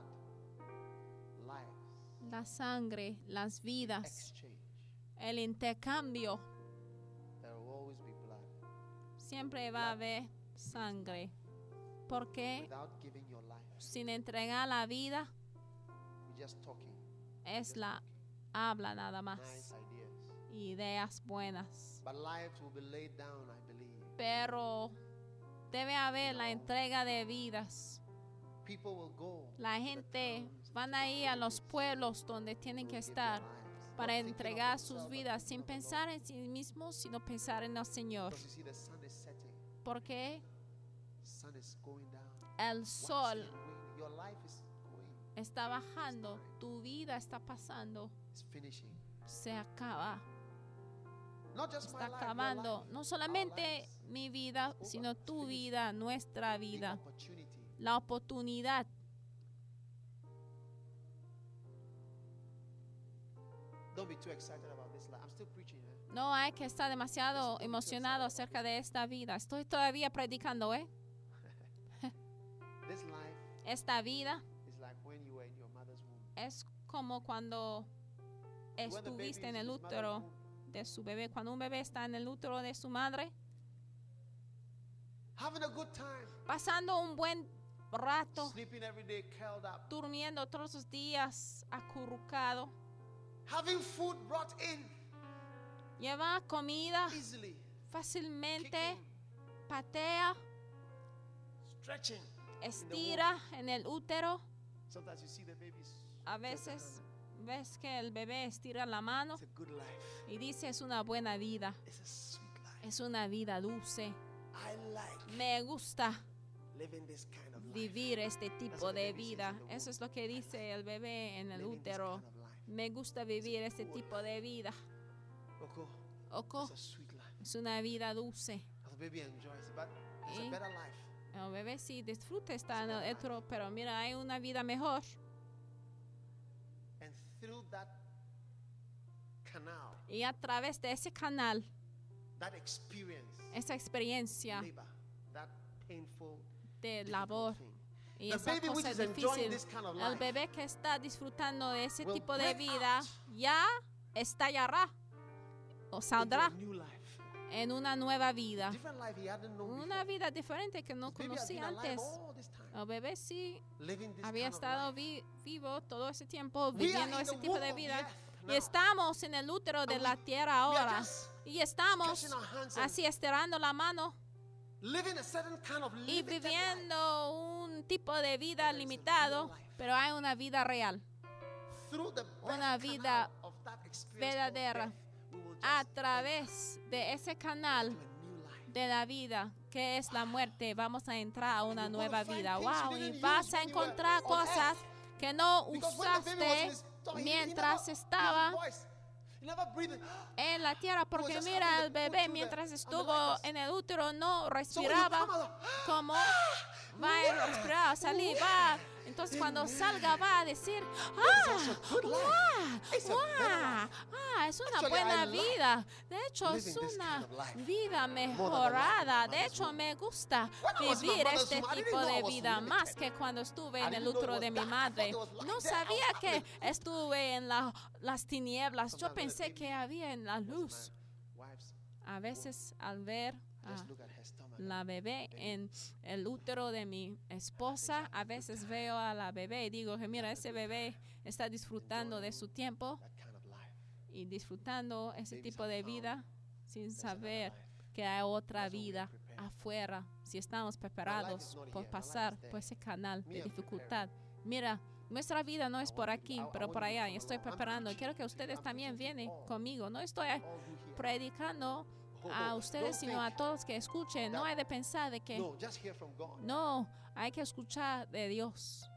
Speaker 3: lives,
Speaker 2: La sangre, las vidas,
Speaker 3: exchange.
Speaker 2: el intercambio.
Speaker 3: There will always be blood.
Speaker 2: Siempre va a haber sangre. Porque
Speaker 3: Without giving your life,
Speaker 2: sin entregar la vida
Speaker 3: we're just talking.
Speaker 2: es
Speaker 3: just
Speaker 2: la
Speaker 3: talking.
Speaker 2: habla nada
Speaker 3: Nice
Speaker 2: más.
Speaker 3: ideas.
Speaker 2: Ideas buenas.
Speaker 3: But lives will be laid down, I believe.
Speaker 2: Pero debe haber la entrega de vidas.
Speaker 3: People will go.
Speaker 2: La
Speaker 3: to the
Speaker 2: gente
Speaker 3: towns,
Speaker 2: van
Speaker 3: to the
Speaker 2: a ir a los
Speaker 3: villages,
Speaker 2: pueblos donde tienen
Speaker 3: will
Speaker 2: que
Speaker 3: give their
Speaker 2: estar
Speaker 3: lives,
Speaker 2: para
Speaker 3: not thinking of
Speaker 2: entregar sus
Speaker 3: themselves, but
Speaker 2: vidas
Speaker 3: thinking
Speaker 2: sin
Speaker 3: of the Lord.
Speaker 2: pensar en sí mismos, sino pensar en el Señor.
Speaker 3: Because you see, the sun is setting.
Speaker 2: Porque
Speaker 3: The sun is going down.
Speaker 2: el
Speaker 3: What's
Speaker 2: sol
Speaker 3: your way? Your life is going.
Speaker 2: está bajando, tu vida está pasando,
Speaker 3: It's finishing.
Speaker 2: se acaba,
Speaker 3: Not just my
Speaker 2: está
Speaker 3: life, your
Speaker 2: acabando.
Speaker 3: life,
Speaker 2: No
Speaker 3: our
Speaker 2: solamente
Speaker 3: lives.
Speaker 2: mi vida,
Speaker 3: It's
Speaker 2: sino
Speaker 3: over. It's
Speaker 2: tu
Speaker 3: finished.
Speaker 2: vida, nuestra
Speaker 3: The
Speaker 2: vida,
Speaker 3: opportunity.
Speaker 2: la oportunidad.
Speaker 3: Don't be too excited about this life. I'm still preaching. Eh?
Speaker 2: No hay que estar demasiado emocionado acerca de esta vida. Estoy todavía predicando, ¿eh?
Speaker 3: This life
Speaker 2: Esta vida
Speaker 3: is like when you were in your mother's womb.
Speaker 2: es como cuando
Speaker 3: When the baby
Speaker 2: estuviste
Speaker 3: is
Speaker 2: en
Speaker 3: in
Speaker 2: el
Speaker 3: his mother's
Speaker 2: útero
Speaker 3: womb,
Speaker 2: de su bebé. Cuando un bebé está en el útero de su madre,
Speaker 3: having a good time,
Speaker 2: pasando un buen rato,
Speaker 3: sleeping every day, curled up,
Speaker 2: durmiendo todos los días acurrucado,
Speaker 3: having food brought in
Speaker 2: lleva comida
Speaker 3: easily,
Speaker 2: fácilmente,
Speaker 3: kicking,
Speaker 2: patea,
Speaker 3: stretching.
Speaker 2: estira en el útero.
Speaker 3: Sometimes you see the babies.
Speaker 2: A veces ves que el bebé estira la mano
Speaker 3: It's a good life.
Speaker 2: y dice es una buena vida,
Speaker 3: It's a sweet life.
Speaker 2: es una vida dulce.
Speaker 3: I like
Speaker 2: Me gusta
Speaker 3: living this kind of life.
Speaker 2: vivir este tipo
Speaker 3: what the
Speaker 2: de
Speaker 3: baby says
Speaker 2: vida.
Speaker 3: in the womb.
Speaker 2: Eso es lo que dice el bebé en el
Speaker 3: Living this
Speaker 2: útero.
Speaker 3: kind of life.
Speaker 2: Me gusta vivir este tipo de vida. Oko es una vida dulce. Y el bebé sí disfruta estar en el útero, pero mira, hay una vida mejor. Y a través de ese canal, esa experiencia de labor y esa cosa difícil, el bebé que está disfrutando de ese tipo de vida ya estallará o saldrá en una nueva vida, una vida diferente que no conocía antes. El bebé sí había estado vi vivo todo ese tiempo viviendo ese tipo de vida. Y estamos en el útero de la tierra ahora. Y estamos así estirando la mano y viviendo un tipo de vida limitado, pero hay una vida real, una vida verdadera. A través de ese canal de la vida, que es la muerte, vamos a entrar a una nueva vida. Wow, y vas a encontrar cosas que no usaste mientras estaba en la tierra, porque mira, el bebé mientras estuvo en el útero no respiraba como va a respirar, salir, va. Entonces cuando salga va a decir, ah, wow, wow, ah, es una buena vida. De hecho, es una vida mejorada. De hecho, me gusta vivir este tipo de vida más que cuando estuve en el útero de mi madre. No sabía que estuve en la, las tinieblas. Yo pensé que había en la luz. A veces al ver a la bebé en el útero de mi esposa, a veces veo a la bebé y digo que mira, ese bebé está disfrutando de su tiempo y disfrutando ese tipo de vida sin saber que hay otra vida afuera, si estamos preparados por pasar por ese canal de dificultad. Mira, nuestra vida no es por aquí, pero por allá. Y estoy preparando. Quiero que ustedes también vienen conmigo. No estoy predicando a ustedes, sino a todos que escuchen. No hay de pensar de que no, hay que escuchar de Dios.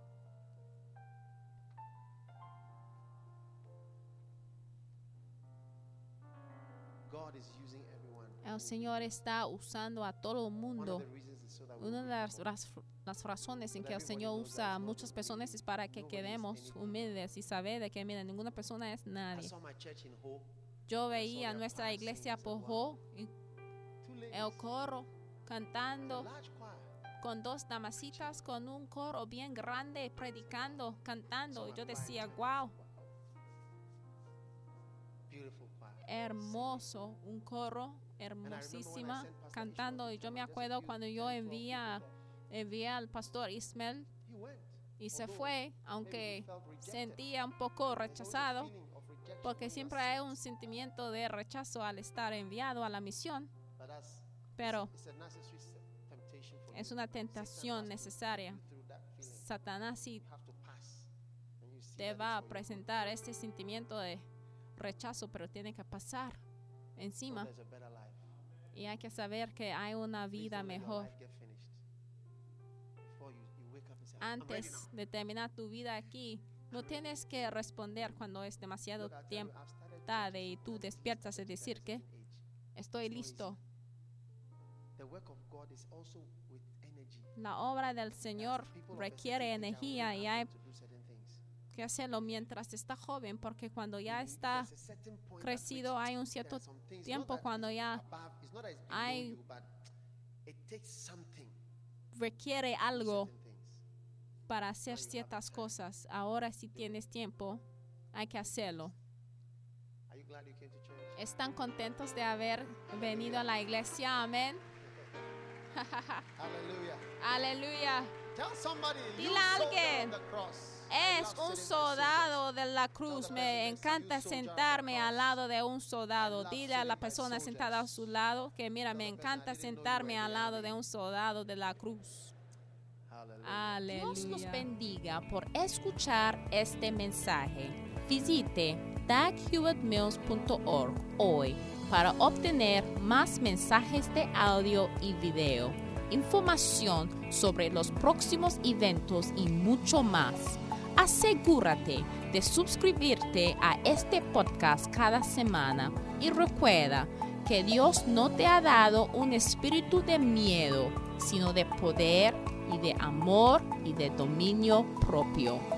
Speaker 2: El Señor está usando a todo el mundo. Una de las, las, las razones en que el Señor usa a muchas personas es para que quedemos humildes y saber de que mira, ninguna persona es nadie. Yo veía nuestra iglesia por Ho, el coro cantando con dos damasitas, con un coro bien grande, predicando, cantando. Y yo decía, wow, hermoso, un coro hermosísima cantando. Y yo me acuerdo cuando yo envía, envía al pastor Ismael y se fue, aunque sentía un poco rechazado, porque siempre hay un sentimiento de rechazo al estar enviado a la misión, pero es una tentación necesaria. Satanás sí te va a presentar este sentimiento de rechazo, pero tiene que pasar encima y hay que saber que hay una vida mejor. Antes de terminar tu vida aquí, no tienes que responder cuando es demasiado tiempo tarde y tú despiertas y decir que estoy listo. La obra del Señor requiere energía y hay que hacerlo mientras está joven, porque cuando ya está crecido hay un cierto tiempo cuando ya hay requiere algo para hacer ciertas cosas. Ahora si tienes tiempo, hay que hacerlo. ¿Están contentos de haber venido a la iglesia? Amén. Aleluya. Dile a alguien, es un soldado de la cruz. Me encanta sentarme al lado de un soldado. Dile a la persona sentada a su lado que mira, me encanta sentarme al lado de un soldado de la cruz. Aleluya. Dios los bendiga por escuchar este mensaje. Visite dag hewitt mills punto org hoy para obtener más mensajes de audio y video, información sobre los próximos eventos y mucho más.
Speaker 1: Asegúrate de suscribirte a este podcast cada semana y recuerda que Dios no te ha dado un espíritu de miedo, sino de poder y de amor y de dominio propio.